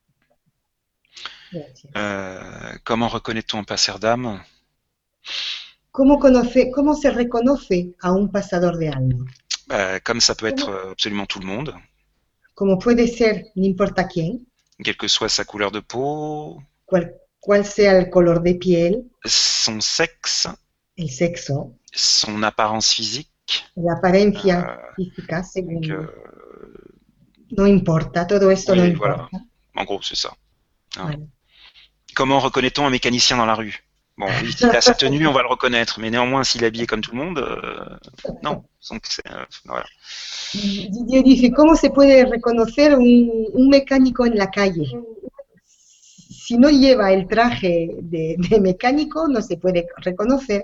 Comment reconnaît-on un passeur d'âme? ¿Cómo se reconoce a un pasador de alma? Comme ça peut être absolument tout le monde. Como puede ser, no importa quién. quelle que soit sa couleur de peau, cual sea el color de piel, son sexe, el sexo, son apparence physique. la apariencia Euh, física, según. que- No importa, todo esto no oui, importa. voilà. En gros, c'est ça. Hein. Voilà. Comment reconnaît-on un mécanicien dans la rue? Bon, oui, s'il a sa tenue, on va le reconnaître, mais néanmoins, s'il est habillé comme tout le monde, non. Donc, voilà. Didier dice, ¿cómo se puede reconocer un mecánico en la calle? Si no lleva el traje de mecánico, no se puede reconocer.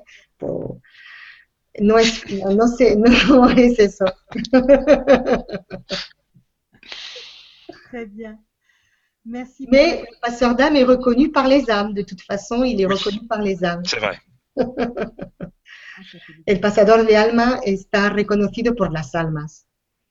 No es, no sé, no es eso. Très bien. Merci. Mais le passeur d'âme est reconnu par les âmes. De toute façon, il est reconnu par les âmes. C'est vrai. El pasador de alma está reconocido por las almas.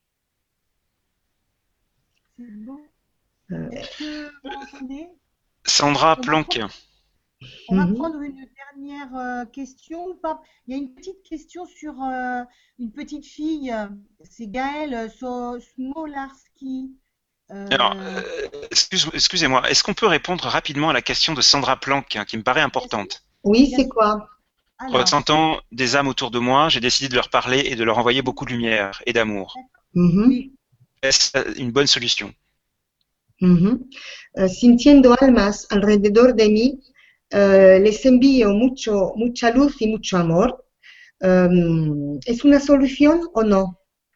C'est bon. Est-ce que vous m'entendez? Sandra Planck. On va Mhm. prendre une dernière question ou pas? Il y a une petite question sur une petite fille, c'est Gaëlle Smolarski. Alors, excusez-moi, est-ce qu'on peut répondre rapidement à la question de Sandra Planck, hein, qui me paraît importante? Oui, c'est quoi? Alors, Ressentant des âmes autour de moi, j'ai décidé de leur parler et de leur envoyer beaucoup de lumière et d'amour. Mhm. oui, Est-ce une bonne solution? Mhm. Sintiendo almas alrededor de mí, les envío mucha luz y mucho amor. ¿Es una solución o no?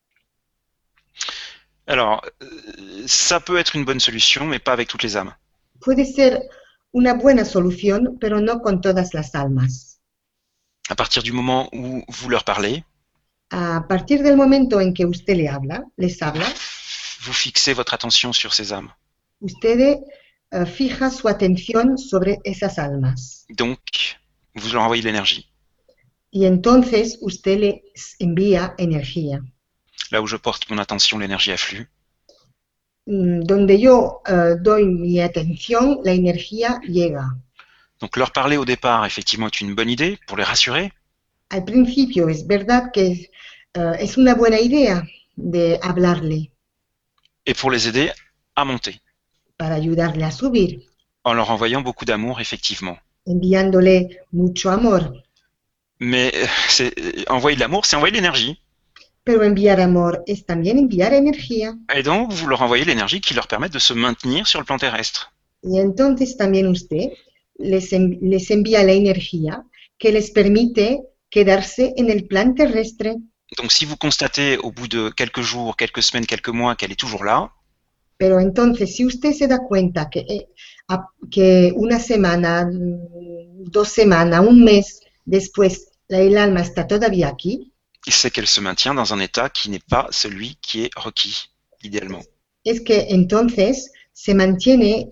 Alors, ça peut être une bonne solution, mais pas avec toutes les âmes. Puede ser una buena solución, pero no con todas las almas. À partir du moment où vous leur parlez, A partir del momento en que usted les habla, vous fixez votre attention sur ces âmes. usted fija su atención sobre esas almas. Donc, vous leur envoyez de l'énergie. Y entonces usted les envía energía. Là où je porte mon attention, l'énergie afflue. Donde yo doy mi atención, la energía llega. Donc, leur parler au départ, effectivement, est une bonne idée pour les rassurer. Al principio es verdad que es una buena idea de hablarle Et pour les aider à monter. para ayudarle a subir, En leur envoyant beaucoup d'amour, effectivement. enviándole mucho amor. Mais envoyer de l'amour, c'est envoyer de l'énergie. Pero enviar amor es también enviar energía. Et donc, vous leur envoyez l'énergie qui leur permet de se maintenir sur le plan terrestre. Y entonces también usted les envía la energía que les permite quedarse en el plan terrestre. Donc, si vous constatez au bout de quelques jours, quelques semaines, quelques mois qu'elle est toujours là, Pero entonces, si usted se da cuenta que una semana, 2 semanas, un mes después, el alma está todavía aquí, c'est qu'elle se maintient dans un état qui n'est pas celui qui est requis, idéalement. es que entonces se mantiene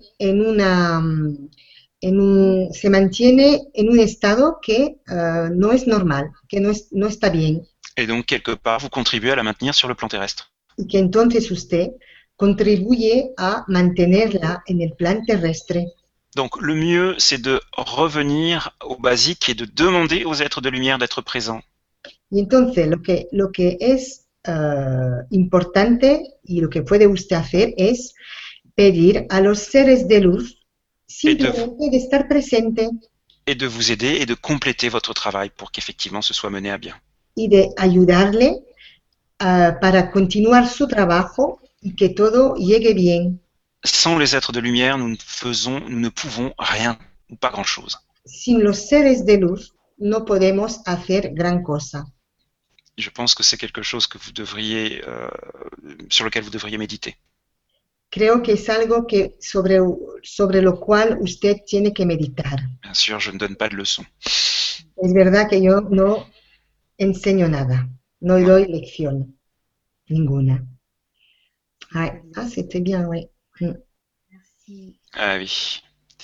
se mantiene en un estado que no es normal, que no está bien, Et donc, quelque part, vous contribuez à la maintenir sur le plan terrestre. y que entonces usted contribuye a mantenerla en el plan terrestre. Donc, le mieux, c'est de revenir au basique et de demander aux êtres de lumière d'être présents. Y entonces lo que es importante y lo que puede usted hacer es pedir a los seres de luz simplemente de estar presente Et de vous aider et de compléter votre travail pour qu'effectivement ce soit mené à bien. y de ayudarle para continuar su trabajo y que todo llegue bien. Sans les êtres de lumière, nous ne pouvons rien ou pas grand-chose. Sin los seres de luz no podemos hacer gran cosa. Je pense que c'est quelque chose que vous devriez, sur lequel vous devriez méditer. Creo que es algo que sobre lo cual usted tiene que meditar. Bien sûr, je ne donne pas de leçons. Es verdad que yo no enseño nada, no doy lección ninguna. C'était bien, oui. merci. Ah oui,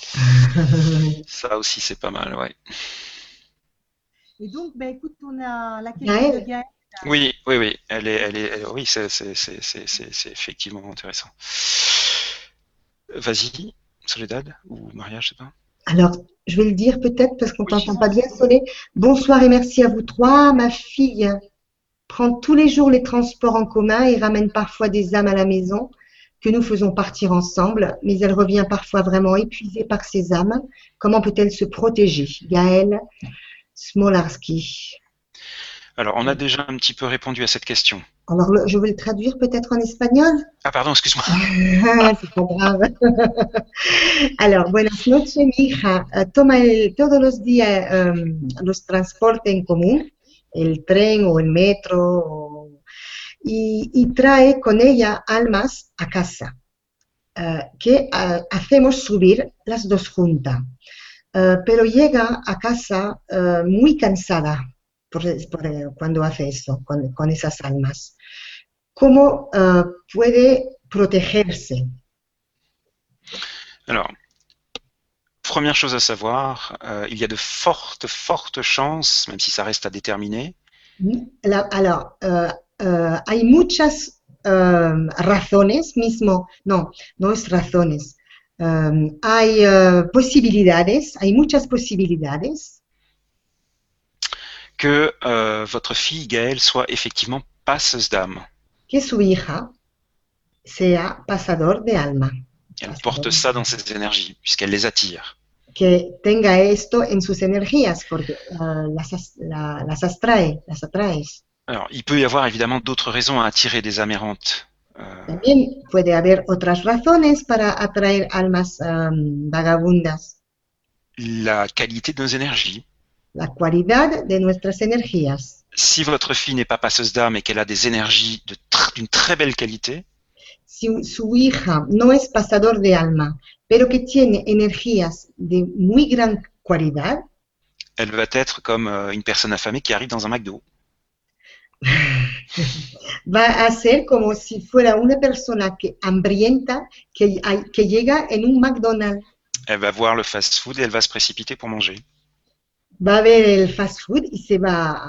ça aussi c'est pas mal, ouais. Et donc, ben, écoute, on a la question Gaëlle. de Gaëlle. Oui, oui, c'est effectivement intéressant. Vas-y, Soledad ou Maria, je sais pas. Alors, je vais le dire peut-être parce qu'on ne Oui. t'entend pas bien, Solé. Bonsoir et merci à vous trois. Ma fille prend tous les jours les transports en commun et ramène parfois des âmes à la maison. que nous faisons partir ensemble, mais elle revient parfois vraiment épuisée par ses âmes. Comment peut-elle se protéger? Gaëlle Smolarski. Alors, on a déjà un petit peu répondu à cette question. Alors, je vais le traduire peut-être en espagnol. Ah, pardon, excuse-moi. C'est pas grave. Alors, buenas noches, mi hija toma todos los días los transportes en común, el tren o el metro, y trae con ella almas a casa, que hacemos subir las dos juntas. Pero llega a casa muy cansada cuando hace eso, con esas almas. ¿Cómo puede protegerse? Alors, première chose à savoir, il y a de fortes chances, même si ça reste à déterminer. Alors, hay muchas razones mismo, no es razones. Hay posibilidades, hay muchas posibilidades que votre fille Gaëlle soit effectivement passeuse d'âme. que su hija sea pasador de alma. Elle porte ça dans ses énergies, puisqu'elle les attire. Que tenga esto en sus energías, porque las atrae. Alors, il peut y avoir évidemment d'autres raisons à attirer des âmes errantes. También puede haber otras razones para atraer almas vagabundas. La qualité de nos énergies. La cualidad de nuestras energías. Si votre fille n'est pas passeuse d'âme et qu'elle a des énergies d'une très belle qualité, si su hija no es pasador de alma, pero que tiene energías de muy gran cualidad, elle va être comme une personne affamée qui arrive dans un McDo. Va a ser como si fuera una persona hambrienta que llega en un McDonald's. Elle va voir le fast-food et elle va se précipiter pour manger. Va a ver el fast food y se va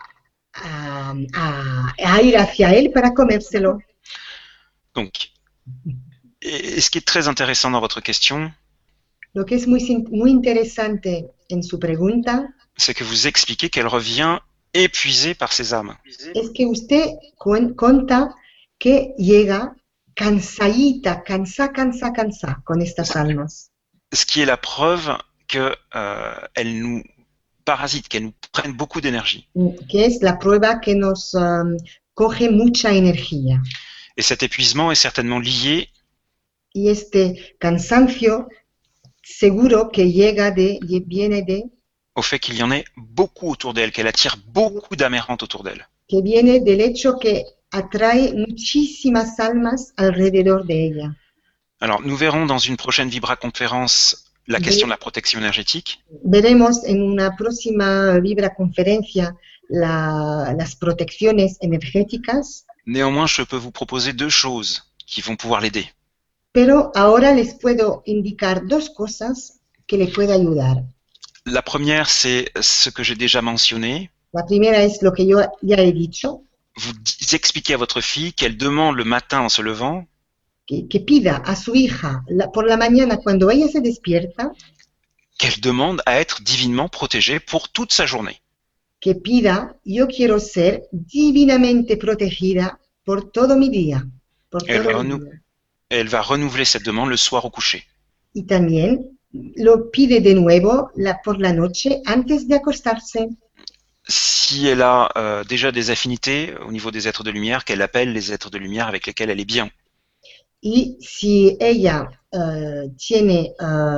a ir hacia él para comérselo. Donc, et ce qui est très intéressant dans votre question, lo que es muy interesante en su pregunta, c'est que vous expliquez qu'elle revient épuisée par ses âmes. Es que usted cuenta que llega cansadita, cansa con estas almas. Ce qui est la preuve que elles nous parasitent, qu'elles nous prennent beaucoup d'énergie. Que es la prueba que nos coge mucha energía. Et cet épuisement est certainement lié y este cansancio seguro que viene de au fait qu'il y en ait beaucoup autour d'elle, qu'elle attire beaucoup d'âmes errantes autour d'elle. Que viene del hecho que atrae muchísimas almas alrededor de ella. Alors, nous verrons dans une prochaine Vibra-conférence la question de la protection énergétique. Veremos en una próxima Vibra-conferencia las protecciones energéticas. Néanmoins, je peux vous proposer deux choses qui vont pouvoir l'aider. Pero ahora les puedo indicar dos cosas que le pueden ayudar. La première, c'est ce que j'ai déjà mentionné. La primera es lo que yo ya he dicho. Vous expliquez à votre fille qu'elle demande le matin en se levant que pida a su hija por la mañana cuando ella se despierta, qu'elle demande à être divinement protégée pour toute sa journée. Que pida, yo quiero ser divinamente protegida por todo mi día. Elle va renouveler cette demande le soir au coucher. Y también lo pide de nuevo por la noche antes de acostarse. Si elle a déjà des affinités au niveau des êtres de lumière, qu'elle appelle les êtres de lumière avec lesquels elle est bien. Y si ella tiene,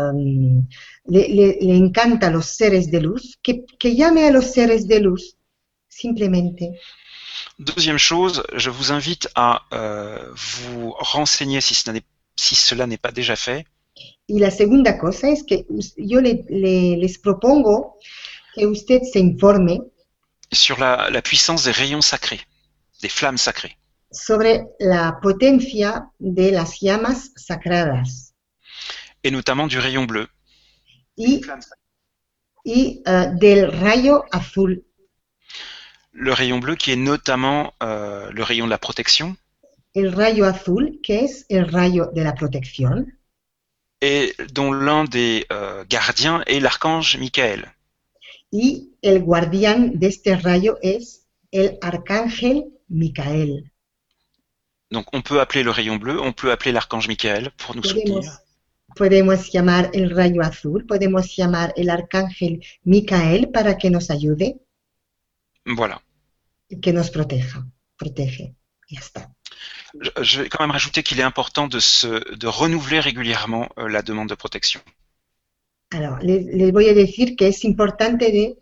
le encanta los seres de luz, que llame a los seres de luz, simplemente. Deuxième chose, je vous invite à vous renseigner si cela n'est pas déjà fait. Y la segunda cosa es que yo les propongo que usted se informe sur la puissance des rayons sacrés, des flammes sacrées. Sobre la potencia de las llamas sagradas. Et notamment du rayon bleu. Y del rayo azul. Le rayon bleu qui est notamment le rayon de la protection. El rayo azul, que es el rayo de la protección. Et dont l'un des gardiens est l'archange Michael. Y el guardián de este rayo es el arcángel Micael. Donc on peut appeler le rayon bleu, on peut appeler l'archange Michael pour nous soutenir. Podemos llamar el rayo azul, podemos llamar el arcángel Micael para que nos ayude Voilà. y que nos protege. Ya está. Je vais quand même rajouter qu'il est important de renouveler régulièrement la demande de protection. Alors, les voy a decir que es importante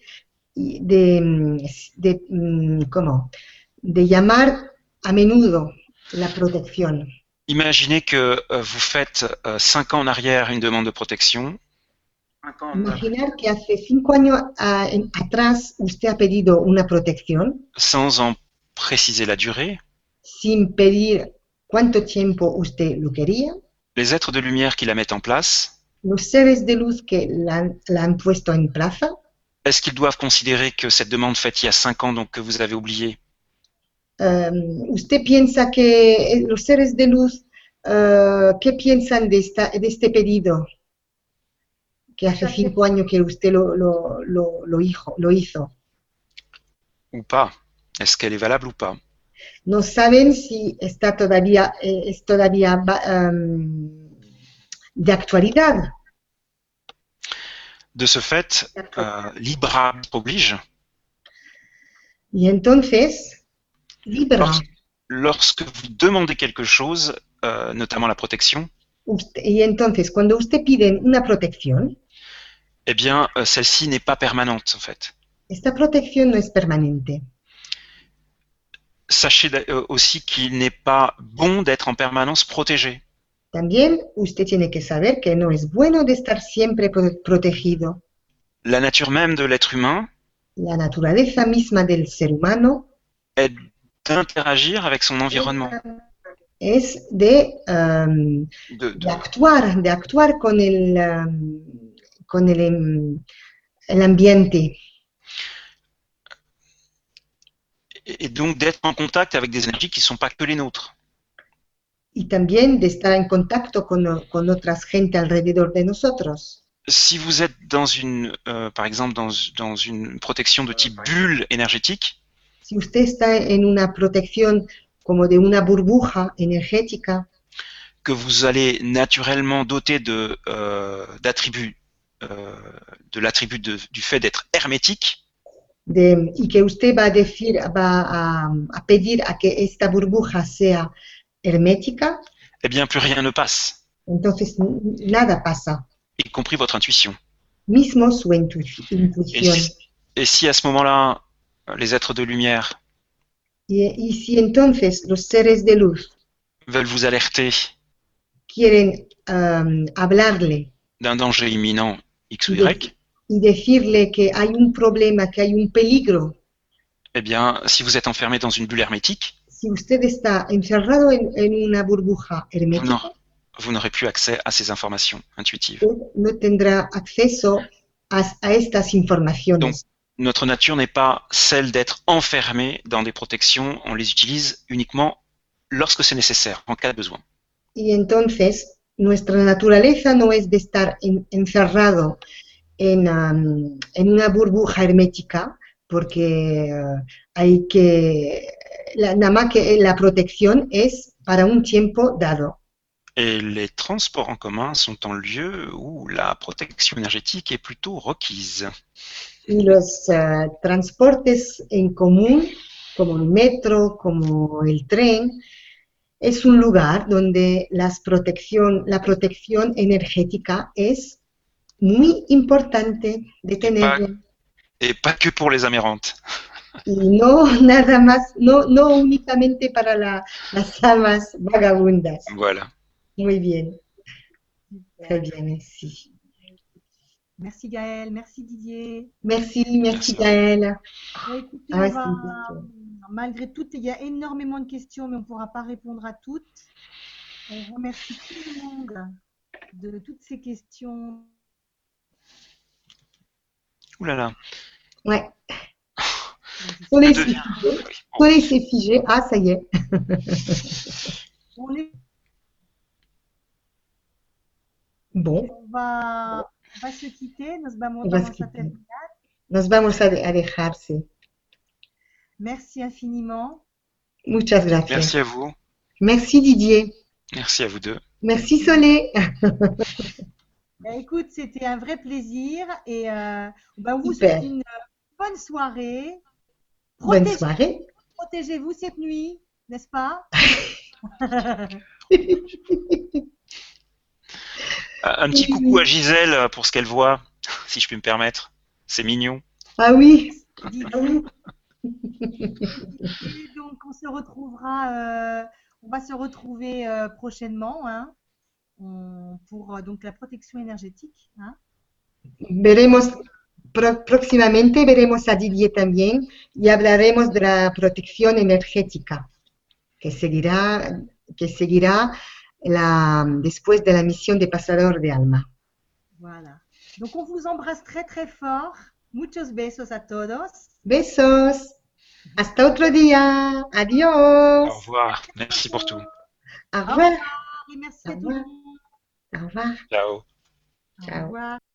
de llamar a menudo la protección. Imaginez que vous faites 5 ans en arrière une demande de protection. Imaginar que hace 5 años atrás usted ha pedido una protección Sans en préciser la durée. sin pedir cuánto tiempo usted lo quería. Les êtres de lumière qui la mettent en place, Los seres de luz que la han puesto en plaza, est-ce qu'ils doivent considérer que cette demande faite il y a 5 ans, donc que vous avez oublié, usted piensa que los seres de luz, ¿qué piensan de este pedido? Que hace 5 años que usted lo hizo. ou pas? Est-ce qu'elle est valable ou pas? No saben si está todavía, es todavía de actualidad. De ce fait, Libra oblige. Y entonces, Libra, Lorsque vous demandez quelque chose, notamment la protection, y entonces cuando usted pide una protección, eh bien, celle-ci n'est pas permanente, en fait. esta protección no es permanente. Sachez aussi qu'il n'est pas bon d'être en permanence protégé. También usted tiene que saber que no es bueno de estar siempre protegido. La nature même de l'être humain La naturaleza misma del ser humano est d'interagir avec son environnement. es de actuar con el ambiente. Et donc d'être en contact avec des énergies qui ne sont pas que les nôtres. Y también de estar en contacto con otras gente alrededor de nosotros. Si vous êtes par exemple, dans une protection de type bulle énergétique, Si usted está en una protección como de una burbuja energética, que vous allez naturellement doter d'attributs, de l'attribut du fait d'être hermétique, y que usted va a pedir a que esta burbuja sea hermética, eh bien plus rien ne passe, entonces nada pasa, y compris votre intuition. mismo su intuición. Et si à ce moment-là, les êtres de lumière Y si entonces los seres de luz veulent vous alerter quieren hablarle d'un danger imminent X ou Y, y decirle que hay un problema, que hay un peligro, eh bien, si vous êtes enfermé dans une bulle hermétique, si usted está encerrado en una burbuja hermética, vous n'aurez plus accès à ces informations intuitives. no tendrá acceso a estas informaciones. Donc, notre nature n'est pas celle d'être enfermé dans des protections, on les utilise uniquement lorsque c'est nécessaire, en cas de besoin. Y entonces, nuestra naturaleza no es de estar encerrado en una burbuja hermética, porque nada más que la protección es para un tiempo dado. Et les transports en commun sont en lieu où la protection énergétique est plutôt requise. Y los transportes en común, como el metro, como el tren, es un lugar donde la protección energética es muy importante de tener. Et pas que pour les amérantes. Y no nada más, no únicamente para las almas vagabundas. Voilà. Muy bien. Très bien, merci. Merci Gaëlle, merci Didier. Merci Gaëlle. Écoutez, malgré tout, il y a énormément de questions, mais on ne pourra pas répondre à toutes. On remercie tout le monde de toutes ces questions. Ouh là là. Ouais. Soleil s'est figé. Ah, ça y est. Bon. On va se quitter. Nos vamos a dejar, sí. Merci infiniment. Muchas gracias. Merci à vous. Merci Didier. Merci à vous deux. Merci Solé. Écoute, c'était un vrai plaisir et on vous Super. souhaite une bonne soirée. Bonne soirée. Protégez-vous cette nuit, n'est-ce pas? Un petit coucou à Gisèle pour ce qu'elle voit, si je puis me permettre. C'est mignon. Ah oui. Ah oui. Et donc, on se retrouvera, on va se retrouver prochainement hein, pour donc la protection énergétique. Hein. Veremos, próximamente veremos a Didier también y hablaremos de la protección energética que seguirá después de la misión de Pasador de Alma. Voilà. Donc, on vous embrasse très très fort. Muchos besos a todos. Besos. Hasta otro día. Adiós. Au revoir. Merci pour tout. Au revoir. Et merci Au à tout revoir. le monde. Au revoir. Ciao. Au Ciao. revoir.